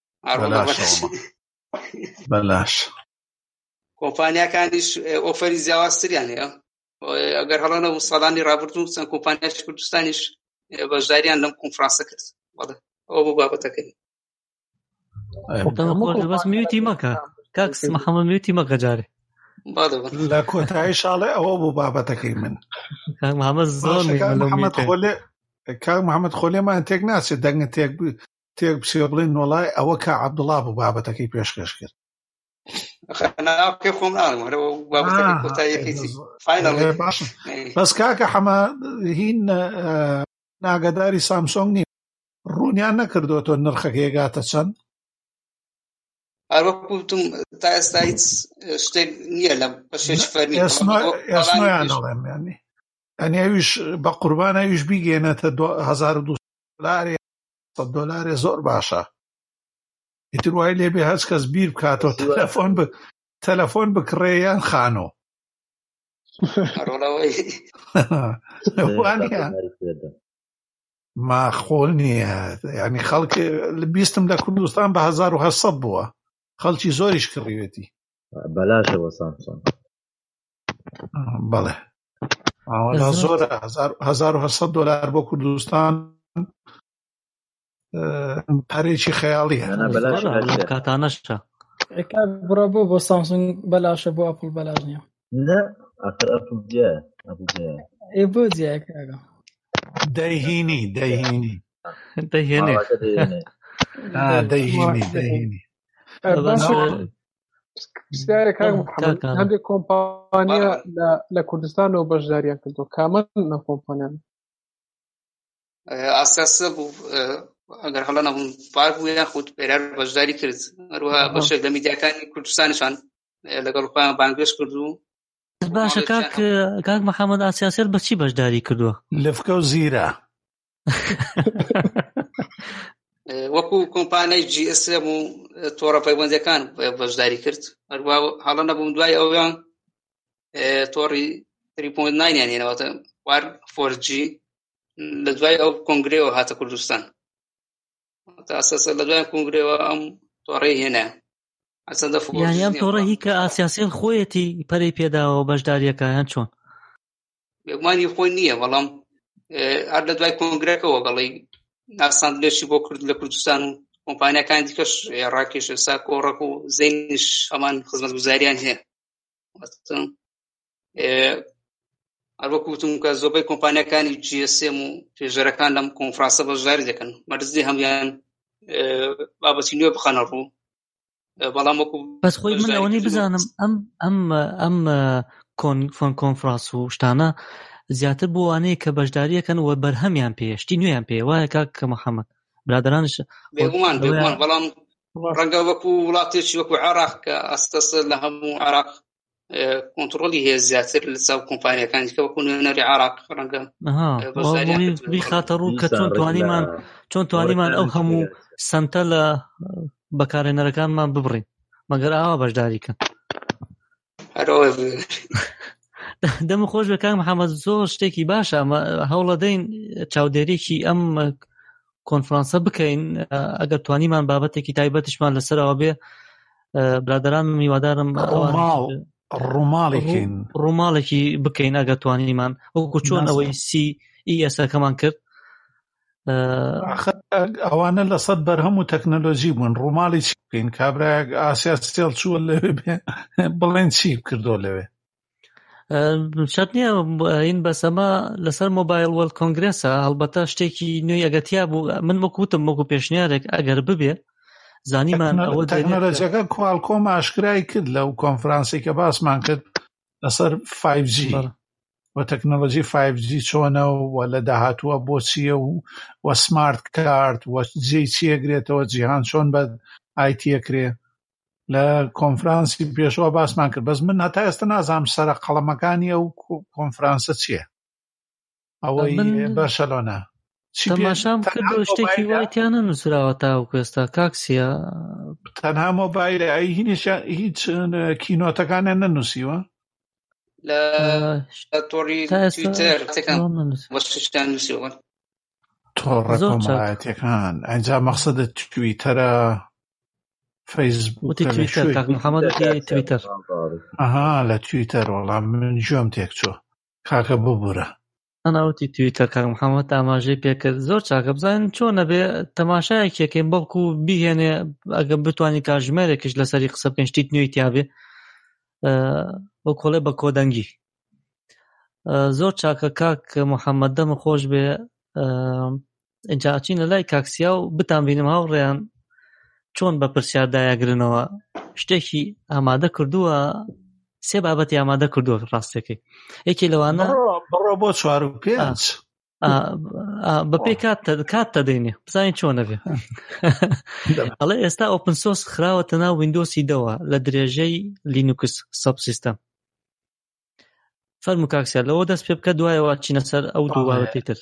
بەلاش کۆمپانیەکانیش ئۆفەری جیاوازتریان هەیە. ئەگەر هەڵەنە و ساڵانی ڕابردوو چەند کۆمپانیای کوردستانیش بەشداریان لەم کۆنفرانسە کرد. ئەوە بۆ بابەتەکەی بەس میوتی مەکە کاکس محەممەد میوتی مەکە جارێ لە کۆتایی شاڵێ ئەوە بوو بابەتەکەی من. کاک محەممەد زۆر کاک محەممەد خۆلێمان تێک ناچێت دەنگە تێک بچێ بڵێن نۆڵای ئەوە کا عەبدوڵڵا بوو بابەتەکەی پێشکەش کرد. بەس کاکە حەمە هین ناگەداری سامسۆنگ نیم ڕوونیان نەکردوەوە نرخەکە گاتە چەند؟ هەروەکوتم تا ئێستا هیچ شتێک نییە لە بەشێکی فەرمی ئێسنۆیان دەڵێم یانی ئەویش بە قوربان ئەویش بیگێنێتە $1200 زۆر باشە. ئیتر وای لێبێ هەچ کەس بیر بکاتەوە تەلەفۆن بکڕێیان خانۆ ماخۆل نییە. ینی خەڵک بیستم لە کوردستان بە 1800 بووە، خەڵکی زۆریش کڕیوێتی بەلاشە بۆ سامسۆنگ. بەڵێ زۆرە $1800 بۆ کوردستان پارێکی خەیاڵیە کاتانەشە. بڕە بۆ سامسۆنگ بەلاشە بۆ ئەپڵ بەلاش نییە. نه ئەخر ئەپڵ جێ بۆ جیاکەگە دەیهینی پرسیارێک هەندێک کۆمپانیا لە کوردستانەوە بەشداریان کردو کامەن نە کۆمپانیان ئاساسە بوو ئەگەر هەڵە نەبوون پار بوو یاخود پێرار بەشداری کرد. هەروەها بەشێک لە میدیاکانی کوردستانیشان لەگەڵ خۆیان بانگێش کردو. باشە کاک محەممەد ئاسیاسێر بەچی بەشداری کردووە؟ لفکە و زیرە وەکو کۆمپانیای GSM و تۆڕە پەیوەندیەکان بەشداری کرد. هەروە هەڵە نەبوون دوای ئەویان تۆڕی 3.9 یان هێنەوەتە وار 4G لە دوای ئەو کۆنگرێەوە هاتە کوردستان. تا ئەساسە لە دوای کۆنگرێەوە ئەم تۆڕەی هێنا یانی ئەم تۆڕە هی کە ئاسیاسیل خۆیەتی پەرەی پێداوە بەشداریەکە یان چۆن؟ بێگومانی خۆی نییە، بەڵام هەر لە دوای کۆنگرێکەوە گەڵی ناساندلێکی بۆ کرد لە کوردستان و کۆمپانیەکان دیکەش ڕاکێش ئێستا کۆڕەک و زەینش هەمان خزمەتگوزاریان هەیە. هەروەکوتم کە زۆربەی کۆمپانیەکانی GSM و توێژەرەکان لەم کۆنفرانسە بەشداری دەکەن، مەرجی هەمویان بابەتی نوێ بخەنە ڕوو. بەڵام وەکو بەس خۆی من ئەوەی بزانم ئەم کۆنفرانس و شتانە زیاتر بۆ وانەیە کە بەشداریەکەن و بەرهەمیان پێشتی نوێیان پێ وایە کاکە محەممەد برادرانش بێگومان بەڵام ڕەنگە وەکو وڵاتێکی وەکو عێراق کە ئەستەس لە هەموو عێراق کۆنتڕۆلی هەیە زیاتر لە چاو کۆمپانیەکانی کە وەکو نوێنەری عێراق ڕەنگە خاتە ڕوو کە چۆن توانیمان ئەو هەموو سنتە لە بەکارهێنەرەکانمان ببڕین مەگەر ئاوا بەشداریکەن. دەم خۆش بە کاک محەممەد زۆر شتێکی باشە هەوڵە دەین چاودێریێکی ئەم کۆنفرانسە بکەین ئەگەر توانیمان بابەتێکی تایبەتشمان لەسەرەوە بێ برادران میوادارم ڕووماڵێکی بکەین ئەگەر توانیمان وەکو چۆن ئەوەی CES-ەکەمان کرد ئەوانە لەسەد بەرهەم و تەکنەلۆژی بوون ڕووماڵی چی بکەین کابراەک ئاسیا ستێڵ چووە لەوێ بێ بڵێن چی کردۆ لەوێ شەرت نییە این بەسەمە لەسەر مۆبایل وەرلد کۆنگرێسە هەڵبەتە شتێکی نوێی ئەگەتیا بوو من وەکوتم وەکو پێشنیارێک ئەگەر ببێ زانیمان ئەوە تەکنۆلۆژیەکە کوالکۆم ئاشکرای کرد لەو کۆنفرانسی کە باسمان کرد لەسەر 5G و تەکنۆلۆژی 5G چۆنە و لە داهاتووە بۆ چییە و سمارت کارت و جێی چیەگرێتەوە جیهان چۆن بە ئایتیەکرێ لە کۆنفرانسی پێشەوە باسمان کرد بەس من هەتا ئێستا نازانم سەرە قەڵەمەکانی ئەو کۆنفرانسە چییە ئەوەی بەرشەلۆنە تەماشام کردو شتێکی وایتیانە نووسراوە تاوەکو ئێستا کاکسیە تەنها مۆبایلە هیچ کینۆتەکانیان نەنووسیوە لە تۆڕی تویتەر وەشتان نووسیوە تۆڕە کۆمەڵایەتیەکان ئەنجا مەقسەدە تویتەرە فەیسبووک تویتەر ئەها لە تویتەر وەڵام من گوێم تێک چوو کاکە ببوورە ئەناوتی تویتەر کاک محەممەد ئاماژەی پێکرد زۆر چاکە بزانین چۆنە بێ تەماشایەکێکین بەڵکو بیهێنێ ئەگە بتوانانی کاژمێرێکش لەسەری قسە بکەین شتیت نوێی تیابێ بۆ کۆڵێ بە کۆدەنگی زۆر چاکە کاک محەممەد دەمە خۆش بێ ئینجا ئەچینە لای کاکسیا و بتان بینم هاوڕێیان چۆن بە پرسیاردایەگرنەوە شتێکی ئامادە کردووە سێ بابەتی ئامادە کردووە ڕاستەکەی یەکی لەوانە بڕۆ بۆ 4 و 5 بەپێی کات دەدەینێ بزانین چۆنە بێ ئەڵێ ئێستا ئۆپن سۆرس خراوەتە ناو ویندۆسی دەوە لە درێژەی لینوکس سەب سیستەم فەرموو کاکسیا لەوە دەست پێ بکە دوایەوە چینە سەر ئەو دوو بابەتی تر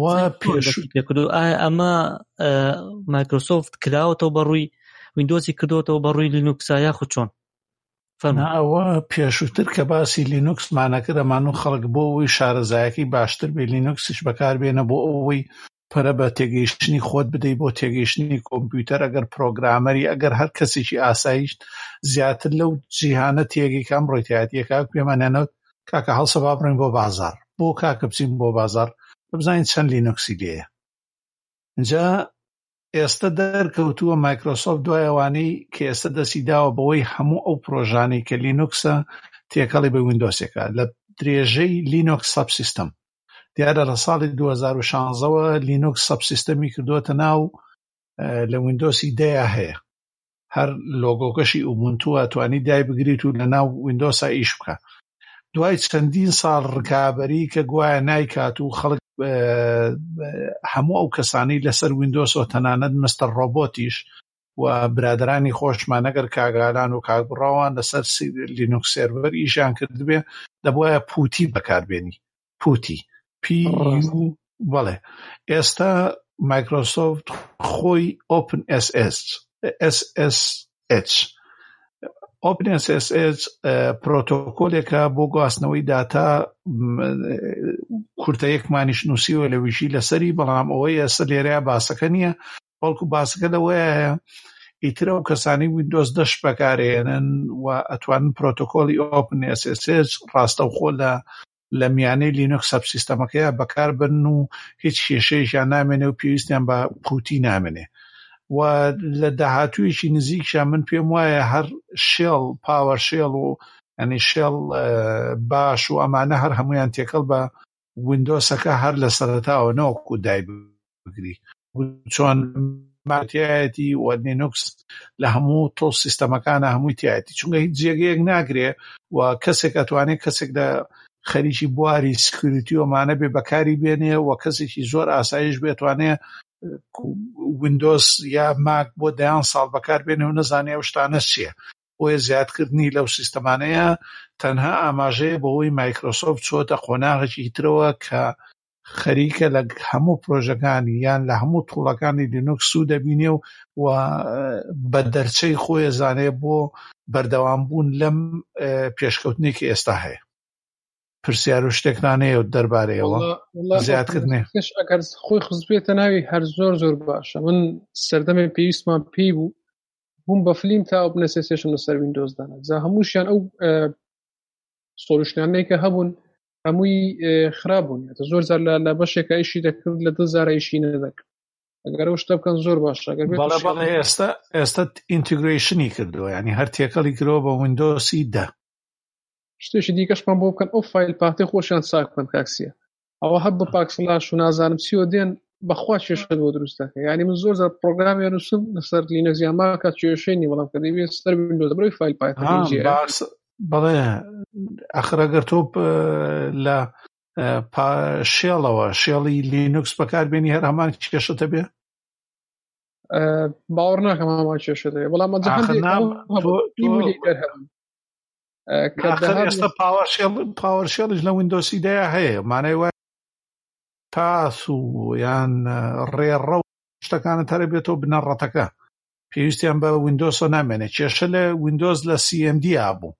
ئەمە مایکرۆسۆفت کراوەتەوە بەڕووی ویندۆزی کردوەوە بەڕووی لینوکسا یاخود چۆن ئەوە پێشووتر کە باسی لینوکسمانەکردەمان و خەڵک بۆ ئەوەی شارەزایەکی باشتر بێ لینوکسیش بەکاربێنە بۆ ئەوەی پەرە بە تێگەیشتنی خۆت بدەیت بۆ تێگەیشتنی کۆمپیوتەر ئەگەر پرۆگرامەری ئەگەر هەر کەسێکی ئاسایش زیاتر لەو جیهانە تێگەیکان ڕۆیتایەتیە کاک پێمانێنەوە کاکە هەڵسە با بڕین بۆ بازار بۆ کاکە بچین بۆ بازار بزانین چەند لینوکسی لێیە اینجا ئێستا دەرکەوتووە مایکرۆسۆفت دوای ئەوانەی کە ئێستا دەستی داوە بەوەی هەموو ئەو پرۆژانەی کە لینوکسە تێکەڵی بە ویندۆسێکە لە درێژەی لینوکس سەب سیستەم دیارە لە ساڵی 2016ەوە لینوکس سەب سیستەمی کردووەتە ناو لە ویندۆسی 10 هەیە هەر لۆگۆکەشی ئوبونتووە توانی دای بگریت و لە ناو ویندۆسا ئیش بکە دوای چەندین ساڵ ڕکابەری کە گوایە نایکات و خەڵک هەموو ئەو کەسانی لەسەر ویندۆسەوە تەنانەت مستەر ڕۆبۆتیش و برادرانی خۆشمان ئەگەر کاگالان و کاگبڕاوان لەسەر لینوکس سێرڤەر ئیشیان کردبێ دەبوایە پوتی بەکاربێنی پوتی بەڵێ ئێستا مایکرۆسۆفت خۆی ئۆپن SSH OpenSSH پرۆتۆکۆلێکە بۆ گواستنەوەی داتا کورتەیەکمانیش نووسیوە لە ویژی لەسەری بەڵام ئەوەی ئێستا لێرەیە باسەکە نییە بەڵکو باسەکە لەوەیە ئیترە و کەسانی ویندۆز دەش بەکارێنن و ئەتوانن پرۆتۆکۆلی OpenSSH ڕاستەوخۆ لە میانەی لینوکس سەب سیستەمەکەیە بەکاربن و هیچ کێشەیەکیان نامێنێ و پێویستیان بە پوتی نامێنێ و لە داهاتوویەکی نزیکشان من پێم وایە هەر شێڵ پاوەر شێڵ و ئەنی شێڵ باش و ئەمانە هەر هەمویان تێکەڵ بە ویندۆسەکە هەر لە سەرەتاوە نەوەکو دای بگری چۆن ماتیایەتی و لینوکس لە هەموو تۆڵ سیستەمەکانە هەمووی تایەتی چونکە هیچ جێگەیەک ناگرێ و کەسێک ئەتوانێت کەسێک لە خەریکی بواری سکیوریتی ومانە بێ بەکاری بێنێ و کەسێکی زۆر ئاسایش بێتوانێ ویندۆز یا ماک بۆ 10 ساڵ بەکار بێنێ و نەزانێ ئەو شتانە چییە بۆیە زیادکردنی لەو سیستەمانەیە تەنها ئاماژەیە بەوەی مایکرۆسۆفت چۆتە قۆناغێکی ترەوە کە خەریکە لە هەموو پرۆژەکانی یان لە هەموو توڵەکانی لینوکس سوود دەبینێ و بە دەرچەی خۆی زانێ بۆ بەردەوامبوون لەم پێشکەوتنێکی ئێستا هەیە پرسیار و شتێکانەیە و دەربارەیەوە زیادکردنێ ئەگەر خۆی خزبێتە ناوی هەر زۆر زۆر باشە من سەردەمێ پێویستمان پێی بووم بە فلیم تا ئۆپنەسێشن لەسەر ویندۆزدانە جا هەمووشیان ئەو سۆلوشنانەی کە هەبوون هەمووی خراپبوون زۆر زار لە بەشێکە ئیشی دەکرد لە 2000 ئیشی نەدەکرد ئەگەر ئەو شتە بکەن زۆر باشە بەڵێ ئێستا ئینتیگریشنی کردووە ینی هەر تێکەڵی کردەوە بە ویندۆسی 10 شتێکی دیکەشمان بۆ بکەن ئەو فایل پاتەی خۆشیان چاک بکەن کاکسیە ئەوە هەب بە پاکسلاش و نازانم چی و دێن بەخوا کێشە بۆ دروست دەکەن یعنی من زۆر زار پرۆگرامی نووسم لەسەر لینەکس یان ماکە کێشەی نی بەڵام کە دەبێت سەر ویندۆز بڕۆی فایل پاتە بەڵێ ئەخرەگەر تۆ لە شێڵەوە شێڵی لینوکس بەکاربێنی هەر هەمان کێشەتە بێ باوەڕ ناکەم هەمان کێشەتە بێ بەڵام ئێستا پاوەرشێڵش لە ویندۆسی دەیە هەیە مانای وای پاس و یان ڕێڕە و شتەکانت هەرە بێتەوە بنەڕەتەکە پێویستیان بە ویندۆسۆ نامێنێت کێشە لە ویندۆز لە CMD بوو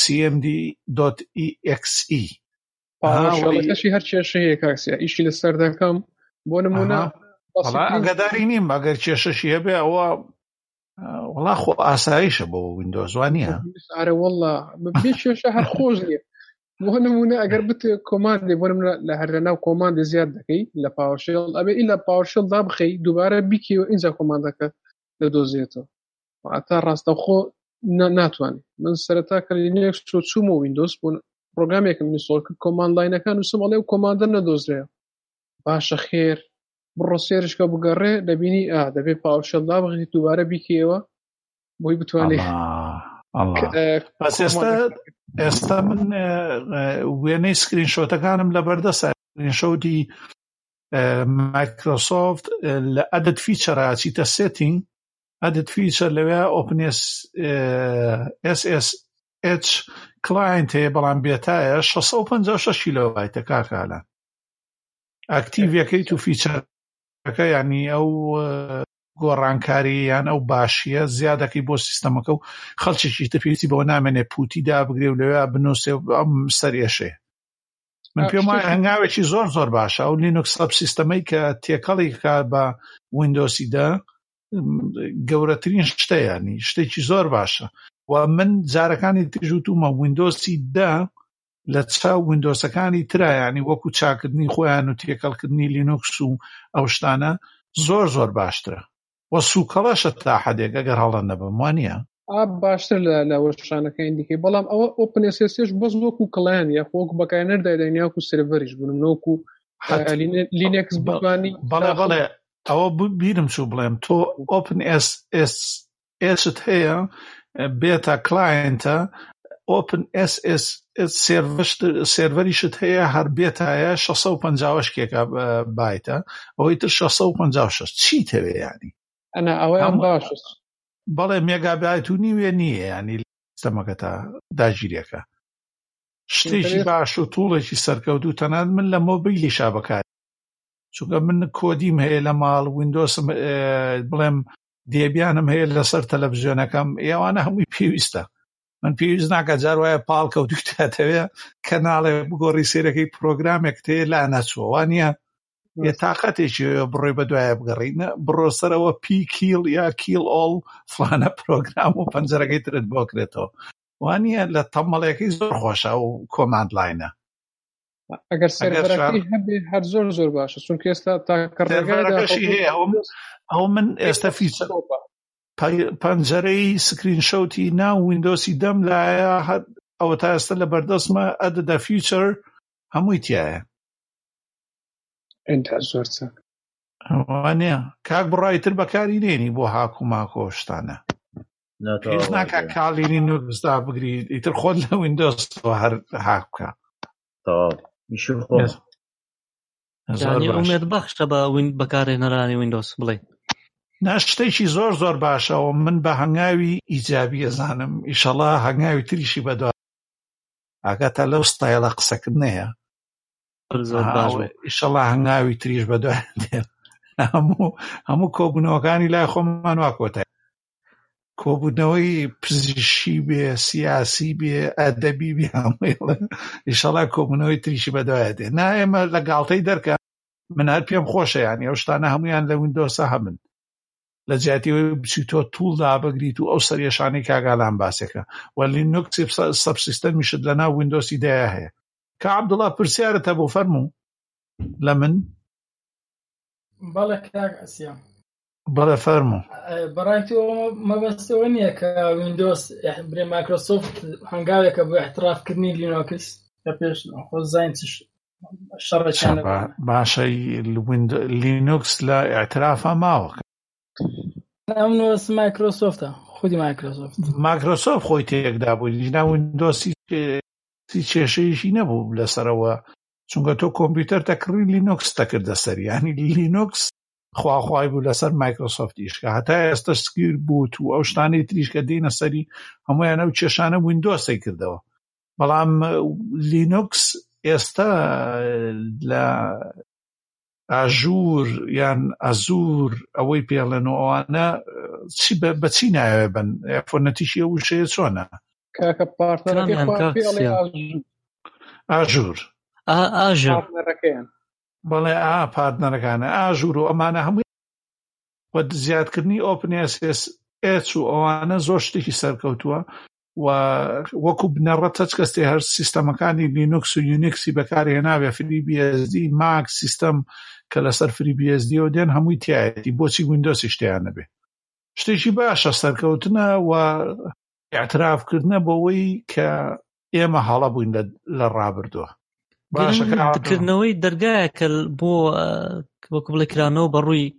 cmd.exe پاوەرشێڵەکەشی هەر کێشە هەیە کاکسیا ئیشی لەسەر دەکەم بۆ نمونە ئەگەداری نیم ئەگەر کێشەشی هەبێ ئەوە وڵا خۆ ئاساییشە بۆ ویندۆز وانە ئارە وەڵا بێ کێشە هەر خۆش نیە بۆ نمونە ئەگەر بتێ کۆماندێ بۆ نمونە لە هەر لەناو کۆماندی زیاد دەکەی لە پاوەرشێڵ ئەبێ ئیلا پاوەرشێڵ دابخەی دووبارە بیکەوە ئینجا کۆماندەکە دەدۆزێتەوە ئاتا ڕاستەوخۆ ناتوانێت من سەرەتا کە لینەکس چوومە ویندۆز بوون پرۆگرامێکم نووسڵ کرد کۆماند لاینەکان نووسم ئەڵێ و کۆماندە نەدۆزرێ باشە خێر بڕۆ سێرشکە بگەڕێ دەبینی دەبێت پاوەرشێڵ دابخەی دووبارە بیکەوە بۆی بتوانێت ئێستا من وێنەی سکرین شۆتەکانم لە بەردەسە سکرین شۆتی مایکرۆسۆفت لە ئەدت فیچەرە چیتە سێتینگ ئەدت فیچەر لەوێ ئۆپن SSH کلاینت هەیە بەڵام بێتایە 656 کیلۆبایتە کاکالان ئاکتیڤەکەی تو فیچەرەکە ینی ئەو گۆڕانکاری یان ئەو باشیە زیادەکەی بۆ سیستەمەکە و خەڵکێکی تر پێویستی بەوە نامێنێ پوتی دابگرێ و لەوێ بنووسێ ئەم سەرێشێ من پێم وایە هەنگاوێکی زۆر زۆر باشە ئەو لینوکس سەب سیستەمەی کە تێکەڵی بە ویندۆسی 10 گەورەترین شتە ینی شتێکی زۆر باشە و من جارەکانی تژوتومە ویندۆسی 10 لە چاو ویندۆسەکانی ترا ینی وەکو چاکردنی خۆیان و تێکەڵکردنی لینوکس و ئەو شتانە زۆر زۆر باشترە وە سوکەڵەشە تا حەدێک ئەگەر هەڵە نەبم وانە باشتر لە وەشانەکەی دیکەی بەڵام ئەوە ئۆپن SSH بەس وەکو کڵیان یا خۆک بەکارهێنەردایداین یاکو سێڤەریش بوون نۆکو لینەکس بوانی بەڵێ ئەوە بیرم چوو بڵێم تۆ ئۆپن SSH هەیە بێتە کلاینتە ئۆپن سێڤەریشت هەیە هەر بێتایە 656 کێکە بایتە ئەوەی تر 656 چی تەوێ ینی ئەنا ئەوەیان باشە بەڵێ مێگابایت و نیوێ نییە ینی سیستەمەکە تا داگیرەکە شتێکی باش و توڵێکی سەرکەوتوو تەنانەت من لە مۆبیلیشا بەکار چونکە من کۆدیم هەیە لە ماڵ ویندۆسم بڵێم دێبیانم هەیە لەسەر تەلەڤیزیۆنەکەم ئێوانە هەمووی پێویستە من پێویست ناکە جار وایە پاڵکەوتوتاتەوێ کەناڵێ بگۆڕی سێرەکەی پرۆگرامێک تێ لا نەچوە وانە یە تااقەتێکی بڕۆی بە دوایە بگەڕینە بڕۆ سەرەوە پی کیل یا کیل ئۆڵ فلانە پرۆگرام و پەنجەرەکەی ترت بۆکرێتەوە وانە لە تەمەڵێکی زۆر خۆشە و کۆماند لاینە ئەگەر سەرەکەی هەبێ هەر زۆر زۆر باشە چونکە ئێستا تاکەڕێگەشی هەیە ئەو من ئێستا فیچەر پەنجەرەی سکرین شۆتی ناو ویندۆسی دەم لایە ئەوە تا ئێستا لە بەردەستمە ئەدەدا فیچەر هەمووی تایە ئەنتا زۆر چاک وانێ کاک بڕایتر بەکاری نێنی بۆ هاکو ماکۆشتانە پێش ناکە کاڵینی نوکسدا بگریت ئیتر خۆت لە ویندۆسەوە هەر هاک بکە ئومێد بەخشە بەکارهێنەرانی ویندۆس بڵێ شتێکی زۆر زۆر باشەوە من بە هەنگاوی ئیجابی ئەزانم ئیشەڵا هەنگاوی تریشی بەدوای ئاگاتە لەو ستایلە قسەکردنەیە ئیشەڵا هەنگاوی تریش بەدوای هەموو کۆبوونەوەکانی لای خۆمان وا کۆتای کۆبوونەوەی پزیشکی بێ سیاسی بێ ئەدەبی بێ هەمووی ئیشەڵا کۆبوونەوەی تریشی بەدوایە دێ نا ئێمە لە گاڵتەی دەرکە من هەر پێم خۆشە یانی ئەو شتانە هەمویان لە ویندۆسە هەبن لە جیاتیەوەی بچیتۆ توڵدا بگریت و ئەو سەرێشانەی کاگالان باسێکە و لینوکس سەبسیستەمیشت لەناو ویندۆسی دایا هەیە کە عەبدوڵڵا پرسیارەتە بۆ فەرموو لە من بەڵێ کاک ئەسیام بەڵێ فەرموو بەڕای تۆ مەبەستەوە نییە کە ویندۆس برێ مایکرۆسۆفت هەنگاوێکە بۆ احترافکردنی لینوکس کە پێش خۆ زاین شەڕێکیانە باشە لینوکس لە اعترافە ماوە ئەمنۆس مایکرۆسۆفتە خودی مایکرۆسۆفت خۆی تێکدا بوو لینا ویندۆسی کێشەیەشی نەبوو لەسەرەوە چونکە تۆ کۆمپیوتەر تەکڕی لینوکس تەکردە سەر ینی لینوکس خواخوای بوو لەسەر مایکرۆسۆفتیش کە هەتا ئێستا سکیر بوت و ئەو شتانەی تریش کە دێنە سەری هەمویان ئەو کێشانە ویندۆسی کردەوە بەڵام لینوکس ئێستا لە ئاژور یان ئەزور ئەوەی پێڵێنەوە ئەوانە بە چی ناوێ بن فۆنەتیشی ئەو شەیە چۆنە کاکە پارتنەرەکەی ئاژور بەڵێ پارتنەرەکانە ئاژور و ئەمانە هەمووی وە زیادکردنی ئۆپن ئس ئس و ئەوانە زۆر شتێکی سەرکەوتووە و وەکو بنەڕەت هەچ کەستێ هەر سیستەمەکانی لینوکس و یونیکسی بەکارهێناوێ فری BSD ماک سیستەم کە لەسەر فری BSDەوە دێن هەمووی تایەتی بۆچی ویندۆسی شتیان نەبێ شتێکی باشە سەرکەوتنە و اعترافکردنە بۆەوەی کە ئێمە هەڵە بووین لە ڕابردووە باشەکردنەوەی دەرگایەکە بۆ وەکو بڵێ کرانەوە بەڕووی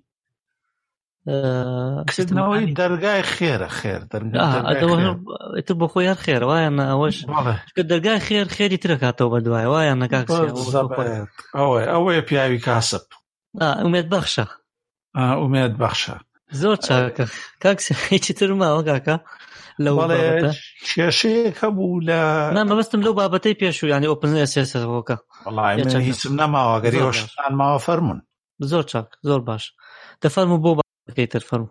کردنەوەی دەرگای خێرە خێر ئیتر بۆ خۆی هەر خێرە وایە ئەوەش دەرگای خێری ترە کاتەوە بە دوای وایە ئەوەیە پیاوی کاسب ئومێد بەخشە ئومێد بەخشە زۆر چاکە کاکسی هیچی تر ماوە کاکە لەو کێشەیەکە بوو لە مەبەستم لەو بابەتەی پێشوو ینی ئۆپن ئەسێسەوەکە وەڵای هیچم نەماوە گەری ئەوشتان ماوە فەرمون زۆر چاک زۆر باش دەفەرموو بۆ بەکەیتر فەرموو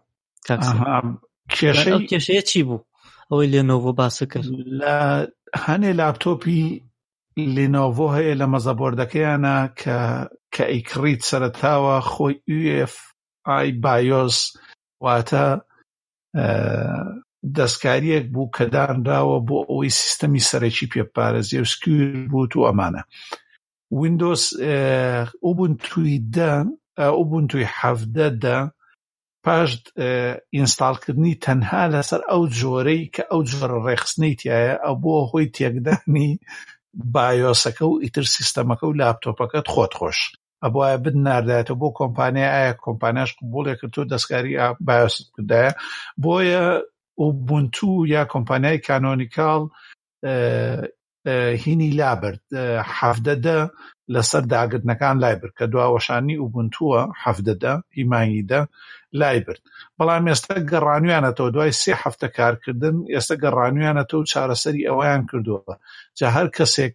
کێشەیە چی بوو ئەوەی لێنۆڤۆ باسە کرد لە هەنێ لاپتۆپی لێنۆڤۆ هەیە لە مەزەبۆردەکەیانە کە ئەیکڕیت سەرەتاوە خۆی UEFI BIOS واتە دەستکاریەک بوو کە دانراوە بۆ ئەوەی سیستەمی سەرەکی پێپارێزێ و سکوور بوت و ئەمانە ویندۆس ئوبونتوی 17 پاش ئینستاڵکردنی تەنها لەسەر ئەو جۆرەی کە ئەو جۆرە ڕێخستنەی تایە ئەو بۆ هۆی تێکدانی بایۆسەکە و ئیتر سیستەمەکە و لاپتۆپەکەت خۆت خۆش ئەبواە بناردایەتەوە بۆ کۆمپانیا ئایا کۆمپانیاش قبوڵێک کردو دەستکاری بایۆست کردایە بۆیە ئوبونتو یا کۆمپانیای کانۆنیکاڵ هینی لابرد 17 لەسەر داگرتنەکان لای برد کە دواوەشانی ئوبونتووە 17 هیمانیدا لای برد بەڵام ئێستا گەڕانویانەتەوە دوای 3 هەفتە کارکردن ئێستا گەڕانویانەتەوە چارەسەری ئەوەیان کردووە جا هەر کەسێک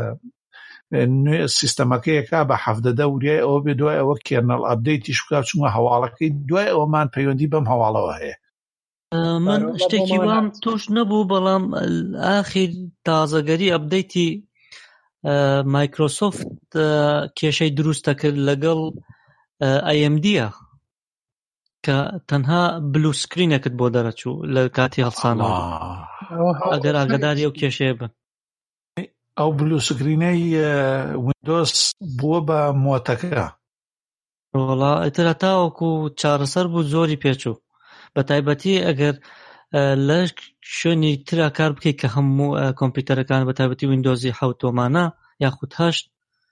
سیستەمەکەیەکا بە 17 وریای ئەوە بێ دوای ئەوە کێرنەڵ ئەپدەیتی شکا چونکە هەواڵەکەی دوای ئەوەمان پەیوەندی بەم هەواڵەوە هەیە من شتێکی وام توش نەبوو بەڵام ئاخیر تازەگەری ئەپدەیتی مایکرۆسۆفت کێشەی دروستە کرد لەگەڵ AMD-ە کە تەنها بلو سکرینێکت بۆ دەرەچوو لە کاتی هەڵسانەوە ئەگەر ئاگاداری ئەو کێشەیە بن ئەو بلو سکرینەی ویندۆس بووە بە مۆتەکە وڵا ئیترە تاوەکو چارەسەر بوو زۆری پێچوو بە تایبەتی ئەگەر لە شوێنی ترا کار بکەیت کە هەموو کۆمپیوتەرەکان بە تایبەتی ویندۆزی 7 یاخود 8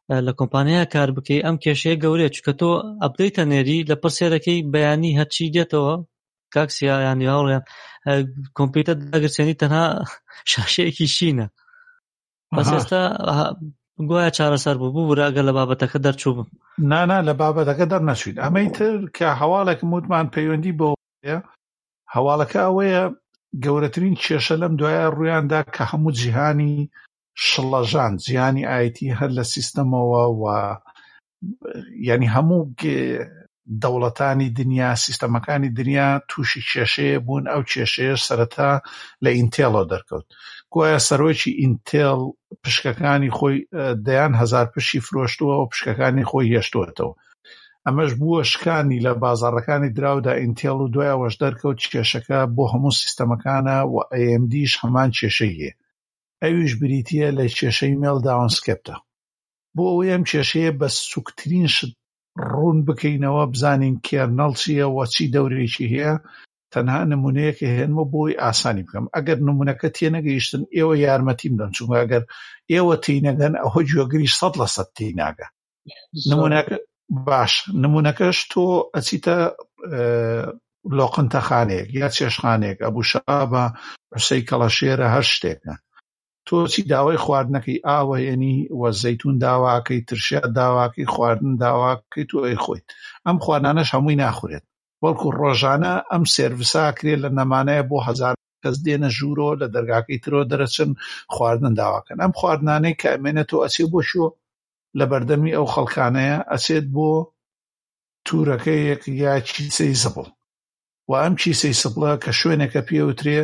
لە کۆمپانیای کار بکەی ئەم کێشەیە گەورەیە چونکە تۆ ئەپدەیتە نێری لە پرسێرەکەی بەیانی هەرچی دێتەوە کاکسیا یانی هاوڕێیان کۆمپیوتەر داگرسێنی تەنها شاشەیەکی شینە بەس ئێستا گوایە چارەسەر بوو ئەگەر لە بابەتەکە دەرچوو بم نا لە بابەتەکە دەرنەچوین ئەمەی تر کە هەواڵێکم وتمان پەیوەندی بەوەیە هەواڵەکە ئەوەیە گەورەترین کێشە لەم دوایە ڕوویاندا کە هەموو جیهانی شڵەژان جیهانی ئایتی هەر لە سیستەمەوە و یعنی هەموو دەوڵەتانی دنیا سیستەمەکانی دنیا تووشی کێشەیە بوون ئەو کێشەیە سەرەتا لە ئینتێڵەوە دەرکەوت گوایە سەرۆکی ئینتێڵ پشکەکانی خۆی دەیان هەزار پشی فرۆشتووە و پشکەکانی خۆی هێشتووەتەوە ئەمەش بووە شکانی لە بازاڕەکانی دراودا ئینتێڵ و دوایەوەش دەرکەوت کێشەکە بۆ هەموو سیستەمەکانە و AMDش هەمان کێشەی هەیە ئەویش بریتیە لە کێشەی مێلداونسکرپتە بۆ ئەوەی ئەم کێشەیە بە سوکترین شت ڕوون بکەینەوە بزانین کێرنەڵ چییە و چی دەورێکی هەیە تەنها نمونەیەکە هێنمە بۆی ئاسانی بکەم ئەگەر نمونەکە تێنەگەیشتن ئێوە یارمەتیم دەن چونکە ئەگەر ئێوە تێنەگەن ئەوە گوێگریش 100% تێناگە نمونەکە باش نمونەکەش تۆ ئەچیتە لۆقنتەخانەیەک یا چێشخانەیەک ئەبووشا بە عوسەی کەڵەشێرە هەر شتێکە تۆ چی داوای خواردنەکەی ئاوە ینی وە زەیتون داواکەی ترشیا داواکەی خواردن داواکەی تۆ ئەی خۆیت ئەم خواردانەش هەمووی ناخورێت بەڵکو ڕۆژانە ئەم سێرڤیسا کرێت لە نەمانەیە بۆ هەزار کەس دێنە ژوورۆ لە دەرگاکەی ترۆ دەرەچن خواردن داواکەن ئەم خواردانەی کە ئەمێنێتەوە ئەچێت بۆ شۆ لە بەردەمی ئەو خەڵکانەیە ئەچێت بۆ توورەکەیەک یا چیسەی زبڵ و ئەم چیسەی سبڵە کە شوێنێکە پێوترێ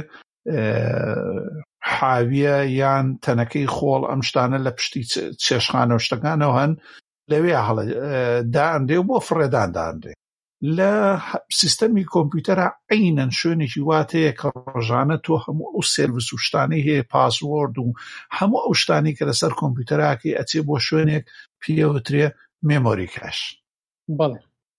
حاویە یان تەنەکەی خۆڵ ئەم شتانە لە پشتی چێشخانە و شتەکانەوە هەن لەوێ هەڵە دائەندێ و بۆ فڕێدان دائەندێ لە سیستەمی کۆمپیوتەرە عینەن شوێنێکی واتەیە کە ڕۆژانە تۆ هەموو ئەو سێرڤیس و شتانەی هەیە پاسوۆرد و هەموو ئەو شتانی کە لەسەر کۆمپیوتەراکەی ئەچێ بۆ شوێنێک پێوترێ مێمۆری کاش بەڵێ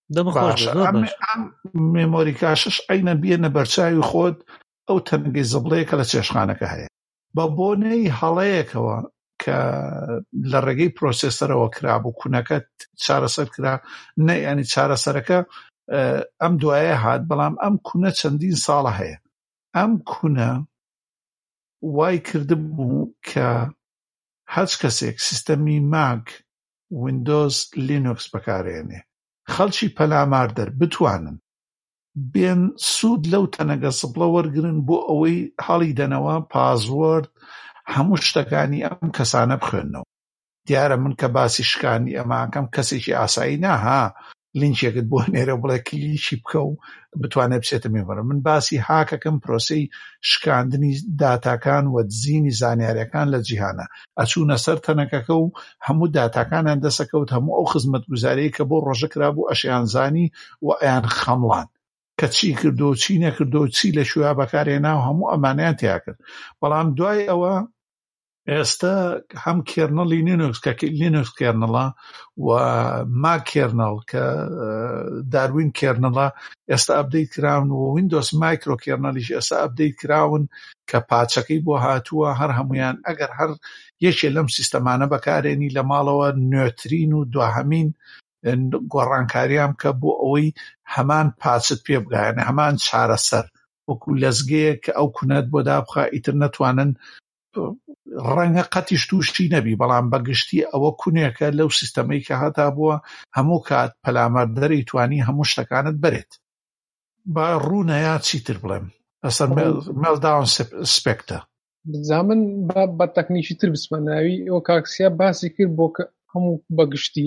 مێمۆری کاشش عینەن بێنە بەرچاوی خۆت ئەو تەنگەی زبڵەیە کە لە چێشخانەکە هەیە بە بۆنەی هەڵەیەکەوە کە لە ڕێگەی پرۆسێسەرەوە کرابوو کوونەکە چارەسەر کرا ینی چارەسەرەکە ئەم دوایە هات بەڵام ئەم کوونە چەندین ساڵە هەیە ئەم کوونە وای کردبوو کە هەچ کەسێک سیستەمی ماک ویندۆز لینوکس بەکارێنێ خەڵکی پەلاماردەر بتوانن بێن سوود لەو تەنەگە سبڵە وەرگرن بۆ ئەوەی هەڵی دەنەوە پاسوۆرد هەموو شتەکانی ئەم کەسانە بخوێنەوە دیارە من کە باسی شکانی ئەماکەم کەسێکی ئاسایی ناها لینکێکت بۆ نێرە بڵێ کلیشی بکە و بتوانێت بچێتە مێڤەرە من باسی هاکەکەم پرۆسەی شکاندنی داتاکان و دزینی زانیاریەکان لە جیهانە ئەچوونە سەر تەنەکەکە و هەموو داتاکانیان دەسەکەوت هەموو ئەو خزمەتگوزاریی کە بۆ ڕۆژە کرابوو ئەشیان زانی و ئەیان خەمڵان کە چی کردو و چی نەکردو و چی لە شویا بەکارێنا و هەموو ئەمانیان تیا کرد بەڵام دوای ئەوە ئێستا هەم کێرنەڵی لینوکس کە لینوکس کێرنەڵە و ماک کێرنەڵ کە داروین کێرنەڵە ئێستا ئەپدەیت کراون و ویندۆس مایکرۆ کێرنەڵیش ئێستا ئەپدەیت کراون کە پاچەکەی بۆ هاتووە هەر هەمویان ئەگەر هەر یەکێ لەم سیستەمانە بەکارێنی لە ماڵەوە نوێترین و دواهەمین گۆڕانکاریان کە بۆ ئەوەی هەمان پاچت پێ بگایەنە هەمان چارەسەر وەکو لەزگەیە کە ئەو کوونەت بۆ دابخە ئیتر نەتوانن ڕەنگە قەتیش تووشی نەبی بەڵام بەگشتی ئەوە کوونێکە لەو سیستەمەی کە هەتا بووە هەموو کات پەلامەردەری توانی هەموو شتەکانت بەرێت با ڕوونەیە چیتر بڵێم ئەسەر مێلداون سپێکتە بزامن بە تەکنیکی تر بسمەناوی ئەو کاکسیا باسی کرد بۆ کە هەموو بەگشتی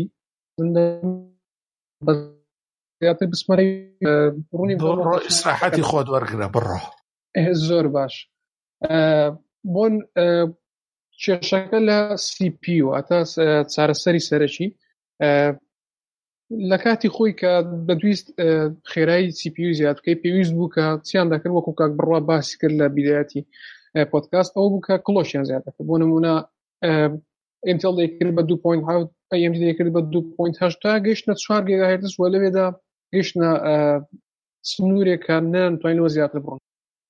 زیاتر بسمەرەی ڕوونی ئیسراحەتی خۆت وەرگرە بڕۆ زۆر باش بۆن کێشەکە لە CPU ئەتا چارەسەری سەرەکی لە کاتی خۆی کە دەتویست خێرایی CPU زیاد بکەی پێویست بوو کە چیان دەکرد وەکو کاک بڕوا باسی کرد لە بیدایەتی پۆدکاست ئەو بوو کە کڵۆشیان زیاد دەکرد بۆ نمونە ئینتێڵ دەیکرد بە 2.7 AMD دەیکرد بە 2.8 تا گەیشتنە 4 گیگاهرتز و لەوێدا گەیشتنە سنوورێک کە نەتوانینەوە زیاتر بڕۆن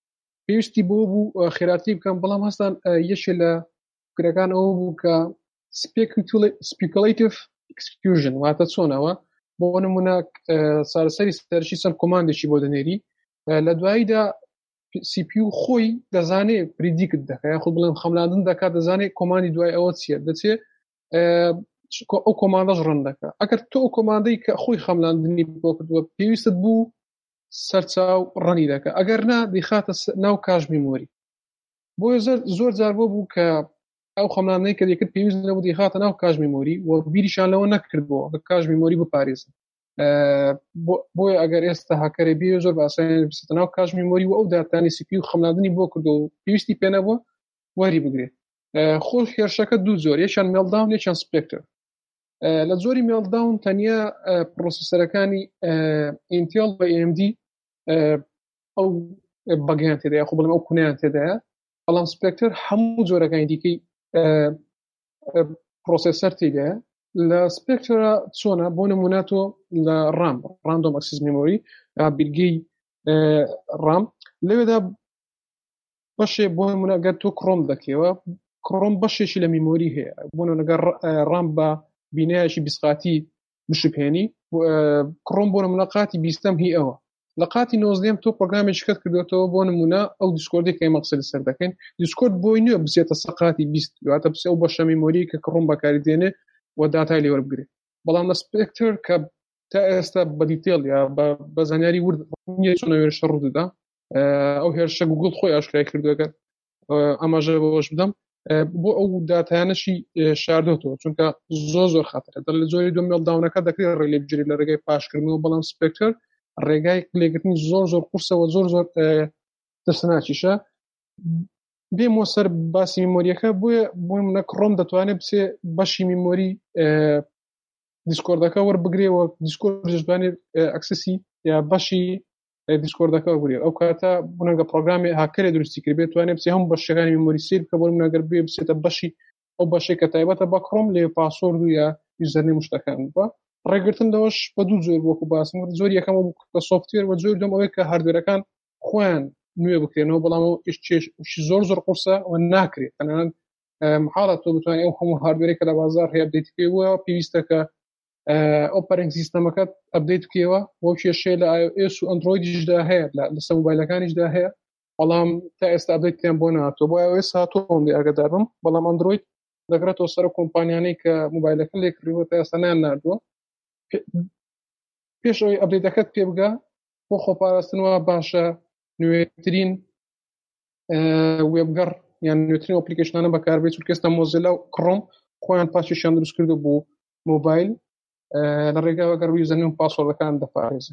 پێویستی بۆ بوو خێراتی بکەم بەڵام هەستان یەکێ لە فکرەکان ئەوە بوو کە speculative execution واتە چۆنەوە بۆ نمونە چارەسەری سەرچی چەند کۆماندێکی بۆ دەنێری لە دواییدا CPU خۆی دەزانێت پریدیکت دەکات خۆ بڵێم خەملاندن دەکات دەزانێت کۆماندی دوای ئەوە چیە دەچێت ئەو کۆماندەش ڕەن دەکات ئەگەر تۆ ئەو کۆماندەی کە خۆی خەملاندنی بۆ کردووە پێویستت بوو سەرچاو ڕەنی دەکات ئەگەر نا دەیخاتە ناو کاژ میمۆری بۆیە زۆر جار بوو کە ئەو خەملاندنەی کە دەکرد پێویست نەبوو دەیخاتە ناو کاژ میمۆری و بیریشان لەوە نەکردبووە کە کاژ میمۆری بپارێزن بۆیە ئەگەر ئێستا هاکەرێ بێ زۆر باساییان بستە ناو کاژ میمۆری و ئەو داتانی CPU خەملاندنی بۆ کردو و پێویستی پێ نەبووە وەری بگرێت خۆش هێرشەکە دوو زۆر یەکیان مێڵداون یەکیان سپێکتر لە زۆری مێڵداون تەنیا پرۆسەسەرەکانی ئینتێڵ بە AMD ئەو بەگیان تێدایە خۆ بڵێم ئەو کونیان تێدایە بەڵام سپێکتر هەموو جۆرەکانی دیکەی پرۆسەسەر تێدایە لە سپێکترە چۆنە بۆ نمونە تۆ لە ڕاندۆم ئەکسس میمۆری بیرگەی ڕام لەوێدا بەشێ بۆ نمونە گەر تۆ کڕۆم دەکەوە کڕۆم بەشێکی لە میمۆری هەیە بۆ نەگەر ڕام بە بینایەکی بیستقاتی بشپێنی کڕۆم بۆ نمونە قاتی بیستەم هی ئەوە لە قاتی 19 تۆ پرۆگرامێکی کەت کردوێتەوە بۆ نمونە ئەو دیسکۆردی کە مەقسەد سەر دەکەین دیسکۆرد بۆی نییە بچێتە سەقاتی 20 دواتە بچێت ئەو بەشە میمۆری کە کڕۆم بەکاری دێنێ و داتای لێ وەربگرێت بەڵام لە سپێکتر کە تا ئێستا بە دیتێڵ یا بە زانیاری ورد نییە چۆن هێرشە ڕوودەدا ئەو هێرشە گوگڵ خۆی ئاشکرای کردووەکە ئەماژە بەوەش بدەم بۆ ئەو داتایانەشی شاردۆتەوە چونکە زۆر خاترە لە زۆری دو مێڵداونەکە دەکرێت ڕێ لێ بگیری لە ڕێگەی پاشکردنەوە بەڵام سپێکتر ڕێگای لێگرتنی زۆر قورسەوە زۆر دەسەناچیشە بێمەوە سەر باسی میمۆریەکە بۆ منە کڕۆم دەتوانێت بچێ بەشی میمۆری دیسکۆردەکە وەربگرێەوە دیسکۆرد دەشبانێت ئەکسسی یا بەشی دیسکۆردەکە وەربگرێت ئەو کاتە بنەگە پرۆگرامی هاکەرێ درستی کرد بێت توانێت بچێ هەموو بەشەکانی میمۆری سیر بکە بۆ منەگەر بێ بچێتە بەشی ئەو بەشێک کە تایبەتە بە کڕۆم لێ پاسۆرد و یا یوزەرنێم شتەکان بە ڕێگرتن دەوەش بە دوو زۆر وەکو باسم زۆر یەکەم بە سۆفتوێر و زۆر دەم ئەوەی کە هاردوێرەکان خۆیان نوێ بکرێنەوە بەڵام زۆر قورسە و ناکرێت تەنانەت محاڵە تۆ بتوانێت ئەو هەموو هاردوێرێک کە لە بازار هەیە ئەپدەیت بکەیەوە پێویستە کە ئۆپەرینگ سیستەمەکەت ئەپدەیت بکەیەوە بۆ کێشەیە لە iOS و ئەندرۆیدیشدا هەیە لەسەر موبایلەکانیشدا هەیە بەڵام تا ئێستا ئەپدەیتیان بۆ نهاتووە بۆ iOS هاتووە لێ ئاگادار بم بەڵام ئەندرۆید دەگرێتەوە سەر کۆمپانیانەی کە موبایلەکە لێ کڕیوە تا ئێستا ناردووە پێش ئەوەی ئەپدەیتەکەت پێ بگا بۆ خۆپاراستنەوە باشە نوێترین وێبگەڕ یان نوێترین ئەپلیکیشنانە بەکاربێت چونکە ئێستا مۆزیلا و کڕۆم خۆیان پاچیشیان دروست کردو بۆ موبایل لە ڕێگاوە گەر یوزەرنێم و پاسوەردەکان دەپارێزە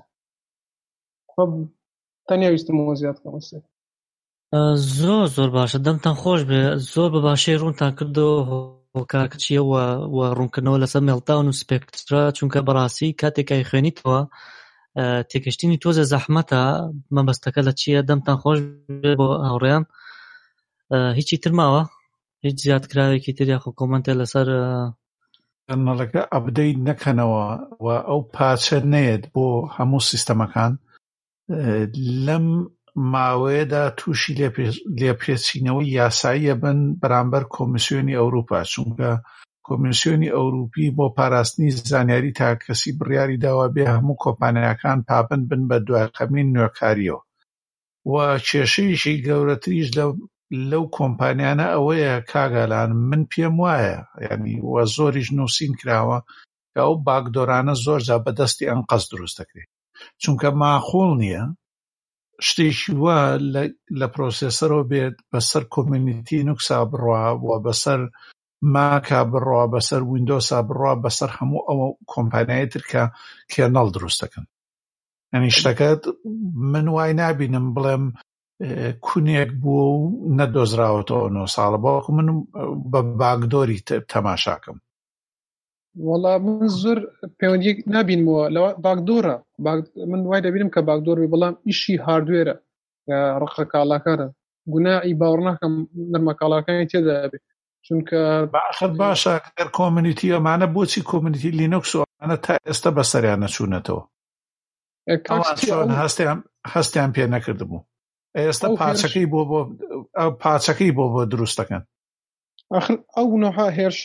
تەنیا ویستمەوە زیاد کەمەسێ زۆر باشە دەمتان خۆش بێ زۆر بە باشەی ڕوونتان کردو هۆکارکچیە و ڕوونکردنەوە لەسەر مێڵداون و سپێکترا چونکە بەڕاستی کاتێکای خوێنیتەوە تێکەشتنی تۆزە زەحمەتە مەبەستەکە لە چییە دەمتان خۆش بێ بۆ هاوڕێیان هیچی ترماوە هیچ زیادکراوێکی تر یاخۆ کۆمەنتێ لەسەر کەرنەڵەکە ئەپدەیت نەکەنەوە و ئەو پاچە نێت بۆ هەموو سیستەمەکان لەم ماوەیەدا تووشی لێپێچینەوەی یاساییە بن بەرامبەر کۆمیسیۆنی ئەوروپا چونکە کۆمیسیۆنی ئەوروپی بۆ پاراستنی زانیاری تاکەسی بڕیاری داوا بێ هەموو کۆمپانیاکان پابند بن بە دوایقەمین نوێکاریەوە و کێشەیەکی گەورەتریش لەو کۆمپانیانە ئەوەیە کاگالان من پێم وایە یعنی وە زۆریش نووسین کراوە کە ئەو باکدۆرانە زۆرجا بەدەستی ئەنقەس دروست دەکرێت چونکە ماخۆڵ نییە شتێکی وە لە پرۆسێسەرەوە بێت بەسەر کۆمیونیتی نوکسا بڕوا و بەسەر ماکا بڕوا بەسەر ویندۆسا بڕوا بەسەر هەموو ئەوە کۆمپانیای ترکە کێرنەڵ دروست دەکەن ئەنی شتەکەت من وای نابینم بڵێم کونێک بووە و نەدۆزراوەتەوە 9 ساڵە باوەکو من بە باکدۆری تەماشاکەم وەڵا من زۆر پەیوەندیەک نابینمەوە لەوە باکدۆرە من وای دەبینم کە باکدۆر بێ بەڵام ئیشی هاردوێرە ڕقە کاڵاکارە گوناعی باوەڕ ناکەم نەرمە کاڵاکانی تێدا بێ چونکە باشە باشە گەر کۆمیونیتی ئەمانە بۆچی کۆمیونیتی لینوکس و ئەمانە تا ئێستا بەسەریان نەچوونەتەوە ئەوان هەستیان پێ نەکردبوو ئێستا پاچەکەی بۆ دروست دەکەن ئەو نەها هێرشت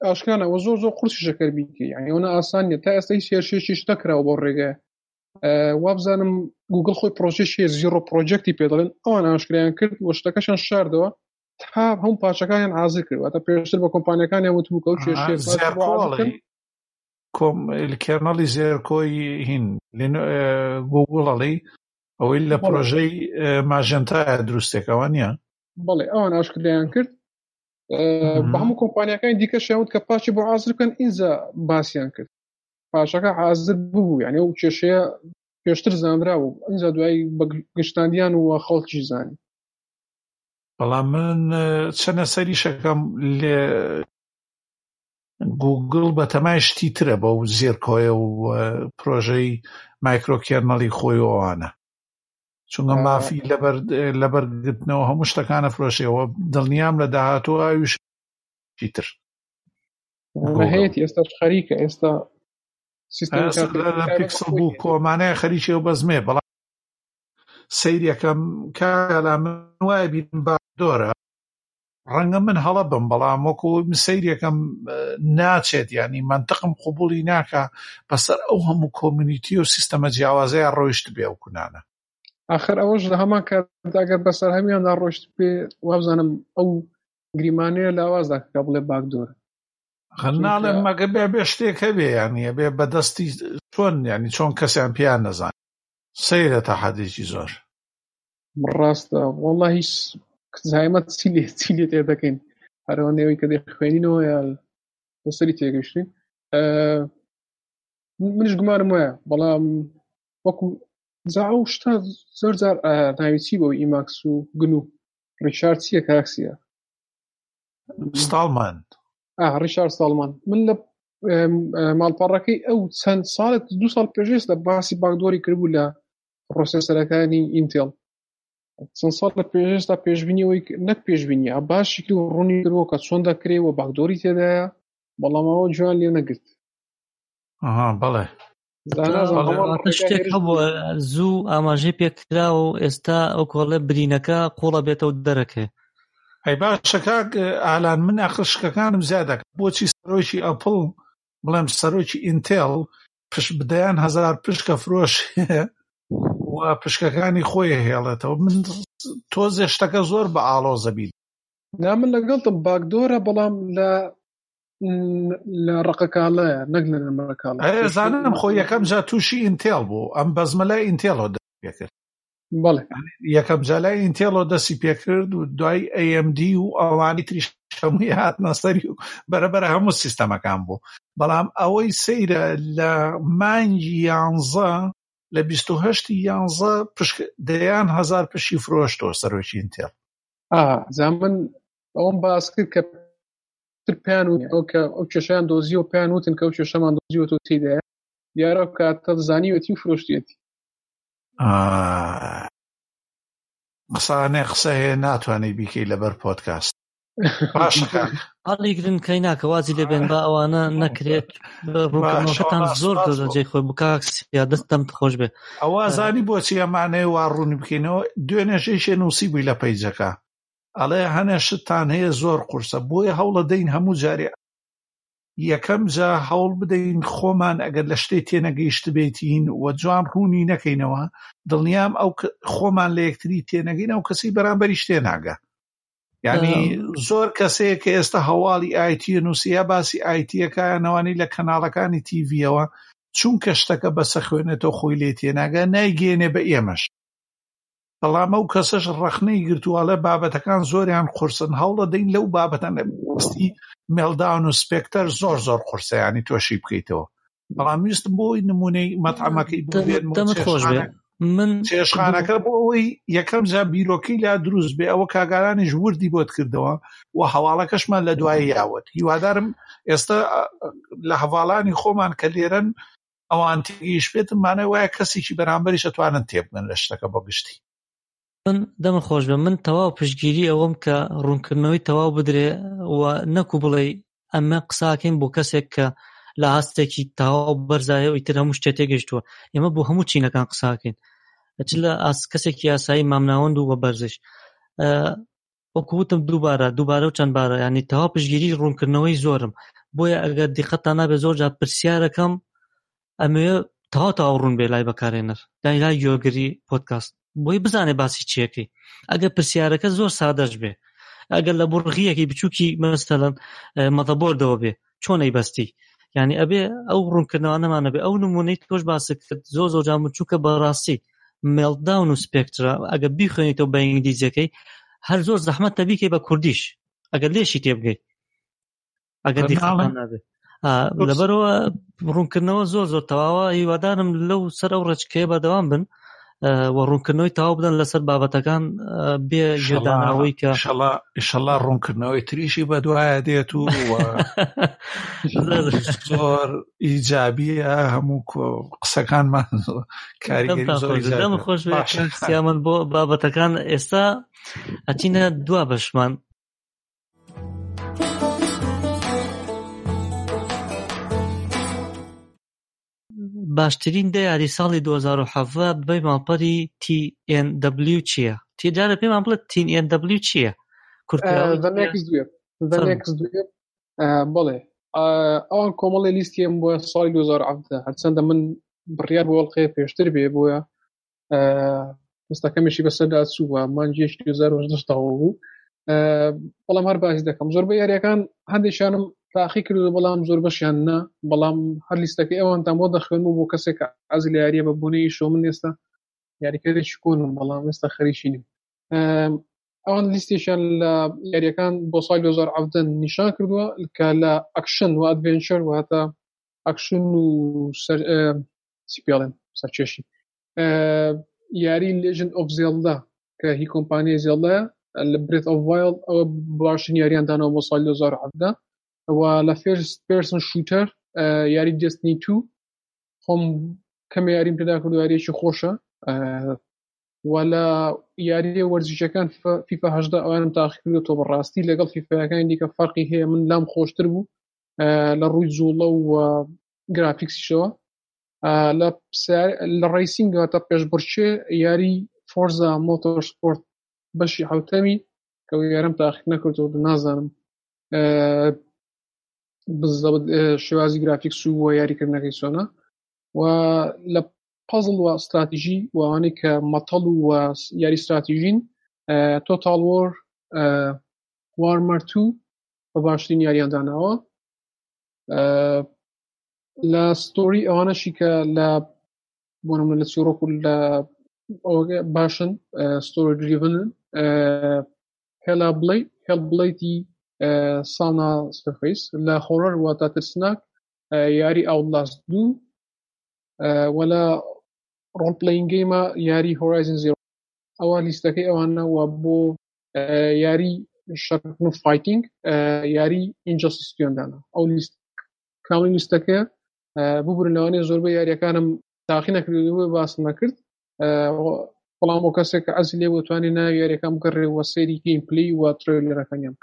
ئاشکانە ئەوە زۆر قورسی شەکەر بیکە، یعنی ئەوە ئاسان نیە، تا ئێستا هیچ هێرشێکیش نەکراوە بۆ ڕێگە. وابزانم گوگل خۆی پرۆژێکی زیرۆ پرۆجێکتی پێ دەڵێن، ئەوان ئاشکرایان کرد و شتەکەشان شاردەوە تا هەموو پاشەکانیان حازر کرد، واتە پێشتر بە کۆمپانیەکانیان وتبوو کە ئەو کێشەیە کێرنەڵی زێرکۆی هین گوگڵەڵی ئەوەی لە پرۆژەی ماژەنتایە دروستێکەوە نییە. بەڵێ ئەوان ئاشکرایان کرد بە هەموو کۆمپانیەکانی دیکە شاوت کە پاشی بۆ حازر بکەن، ئینجا باسییان کرد پاشەکە حازر بوو، یعنی ئەو کێشەیە پێشتر زانراوە، ئینجا دوای بە گشتاندیان و خەڵکی زانی. بەڵام من چەنە سەری شەکەم لێ گوگڵ بە تەمای شتی ترە بە و زێرکۆیە و پرۆژەی مایکرۆکێرنەڵی خۆی ئەوانە، چونکە مافی لەبەرگرتنەوە هەموو شتەکانە فرۆشەوە. دڵنیام لە داهاتوە ئاویش تر هەیەی ئێستا خەریکە، ئێستا سیستەم پیکسل بوو کۆمانەیە خەریکی و بەزمێ. بەڵام سەیرەکەم کالا من وایە بیرم بادۆرە ڕەنگە من هەڵە بم، بەڵام وەکو سەیرەکەم ناچێت، ینی منطقم قبولی ناکە بەسەر ئەو هەموو کۆمیونیتی و سیستەمە جیاوازەیە ڕۆیشت بێ و کونانە. آخر ئەوەش لە هەمان کاتداگەر بەسەر هەمیاندا ڕۆشت پێ وابزانم ئەو گریمانەیە لاوازدا کە بڵێ باکدۆرە خەناڵێ مەگە بێ شتێک هەبێ، یانیە بێ بەدەستی چۆن، ینی چۆن کەسیان پیان نەزان سەیرە تا حەدێکی زۆر. ڕاستە وەڵڵا هیچ زایمەت چی لێ تێ دەکەین، هەرەوەندەوەی کە دەخوێنینەوە یا بەسەری تێگەشتین. منش گومانم وایە، بەڵام وەکو زاو شتا زۆر جار ناوی چی بەوە ئیماکس و گن و ڕیشارد چییە کاکسیە ستاڵمان ڕیشارد ستاڵمان. من لە ماڵپەڕەکەی ئەو چەند ساڵێک 2 ساڵ پێشێستا باسی باکدۆری کردبوو لە پرۆسێسەرەکانی ئینتێڵ. چەند ساڵ لە پێشێستا پێشبینیەوەی نەک پێشبینیە باشی کرد و ڕوونی کردەوە کە چۆن دەکرێت و باکدۆری تێدایە، بەڵام ئەوە جوان لێ نەگرت. بەڵێ شتێک هەبووە زوو ئاماژەی پێکرا و ئێستا ئەو کۆڵێ برینەکە قوڵە بێتەوە دەرەکێ. ئەی باشە کاک ئالان، من ئەخشکەکانم زیادە بۆچی سەرۆکی ئەپڵ بڵێم سەرۆکی ئینتێڵ پشت بدەیان 1000 پشکە فرۆش و پشکەکانی خۆی هێڵێتەوە. من تۆزێ شتەکە زۆر بە ئاڵۆزە بین. نا من لەگەڵتم باکدۆرە، بەڵام لە ڕقەکاڵەیە نەک لە نەمەکاڵە. زانم خۆی یەکەم جا تووشی ئینتێڵ بوو، ئەم بەزمەلای ئینتێڵەوە دەست پێکرد. بەڵێ یەکەم جالای ئینتێڵەوە دەستی پێکرد و دوای AMD و ئەوانی تریش هەمووی هاتنە سەری و بەرەبەرە هەموو سیستەمەکان بوو. بەڵام ئەوەی سەیرە لە مانگی 11 لە 28/11 دەیان 1000 پشی فرۆشتەوە سەرۆکی ئینتێڵ. زامن ئەوم باس کرد کە تر پێیان و ئەو کێشیان دۆزی و پێیان وتن کە ئەو کێشەمان دۆزیوە تۆ تێدایە دیارە کاتە زانیوەتی و فرۆشتێتی. قسانێ قسە هەیە ناتوانێت بیکەی لەبەر پۆدکاست. هەڵی گرن کەی ناکە وازی لێبێن با ئەوانە نەکرێت ڕووکردنەوەکەتان زۆر جێ خۆی بکاکسیا دەستم خۆش بێ. ئەوە زانی بۆچی ئەمانەیە وا ڕوونی بکەینەوە. دوێنێژەیشێ نووسی بووی لە پەیجەکە ئەڵێ هەنێ شتان هەیە زۆر قورسە، بۆیە هەوڵە دەین هەموو جارێ یەکەم جا هەوڵ بدەین خۆمان ئەگەر لە شتێ تێنەگەیشت بێتین و جوان ڕوونی نەکەینەوە، دڵنیام ئەو خۆمان لە یەکتری تێنەگەین ئەو کەسی بەرامبەری شتێ ناگە. یعنی زۆر کەسەیە کە ئێستا هەواڵی ئایتی نووسیا باسی ئایتیەکانەوانی لە کەناڵەکانی تیڤیەوە چونکە شتەکە بەسە خوێنێتەوە خۆی لێ تێناگە نایگەێنێ بە ئێمەش. بەڵام ئەو کەسەش ڕەخنەی گرتووەڵێ بابەتەکان زۆریان قورسن، هەوڵە دەین لەو بابەتان بەستی مێڵداون و سپێکتەر زۆر قورسە، ینی تۆشی بکەیتەوە. بەڵام ویستم بۆی نمونەی مەتعەمەکەی دەمت خۆش بێ من چێشخانەکە بۆ ئەوەی یەکەم جا بیرۆکەی لا دروست بێ ئەوە کاگارانیش وردی بۆت کردەوە و هەواڵەکەشمان لە دوای یاوت. هیوادارم ئێستا لە هەواڵانی خۆمان کە لێرەن ئەوان تێگەیشت بێتم مانای وایە کەسێکی بەرامبەریش ئەتوانن تێبگەن لە شتەکە بۆ گشتی. من دەمە خۆش بێ من تەواو پشتگیری ئەوەم کە ڕوونکردنەوەی تەواو بدرێ و نەکو بڵێ ئەمە قساکەین بۆ کەسێک کە لە هەستێکی تەواو بەرزایە و ئیتر هەموو شتێ تێگەیشتووە. ئێمە بۆ هەموو چینەکان قساکەین، چ لە کەسێکی یاسایی مامناوەند و بەرزش وەکو وتم دووبارە و چەند بارە، ینی تەواو پشتگیری ڕوونکردنەوەی زۆرم، بۆیە ئەگەر دیقەتان نابێ زۆر جار پرسیارەکەم ئەمێ تەواو ڕوون بێ لای بەکارێنەر لای یۆگری پۆدکاست بۆی بزانێ باسی چیەکەی. ئەگەر پرسیارەکە زۆر سادەش بێ، ئەگەر لە بڕغیەکی بچووکی مەسەلەن مەتەبۆردەوە بێ چۆنەی بەستی، یعنی ئەبێ ئەو ڕوونکردنەوانەمانە بێ. ئەو نمونەی تۆش باسی کرد زۆر جار بچووکە بەڕاستی مێڵداون و سپێکترا ئەگەر بیخوێنیتەوە بە ئینگلیزیەکەی هەر زۆر زەحمەتە بیکەی بە کوردیش ئەگەر لێشی تێبگەی ئەگەر دیقەتان نابێ. لەبەرەوە ڕوونکردنەوە زۆر تەواوە. هیوادارم لەو سەر ئەو ڕێچکەیە بەردەوام بن و ڕوونکردنەوەی تەواو بدەن لەسەر بابەتەکان بێ ژێدانەوەی کە ئینشەڵا ڕوونکردنەوەی تریشی بەدوایە دێت و زۆر ئیجابیە هەموو قسەکانمان کاریگەری زۆر دەم خۆش سیامن بۆ بابەتەکان. ئێستا ئەچینە دوا بەشمان. باشترین دیاری ساڵی 2017 بەی ماڵپەری TNW چییە؟ تێجارە پێمان بڵێت TNW چییە؟ بڵێ ئەوان کۆمەڵی لیستیم بۆ ساڵی 2017 هەرچەندە من بڕیار بۆ ئەڵقەیە پێشتر بێ بۆیە مستەکەمیشی بەسەردا چووە مانجێشی 2010 بوو. بەڵام هەر باسی دەکەم زۆربەی یاریەکان هەندێکیانم تاقی کردو بەڵام زۆر بەشیان نا، بەڵام هەر لیستەکەی ئەوانتان بۆ دەخوێنم بۆ کەسێک ئەز لە یاریە بە بوونەی شۆ. من ئێستا یاریکردێکی کۆنم بەڵام ئێستا خەریکی نیم. ئەوان لیستێکیان لە یاریەکان بۆ ساڵی 2017 نیشان کردووە کە لە ئەکشن و ئەدڤێنچەر و هەتا ئەکشن و سیپیاڵێن سەرچێشی یاری Legend of Zelda کە هی کۆمپانیای زێڵدایە لە Breath of Wild ئەوە باشترین یاریان دانەوە بۆ ساڵی 2017 و لە First Person Shooter یاری Destiny 2 خۆم کەمە یاریم پێدا کردو یاریەکی خۆشە و لە یاری وەرزشەکان FIFA 18 ئەوانم تاقی کردوەوە بەڕاستی لەگەڵ فیفاەکانی دیکە فەرقی هەیە من لام خۆشتر بوو لە ڕووی جوڵە و گرافیکسیشەوە. لە ڕیسینگە تا پێشبڕچێ یاری فۆرزا مۆتۆرسپۆرت بەشی حوتەمی کە یارم تاقیق نەکردەوە نازانم شێوازی گرافیکس و یاریکردنەکەی چۆنە. و لە پەزڵ و استراتیژی وانەی کە مەتەڵ و یاری استراتیژین تۆتال وارمەر 2 بە باشترین یاریان داناوە. لە ستۆری ئەوانەشی کە لە بۆنم لە چۆڕۆک و لە باشن ستۆری دریڤنن هێڵبڵیتی ساونا سفەیس لە خۆڕەر و تا ترسناک یاری ئاوتلاست 2 ولا ڕۆڵ پلەینگ گەیمە یاری هۆرایزن زیرۆ. ئەوە لیستەکەی ئەوانە و بۆ یاری شەرکن و فایتینگ یاری ئینجەستیسیۆندانە. ئەو لیست کاڵی لیستەکە ببورن لەوانەیە زۆربەی یاریەکانم تاقی نەکردووە باس نەکرد، بەڵام بۆ کەسێک کە ئەزی لێ بتوانێت ناوی یاریەکان بگەڕێ و سەیری گەیم پلەی و ترێلەرەکانیان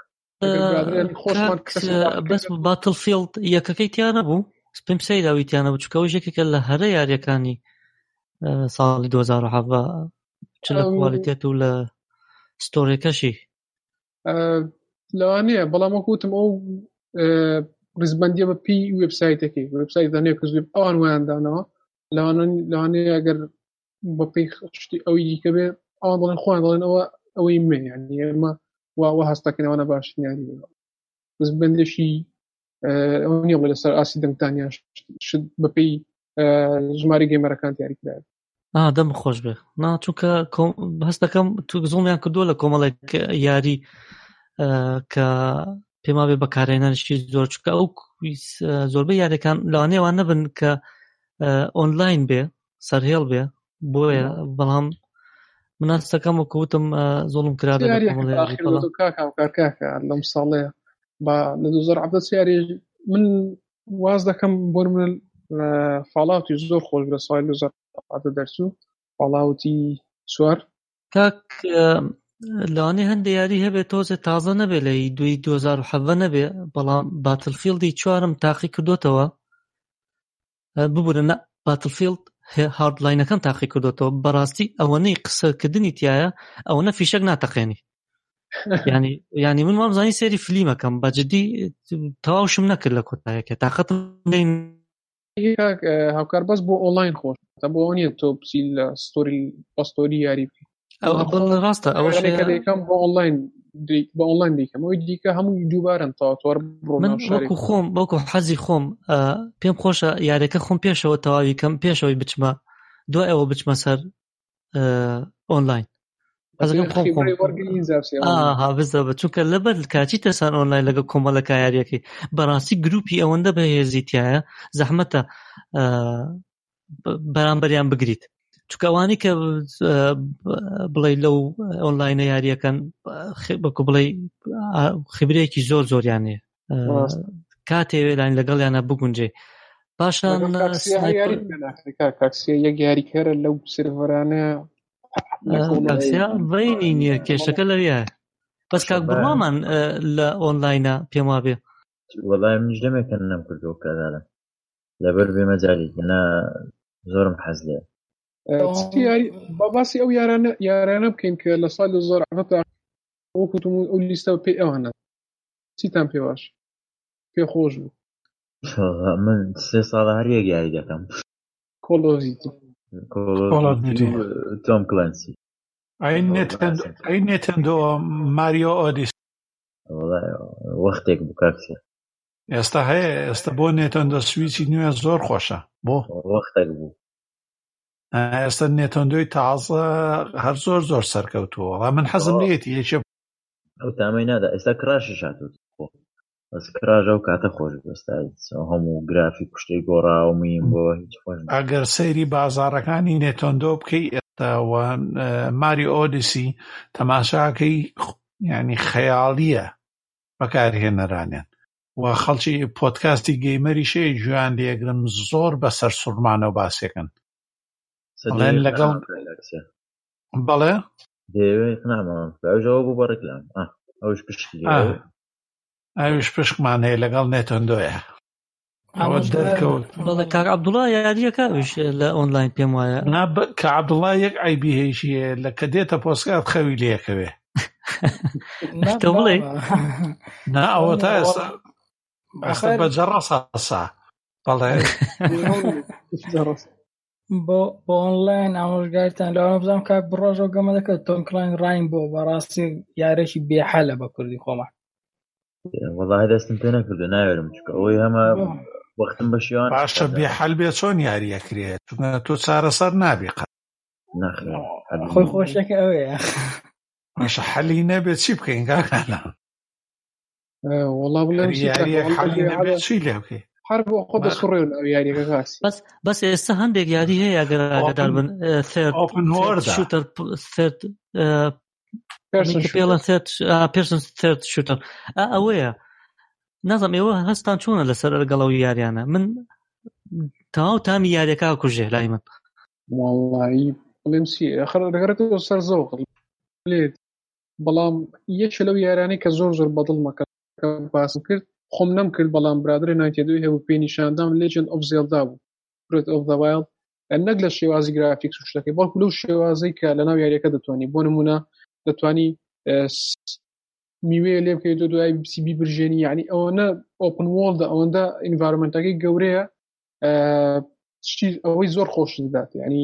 بەس باتڵفیلد یەکەکەی تیانە بوو پێم سەیراوی تیانە بوو چکە یەکێکە لە هەرە یاریەکانی ساڵی 2017 چ لە کوالیتێت و لە ستۆریەکەشی لەوانەیە. بەڵام وەکوتم ئەو ڕیزبەندیە بە پی وێبسایتەکەی وێبسایت دانێ کە زوێ ئەوان وایاندانەوە لەوانەیە ئەگەر بە پێی شتی ئەوی دیکە بێ ئەوان بڵێن خۆیان دەڵێن ئەوەی مێ یعنی ئێمە وا هەستەکەنەوەنە باشترین یاری ڕیزبەندێکی ئەو نییە بڵێ لەسەر ئاسی دەنگتانیان شت بە پێی ژماری گەیمەرەکان دیاریکراوە. دەم خۆش بێ چونکە هەست دەکەم تو زوڵمیان کردووە لە کۆمەڵێک یاری کە پێما بێ بەکارهێنانشی زۆر چکە ئەو زۆربەی یاریەکان لەوانەیەوان نەبن کە ئۆنلاین بێ سەرهێڵ بێ بۆیە، بەڵام مناستەکەم وەکوتم زۆڵم کرابێ کاکە لەم ساڵەیە بە لە 2017 یاری من واز دەکەم بۆ من فاڵاوتی زۆر خۆش لە ساڵی 2017 دەرچوو فاڵاوتی 4 کاک لەوانەیە هەندێک یاری هەبێت تۆزێ تازە نەبێ لە 2017 نەبێ، بەڵام باتڵفیلدی 4م تاقی کردوتەوە ببوورە باتڵفیلد هاردلاینەکەم تاقی کردوتەوە. بەڕاستی ئەوەنەی قسەکردنی تایە ئەوەنە فیشەک ناتەقێنی يعني من وامزاني سيري فيلم كم بجدي تواوش منك لك وتاعك طاقت لين هيك هاوكار بس بو اونلاين خوش تبو اوني تو بسي ستوري يعرف ما خو بالراستا اول يعني كده شيء كم بو اونلاين بو اونلاين دي كم ويدي هم جوبارن تا تور برو ناو من شارك وەکو حەزی خۆم پێم خۆشە یاریەکە خۆم پێشەوە تەواوی کەم پێشەوەی بچمە دوای ئەوە بچمە سەر ئۆنلاین حەزەکەم خۆم خبري ورقلين زابسي ها بزەوە چونکە لەبەر کاچی تەسان ئۆنلاین لەگە کۆمەڵەکە یاریەکەی بەڕاستی گروپی ئەوەندە بەهێزیتیایە زەحمەتە بەرامبەریان بگریت چونکە ئەوانی کە بڵێ لەو ئۆنلاینە یاریەکەن بەکو بڵێ خبرەیەکی زۆریانێ کاتێ لاین لەگەڵیانە بگونجێ پاشان کاکسیا یەک یاریکەرە لەو سرڤەرانە کاکسیا بەینی نییە کێشەکە لەویە بەس کاک بڕوامان لە ئۆنلاینە پێم وابێ وەڵای منیش دەمێکەن نەم کردەوە کارانە لەبەر بێمە جاریکەنا زۆرم حەز لێ باسی ئەو یارانە بکەین کە لە ساڵ 2010 وەکوتم ئەو لیستە پێ ئەوانە چیتان پێ باش پێ خۆش بوو من 3 ساڵە هەر یەک یاری دەکەم کۆلۆزیتی تۆم کلەنسی ئەی نێتەندۆ ماریۆ ئۆدیس وەختێک بوو کاکسێ ئێستا هەیە ئێستا بۆ نێتەندۆ سویچی نوێ زۆر خۆشە بۆ وەختێک بوو ئێستا نێتەندۆی تازە هەر زۆر سەرکەوتووە وەڵا من حەزم لێتی یەکێ ئەو تامەی نادا ئێستا کراشش هاتووە بەس کراژە و کاتە خۆش بەستا هەموو گرافیک شتەی گۆڕاومیم بۆ هیچ خۆش ئەگەر سەیری بازاڕەکانی نێتەندۆ بکەی ئێستاوە ماری ئۆدیسی تەماشاکەی ینی خەیاڵیە بەکارهێنەرانیان و خەڵکی پۆدکاستی گەیمەری شەیە گوێیان لێگرم زۆر بەسەر سوورمانە و باسێکن لەگەڵ بەڵێ دەیەوێت نامەوە باوژەوە بوو بە ڕێکلام ئەوش پشتی ئەوش پشکمان هەیە لەگەڵ نێتەندۆیە ئەوە دەرکەوت بەڵێ کاک عەبدوڵڵا یاریەکەویش لە ئۆنلاین پێم وایە کە عەبدوڵڵا یەک ئایبی هەیەشیە لە کە دێتە پۆستکات خەوی لێکەوێ تۆ بڵێ نا ئەوە تا ئێستا بەجەڕە ساسا بەڵێ بۆ ئۆنلاین ئامۆژگاریتان لەوانە بزانم کاک بڕۆژەوە گەمە دەکەێت تۆم کلاین ڕاین بۆ بەڕاستی یارێکی بێحەلە بە کوردی خۆمان وەڵاهی دەستم پێ نەکردو ناوێرم چکە ئەوەی هەمە وەختم بە شیوان باشە بێحەل بێ چۆن یاریەکرێت تۆ چارەسەر نابێ خۆی خۆشەکە ئەوەیە باشە حەلی نەبێت چی بکەین کاکانە وەڵا بڵێم یاریەک حەلی نەبێت چی لێ بکەی هەر بۆ خۆ دەسڕێن ئەو یاریەکە کاسی بەس ئێستا هەندێک یاری هەیە ئەگەدار بن شوتەر پێرسن ثرد شوتەر ئەوەیە نازم ئێوە هەستان چۆنە لەسەر لەگەڵەوە یاریانە من تاو تامی یاریەکە کوژێ لای من وڵایی بڵێم چی دەگەڕێتەوە سەر زەوق لێت بەڵام یەکێ لەو یارانەی کە زۆر بەدڵ مەکە باسم کرد خۆم نەم کرد بەڵام برادرە 92 هەبوو پێی نیشاندام Legend of Zelda بوو Breath of the Wild نەک لە شێوازی گرافیکس و شتەکەی بەڵکو لەو شێوازەی کە لەناو یاریەکە دەتوانێت بۆ نمونە دەتوانی میوەیە لێ بکەیت دوای سی برژێنی یعنی ئەوەنە ئۆپن وۆڵدە ئەوەندە ئینڤایرۆمنتەکەی گەورەیە ئەوەی زۆر خۆش دەدات ینی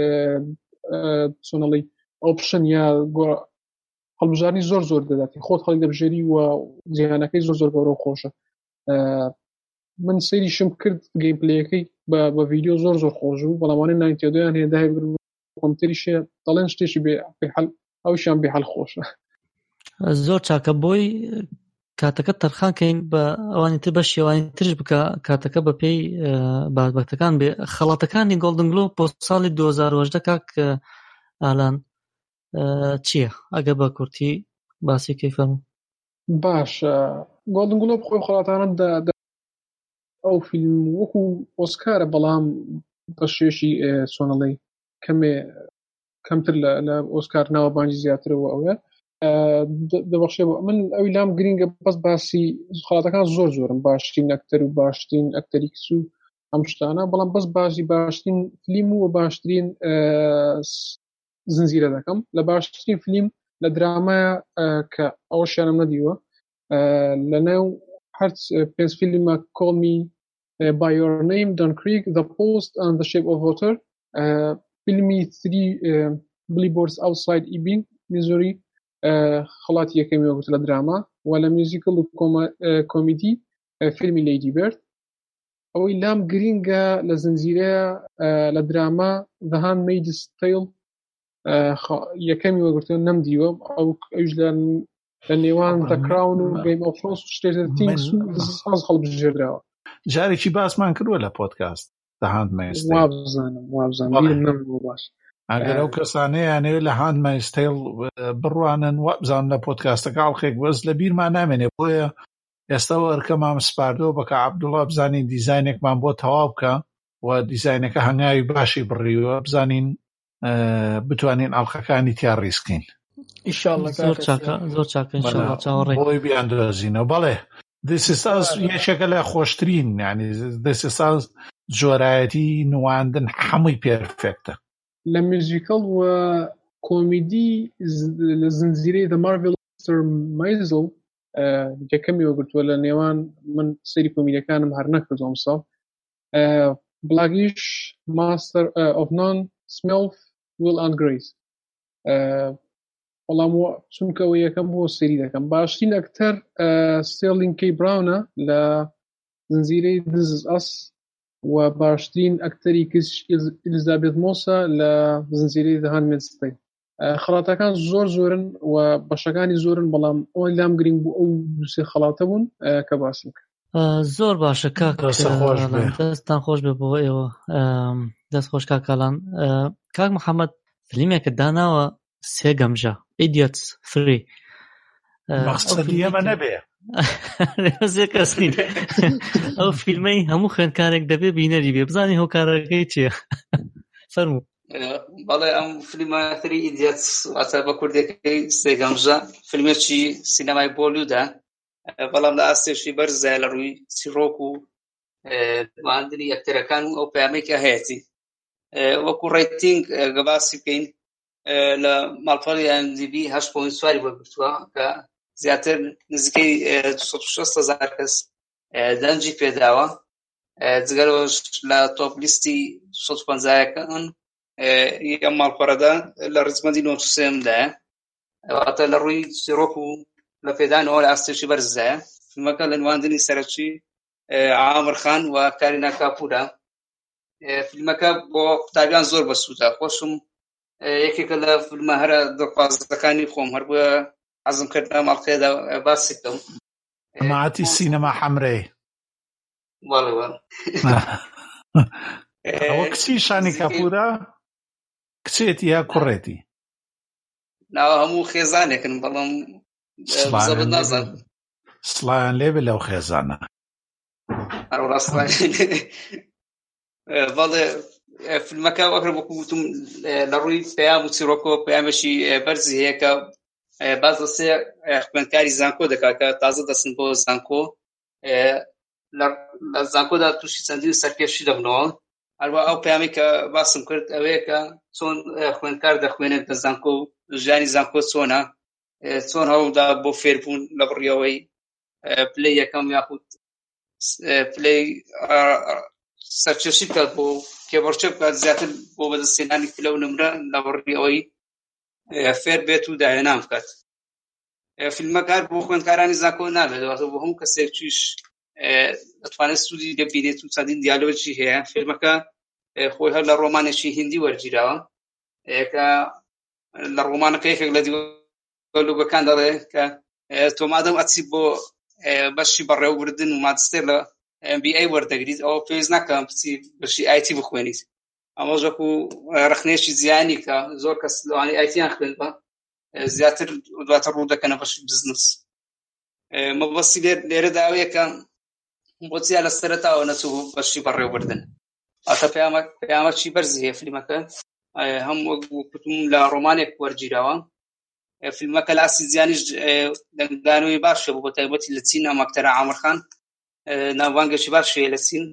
چۆنەڵی ئۆپشن یا هەڵبژارنی زۆر دەداتی خۆت خەڵک دەبژێری و جیهانەکەی زۆر گەورە و خۆشە من سەیریشم کرد گەیم پلەیەکەی بە ڤیدیۆ زۆر خۆش بوو بەڵامانەی 92 هەیە داهی کۆمپیوتەریشە دەڵێن شتێکی بێحەل ئەوشیان بێحەل خۆشە زۆر چاکە بۆی کاتەکە تەرخانکەین بە ئەوانی تر بە شێوانی ترش بکە کاتەکە بە پێی بابەتەکان بێ خەڵاتەکانی گۆڵدن گلۆب بۆ ساڵی 2018 کاک ئالان چییە ئەگە بە کورتی باسی کەیفەرموو باش گۆڵدن گلۆب خۆی خەڵاتانە ئەو فیلم وەکو ئۆسکارە بەڵام بە شێشی چۆنەڵی کەمتر لە ئۆسکار ناوە بانجی زیاترەوە ئەوە دەبەخشێ من ئەوی لام گرینگە بەس باسی خەڵاتەکان زۆرم باشترین ئەکتەر و باشترین ئەکتەری کچ و ئەم شتانە بەڵام بەس باسی باشترین فیلم و باشترین زنجیرە دەکەم لە باشترین فیلم لە درامایە کە ئەوەشیانم نەدیوە لەناو هەر پێنج فیلمە Call Me by Your Name, Dunkirk, The Post and The Shape of Water. فیلمی 3 Billboards Outside Ebbing, Missouri خەڵاتی یەکەمی وەگوت لە دراما و لە میوزیکل و کۆمیدی فیلمی Lady Bird. ئەوەی لام گرینگە لە زنجیرەیە لە دراما The Handmaid's Tale یەکەمی وەگرتووە نەمدیوە ئەوش لە نێوان The Crown و Game of Thrones و Stranger Things و ساز هەڵبژێردراوە. جارێکی باسمان کردووە لە پۆدکاست The Handmaid's Tale. وابزانم نەمبوو باش. ئەگەر ئەو کەسانەیانەوێت لە Handmaid's Tale بڕوانن وابزان لە پۆدکاستەکە ئاڵخێک بەس لە بیرمان نامێنێ بۆیە ئێستا وەرکەمان سپاردەوە بە کە عەبدوڵڵا بزانین دیزاینێکمان بۆ تەواو بکە و دیزاینەکە هەنگاوی باشی بڕیوە بزانین بتوانین ئاڵخەکانی تیا ڕیسکین. ئینشاءالله زۆر چاکە ئینشاءالله چاوەڕێ بۆی بیاندۆزینەوە. بەڵێ This is Us یەکێکە لە خۆشترین یعنی This is Us جۆرایەتی نواندن هەمووی پێرفێکتە لە میوزیکل و کۆمیدی لە زنجیرەی The Marvelous Mr. Maisel یەکەمی وەگرتووە لە نێوان من سەری کۆمیدیەکانم هەر نەکردوم ساڵ بلاگیش Master of None Smell Will and Grace وەڵام چونکەوە یەکەم بۆ سەری دەکەم باشترین ئەکتەر ستێرلینگ کەی براونە لە زنجیرەی This is Us و باشترین ئەکتەری کچ ئیلیزابێت مۆسە لە زنجیرەی The Handmaid's Tale. خەڵاتەکان زۆرن و بەشەکانی زۆرن بەڵام ئەوەی لام گرنگ بوو ئەو دووسێ خەڵاتە بوون کە باسم کرد. زۆر باشە کاک دەستان خۆش بێ بۆ ئێوە دەست خۆش کاکاڵان. کاک محەممەد فیلمێکە داناوە سێ گەمژە Idiots 3 مەقسەدی ئەمە نەبێ زێ کەسنین ئەو فیلمەی هەموو خوێندکارێک دەبێ بینەری بێ بزانی هۆکارەکەی چییە فەرموو. بەڵێ ئەم فیلمە 3 Idiots واتە بە کوردەکەی سێ گەمژە فیلمێکی سینەمای بۆلیوودە بەڵام لە ئاستێشی بەرزە لە ڕووی چیرۆک و ماندنی ئەکتەرەکان و ئەو پەیامێکە هەیەی وەکو ڕێتینگ گەباسی بکەین لە ماڵپەڕی IMDb 8.4 وەرگرتووە کە زیاتر نزیکەی 260,000 کەس دەنجی پێداوە جگەرەوەش لە تۆپ لیستی 250یەکان یەم ماڵپەڕەدا لە ڕزمەندی 93دایە واتە لە ڕووی چیرۆک و لە پێدانەوە لە ئاستێشی بەرزە فیلمەکە لە نواندنی سەرەکی عامر خان و کارینا کاپورە فیلمەکە بۆ قوتابیان زۆر بەسوودە خۆشم یەکێکە لە فیلمە هەرە دڵخوازەکانی خۆم هەر بووە حەزم کردە ماڵقەیەدا باسی بکەم ماتی سینەما حەمرەی وەڵێ ئەوە کچی شانی کاپورە کچێتی یا کوڕێتی ناوە هەموو خێزانێکن بەڵام زەبەت نازانم سڵایان لێبێ لەو خێزانە بەڵێ فیلمەکە وەکر بۆ گوتم لە ڕووی پەیام و چیرۆکۆ پەیامێکی بەرزی هەیە کە باز لە سێ خوێندکاری زانکۆ دەکات کە تازە دەچن بۆ زانکۆ لە زانکۆدا تووشی چەندین سەرکێشی دەبنەوە هەروە ئەو پەیامی کە باسم کرد ئەوەیە کە چۆن خوێندکار دەخوێنێت لە زانکۆ و ژیانی زانکۆ چۆنە چۆن هەوڵدا بۆ فێربوون لە بڕیەوەی پلەی یەکەم یاخود پلەی سەرکێشی بکات بۆ کێبڕچە بکات زیاتر بۆ بەدەستێنانی پلە و نمرە لە بڕیەوەی فێر بێت و داهێنان بکات. فیلمەکە بۆ خوێندکارانی زانکۆ نابێت بۆ هەموو کەسێکیش دەتوانێت سوودی لێبینێت و چەندین دیالۆجی هەیە. فیلمەکە خۆی هەر لە ڕۆمانێکی هیندی وەرگیراوە کە لە ڕۆمانەکە یەکێک لە دیالۆگەکان دەڵێ کە تۆ مادەم ئەچی بۆ بەشی بەڕێوەبردن و ماجستێر لە MBA وەردەگریت ئەوە پێویست ناکە بچی بەشی IT بخوێنیت. ئەمە وەکو ڕخنێکی زیانی کە زۆر کەس لەوانەی ITیان خوێندبە زیاتر دواتر ڕوو دەکەنە بەشی بزنس. مەبەستی لێرەدا ئەوەیە کە بۆچیان لە سەرەتاوە نەچوو بەشی بەڕێوەبردن. ئەتە پەیامێکی بەرزی هەیە فیلمەکە هەم وەکو کوتم لە ڕۆمانێک وەرگیراوە. فیلمەکە لە ئاسی زیانیش دەنگدانەوەی باشە بۆ تایبەتی لە چین ئەم ئەکتەرە عامر خان ناوبانگێکی باشەیە لە چین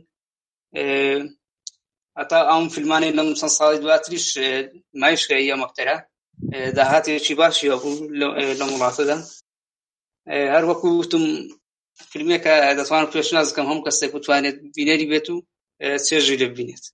هەتا ئەم فیلمانەی لەم چەند ساڵی دواتریش نمایشکراوە ئەم ئەکتەرە داهاتێکی باشی هەبوو لە وڵاتەدا. هەر وەکوتم فیلمێکە دەتوانم پێشناز بکەم هەموو کەسێک بتوانێت بینەری بێت و چێژی لێ ببینێت.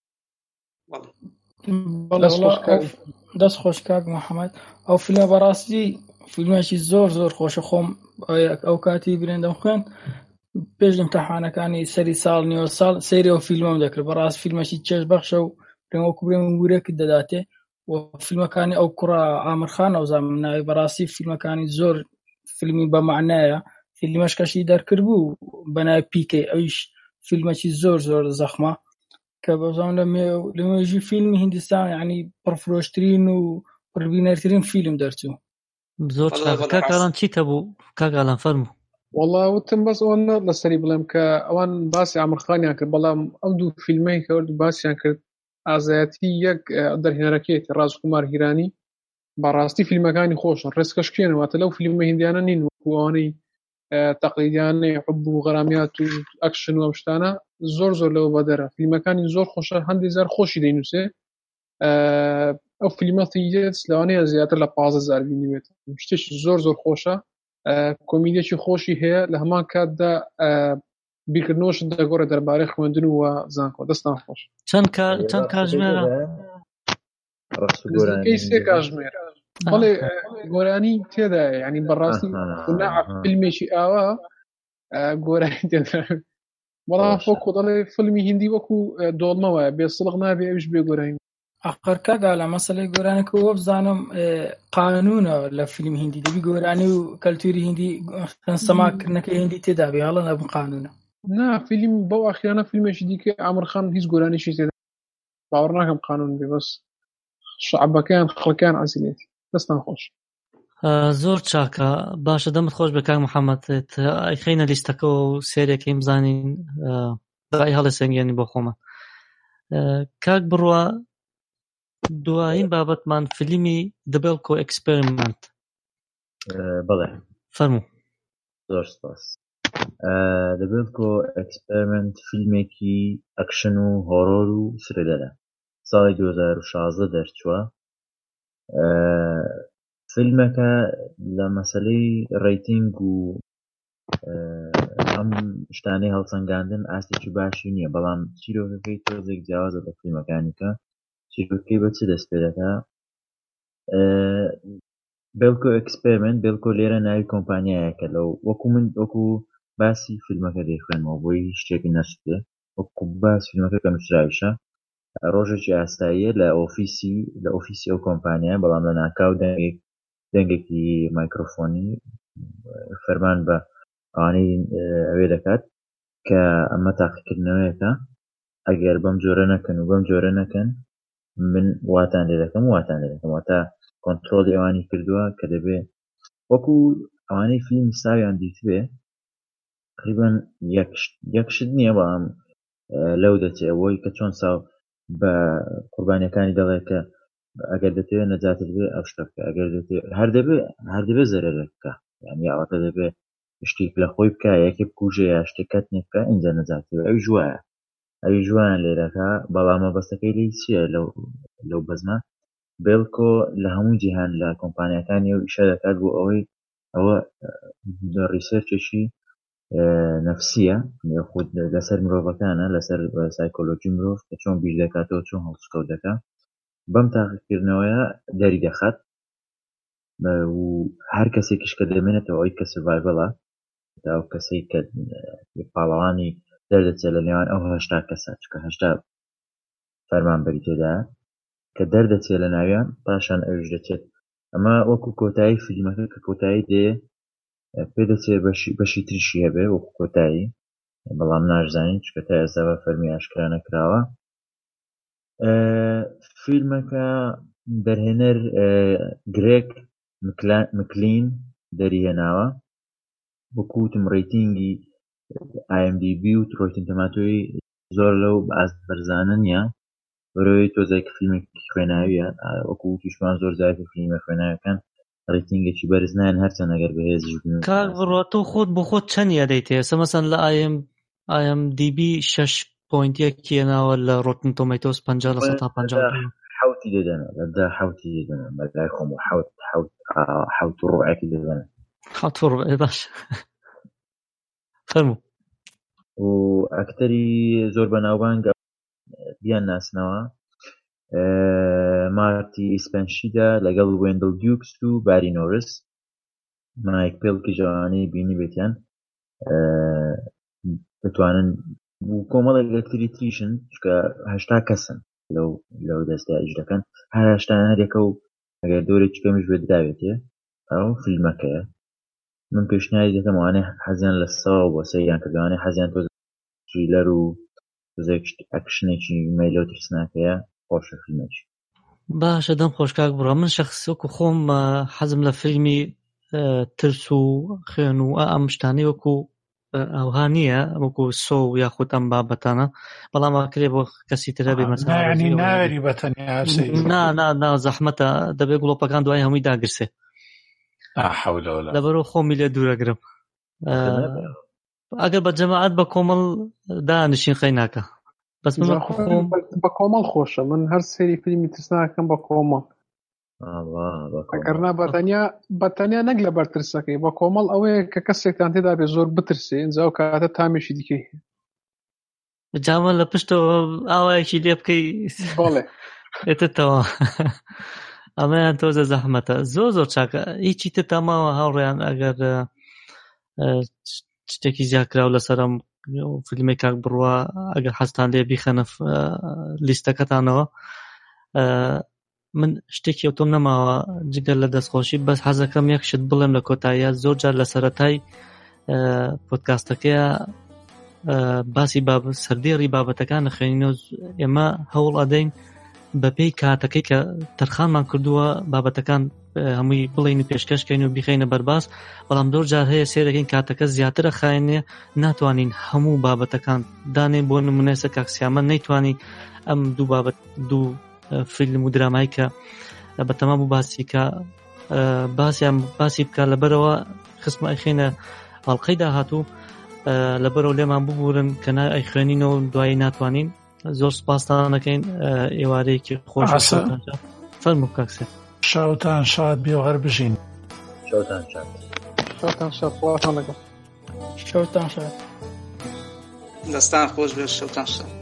دەست خۆش کاک محەممەد. ئەو فیلمە بەڕاستی فیلمێکی زۆر خۆشە. خۆم ئەو کاتی برێندەم خوێن پێش ئیمتیحانەکانی سەری ساڵ نیوە ساڵ سەیری ئەو فیلمەم دەکرد. بەڕاست فیلمێکی چێژ بەخشە و وەکو برێم گورێکت دەداتێ و فیلمەکانی ئەو کوڕە ئامرخان ئەوزانم ناوی. بەڕاستی فیلمەکانی زۆر فیلمی بەمعنایە. فیلمەش کەشی دەرکرد بوو بەناوی پیکەی، ئەویش فیلمێکی زۆر زەخمە کە بەزان لە مێژووی فیلمی هیندستان یعنی پڕفرۆشترین و پڕبینەرترین فیلم دەرچوو. زۆر کاکالان چیتە بوو کاکالان فەرموو؟ والله وتم بەس ئەوە لەسەری بڵێم کە ئەوان باسی ئامرخانیان کرد، بەڵام ئەو دوو فیلمەی کەورد باسییان کرد ئازایەتی یەک دەرهێنەرەکەیەتی ڕازکومار هیرانی بەڕاستی فیلمەکانی خۆشن، ڕێسکەشکێنەوەتە لەو فیلمە هیندیانە نین وەکوانەی تەقلیدیانەی حب و غەرامیات و ئەکشن و ئەمشتانە زۆر لەوە بەدەرە. فیلمەکانی زۆر خۆشە، هەندێک زار خۆشی دەینووسێ. ئەو فیلمەتی لەوانەیە زیاتر لە 15,000 بینیوێت. شتێکی زۆر خۆشە، کۆمیدیەکی خۆشی هەیە. لە هەمان کاتدا بیرکردنەوەش دەگۆڕێت دەربارەی خوێندن و زانکۆ. دەستان خۆش. چەند کاتژمێرە؟ سێ کاتژمێر. بەڵێ گۆرانی تێدا، ینی بەڕاستی فیلمێکی ئاوا گۆرانی تێدا. بەڵام فۆکۆ دەڵێ فیلمی هیندی وەکو دۆڵمەوە بێ سڵغ نابێ ئەوش بێ گۆرانی. ئەخر کاگالە مەسەلەی گۆرانەکە وە بزانم قانونە لە فیلم هیندی دەبی گۆرانی و کەلتوری هیندی سەماکردنەکەی هیندی تێدا بێ، هەڵە نەبوو قانونە. نا فیلم بەو ئاخیرانە فیلمێکی دیکە ئامرخان هیچ گۆرانیشی تێدا باوەڕ ناکەم قانون بێ، بەس شعبەکەیان خەڵکیان عەزیلێتی. دەستان خۆش. زۆر چاکە. باشە دەمت خۆش بە کاک محەممەد. ئەیخەینە لیستەکەەوە و سێرێکەکەی بزانین ڕای هەڵە سەنگێنی بۆ خۆمان. کاک بڕوا دوایین بابەتمان فیلمی The Belko Experiment. بەڵێ فەرموو. زۆر سپاس. The Belko Experiment فیلمێکی ئەکشن و هۆرۆر و سرێدەرە، ساڵی 2016 دەرچووە. فیلمەکە لە مەسەلەی ڕیتینگ و ئەم شتانەی هەڵسەنگاندن ئاستێکی باشی نییە، بەڵام چیرۆکەکەی تۆزێک جیاوازە بە فیلمەکانیکە. چیرۆکەکەی بە چ دەست پێ دەکا؟ بێلکۆ ئەکسپێرمنت. بێلکۆ لێرە ناوی کۆمپانیایەکە. لەو وەکو باسی فیلمەکە دەیخوێنەوە بۆی شتێکی نەسوێ، وەکو باس فیلمەکە کە نووسراویشە. ڕۆژێکی ئاستاییە لە ئۆفیسی ئەو کۆمپانیایە، بەڵام لە ناکاو دەنگێکی مایکرۆفۆنی فەرمان بە ئەوانەی ئەوێ دەکات کە ئەمە تاقیکردنەوەیەکە، ئەگەر بەم جۆرە نەکەن و بەم جۆرە نەکەن من واتان لێ دەکەم واتە کۆنترۆلی ئەوانی کردووە کە دەبێ وەکو ئەوانەی فیلم ساویان دیتبێ تقریبان یەکشت نییە، بەڵام لەو دەچێ ئەوەی کە چۆن ساو بە قوربانیەکانی دەڵێ کە ئەگەر دەتەوێت نەجاتت بێ ئەو شتە بکە، ئەگەر هەر دەبێ زەرەرە بکە، یعنی ئەوەتە دەبێ شتێک لە خۆی بکە، یەکێ بکوژێ یا شتێکەت نێ بکە، ئینجا نەجاتی بێ. ئەوی ژوایە لێرەکە، بەڵام مەبەستەکەی لی چییە لەو بەزمە؟ بێلکۆ لە هەموو جیهان لە کۆمپانیەکانی و ئیشە دەکات بۆ ئەوەی ئەوە ریسێرچێکی نەفسیە خود لەسەر مرۆڤەکانە، لەسەر سایکۆلۆجی مرۆڤ کە چۆن بیش دەکاتەوە، چۆن هەڵسکەوت دەکات. بەم تاقیکردنەوەیە دەری دەخات و هەر کەسێکیش کە دەمێنێتەوە ئەوەی کە سڤایڤەڵە، تا ئەو کەسەی کە پاڵەوانی دەردەچێت لە نێوان ئەو 80 کەسە، چکە 80 فەرمانبەری تێدایە کە دەردەچێت لە ناویان، پاشان ئەوش دەچێت. ئەمە وەکو کۆتایی فیلمەکە کە کۆتایی دێ پێدەچێت بەشی تریشی هەبێ وەکو کۆتایی، بەڵام ناشزانین چکە تا ئێستا بە فەرمی ئاشکرا نەکراوە. فیلمەکە دەرهێنەر گرێگ مکلین دەریهێناوە. وەکوتم ڕیتینگی IMDb و ڕۆیتن تەماتۆی زۆر لەو بەرزانە نییە، بەرەوەی تۆزێکی فیلمێکی خوێناویە، وەکو توشمان زۆر زیاتر فیلمە خوێناویەکان ڕیتینگێکی بەرز نایەن، هەرچەند ئەگەر بەهێزش بن. کاک بڕوا تۆ خۆت بۆ خۆت چەند یادەیت هەیە؟ مەسەن لە IMDb 6.1 کێناوە، لە ڕۆتن تۆمەتۆس 50/150. حوتی دەدەنە لەدا حوتی دەدەنە بەلای خۆم و حوت و ڕوعێکی دەدەنە حوت باش فەرموو و ئەکتەری زۆر بەناوبانگ بیان ناسنەوە مارتی ئیسپەنشیدا لەگەڵ وێندڵ دیوکس و باری نۆرس مایک پێڵکی جوانی بینی بێتیان بتوانن کۆمەڵێک ئەکتەری تریشن چکە 80 کەسن لەو دەستە ئەجرەکەن هەر 80 هەرێکە و ئەگەر دۆرێکی کەمیش بێت داوێتێ ئەو فیلمەکەیە من پێشنیاری دەکەم وانێ حەزیان لە ساوە بۆ سەیریان کردوانێ حەزیان تۆ تریلەر و ئەکشنێکی مەیلۆ ترسناکەیە خۆشە فیلمێکی باشە دەم خۆشکاک بڕە من شەخص وەکو خۆم حەزم لە فیلمی ترس و خوێن و ئەم شتانەی وەکو ئەوها نییە وەکو سۆ و یاخود ئەم بابەتانە بەڵام ئاکرێ بۆ کەسی ترە بێ مەسەلا ینی ناوێری بەتەنیا نا زەحمەتە دەبێت گڵۆپەکان دوای هەمووی داگرسێ لەبەرەوە خۆمی لێ دوورەگرم ئەگەر بە جەماعەت بە کۆمەڵ دانشین قەی ناکە بەس من بە کۆمەڵ خۆشە من هەر سێری فیلمی ترسناکەم بە کۆمەڵ ئەگەرنا بەتەنیا نەک لە بەرترسەکەی بە کۆمەڵ ئەوەیە کە کەسێکتان تێدا بێ زۆر بترسێ ئەنجا و کاتە تامێشی دیکەی جاوە لە پشتەوە ئاوایەکی لێ بکەی بەڵێ ئێتتەوە ئەمەیان تۆزە زەحمەتە زۆر چاکە هیچی تر تاماوە هاوڕێیان ئەگەر شتێکی زیادکراو لەسەرم فیلمی کاک بڕوا ئەگەر حەستان لێ بیخەنە لیستەکەتانەوە من شتێکی ئەوتۆم نەماوە جگەر لە دەستخۆشی بەس حەزەکەم یەک شت بڵێم لە کۆتاییە زۆر جار لە سەرەتای پۆدکاستەکەیە باسی سەردێڕی بابەتەکان نەخوێنینەوە ئێمە هەوڵ ئەدەین بەپێی کاتەکەی کە تەرخانمان کردووە بابەتەکان هەمووی بڵین و پێشکەشکەین و بیخەینە بەرباس بەڵام زۆر جار هەیە سێرەکەین کاتەکە زیاترە خاینێ ناتوانین هەموو بابەتەکان دانێن بۆ نمونەیە کاکسیامە نەیتوانی ئەم دوو فیلم و درامایی کە بەتەمام بوو باسی بکە لەبەرەوە خسمە ئەیخێنە هەڵقەی داهاتوو لەبەرەوە لێمان ببورن کە ئەی خوێنینەوە دوایی ناتوانین زۆر سپاستانەکەین ئێوارەیەکی خۆش فەرموو کاکسێ شاوتان شاد بێ و هەر بژین شەوتان شاد خواتان لەگەڵ شەوتان شاد دەستان خۆش بێ شەوتان شاد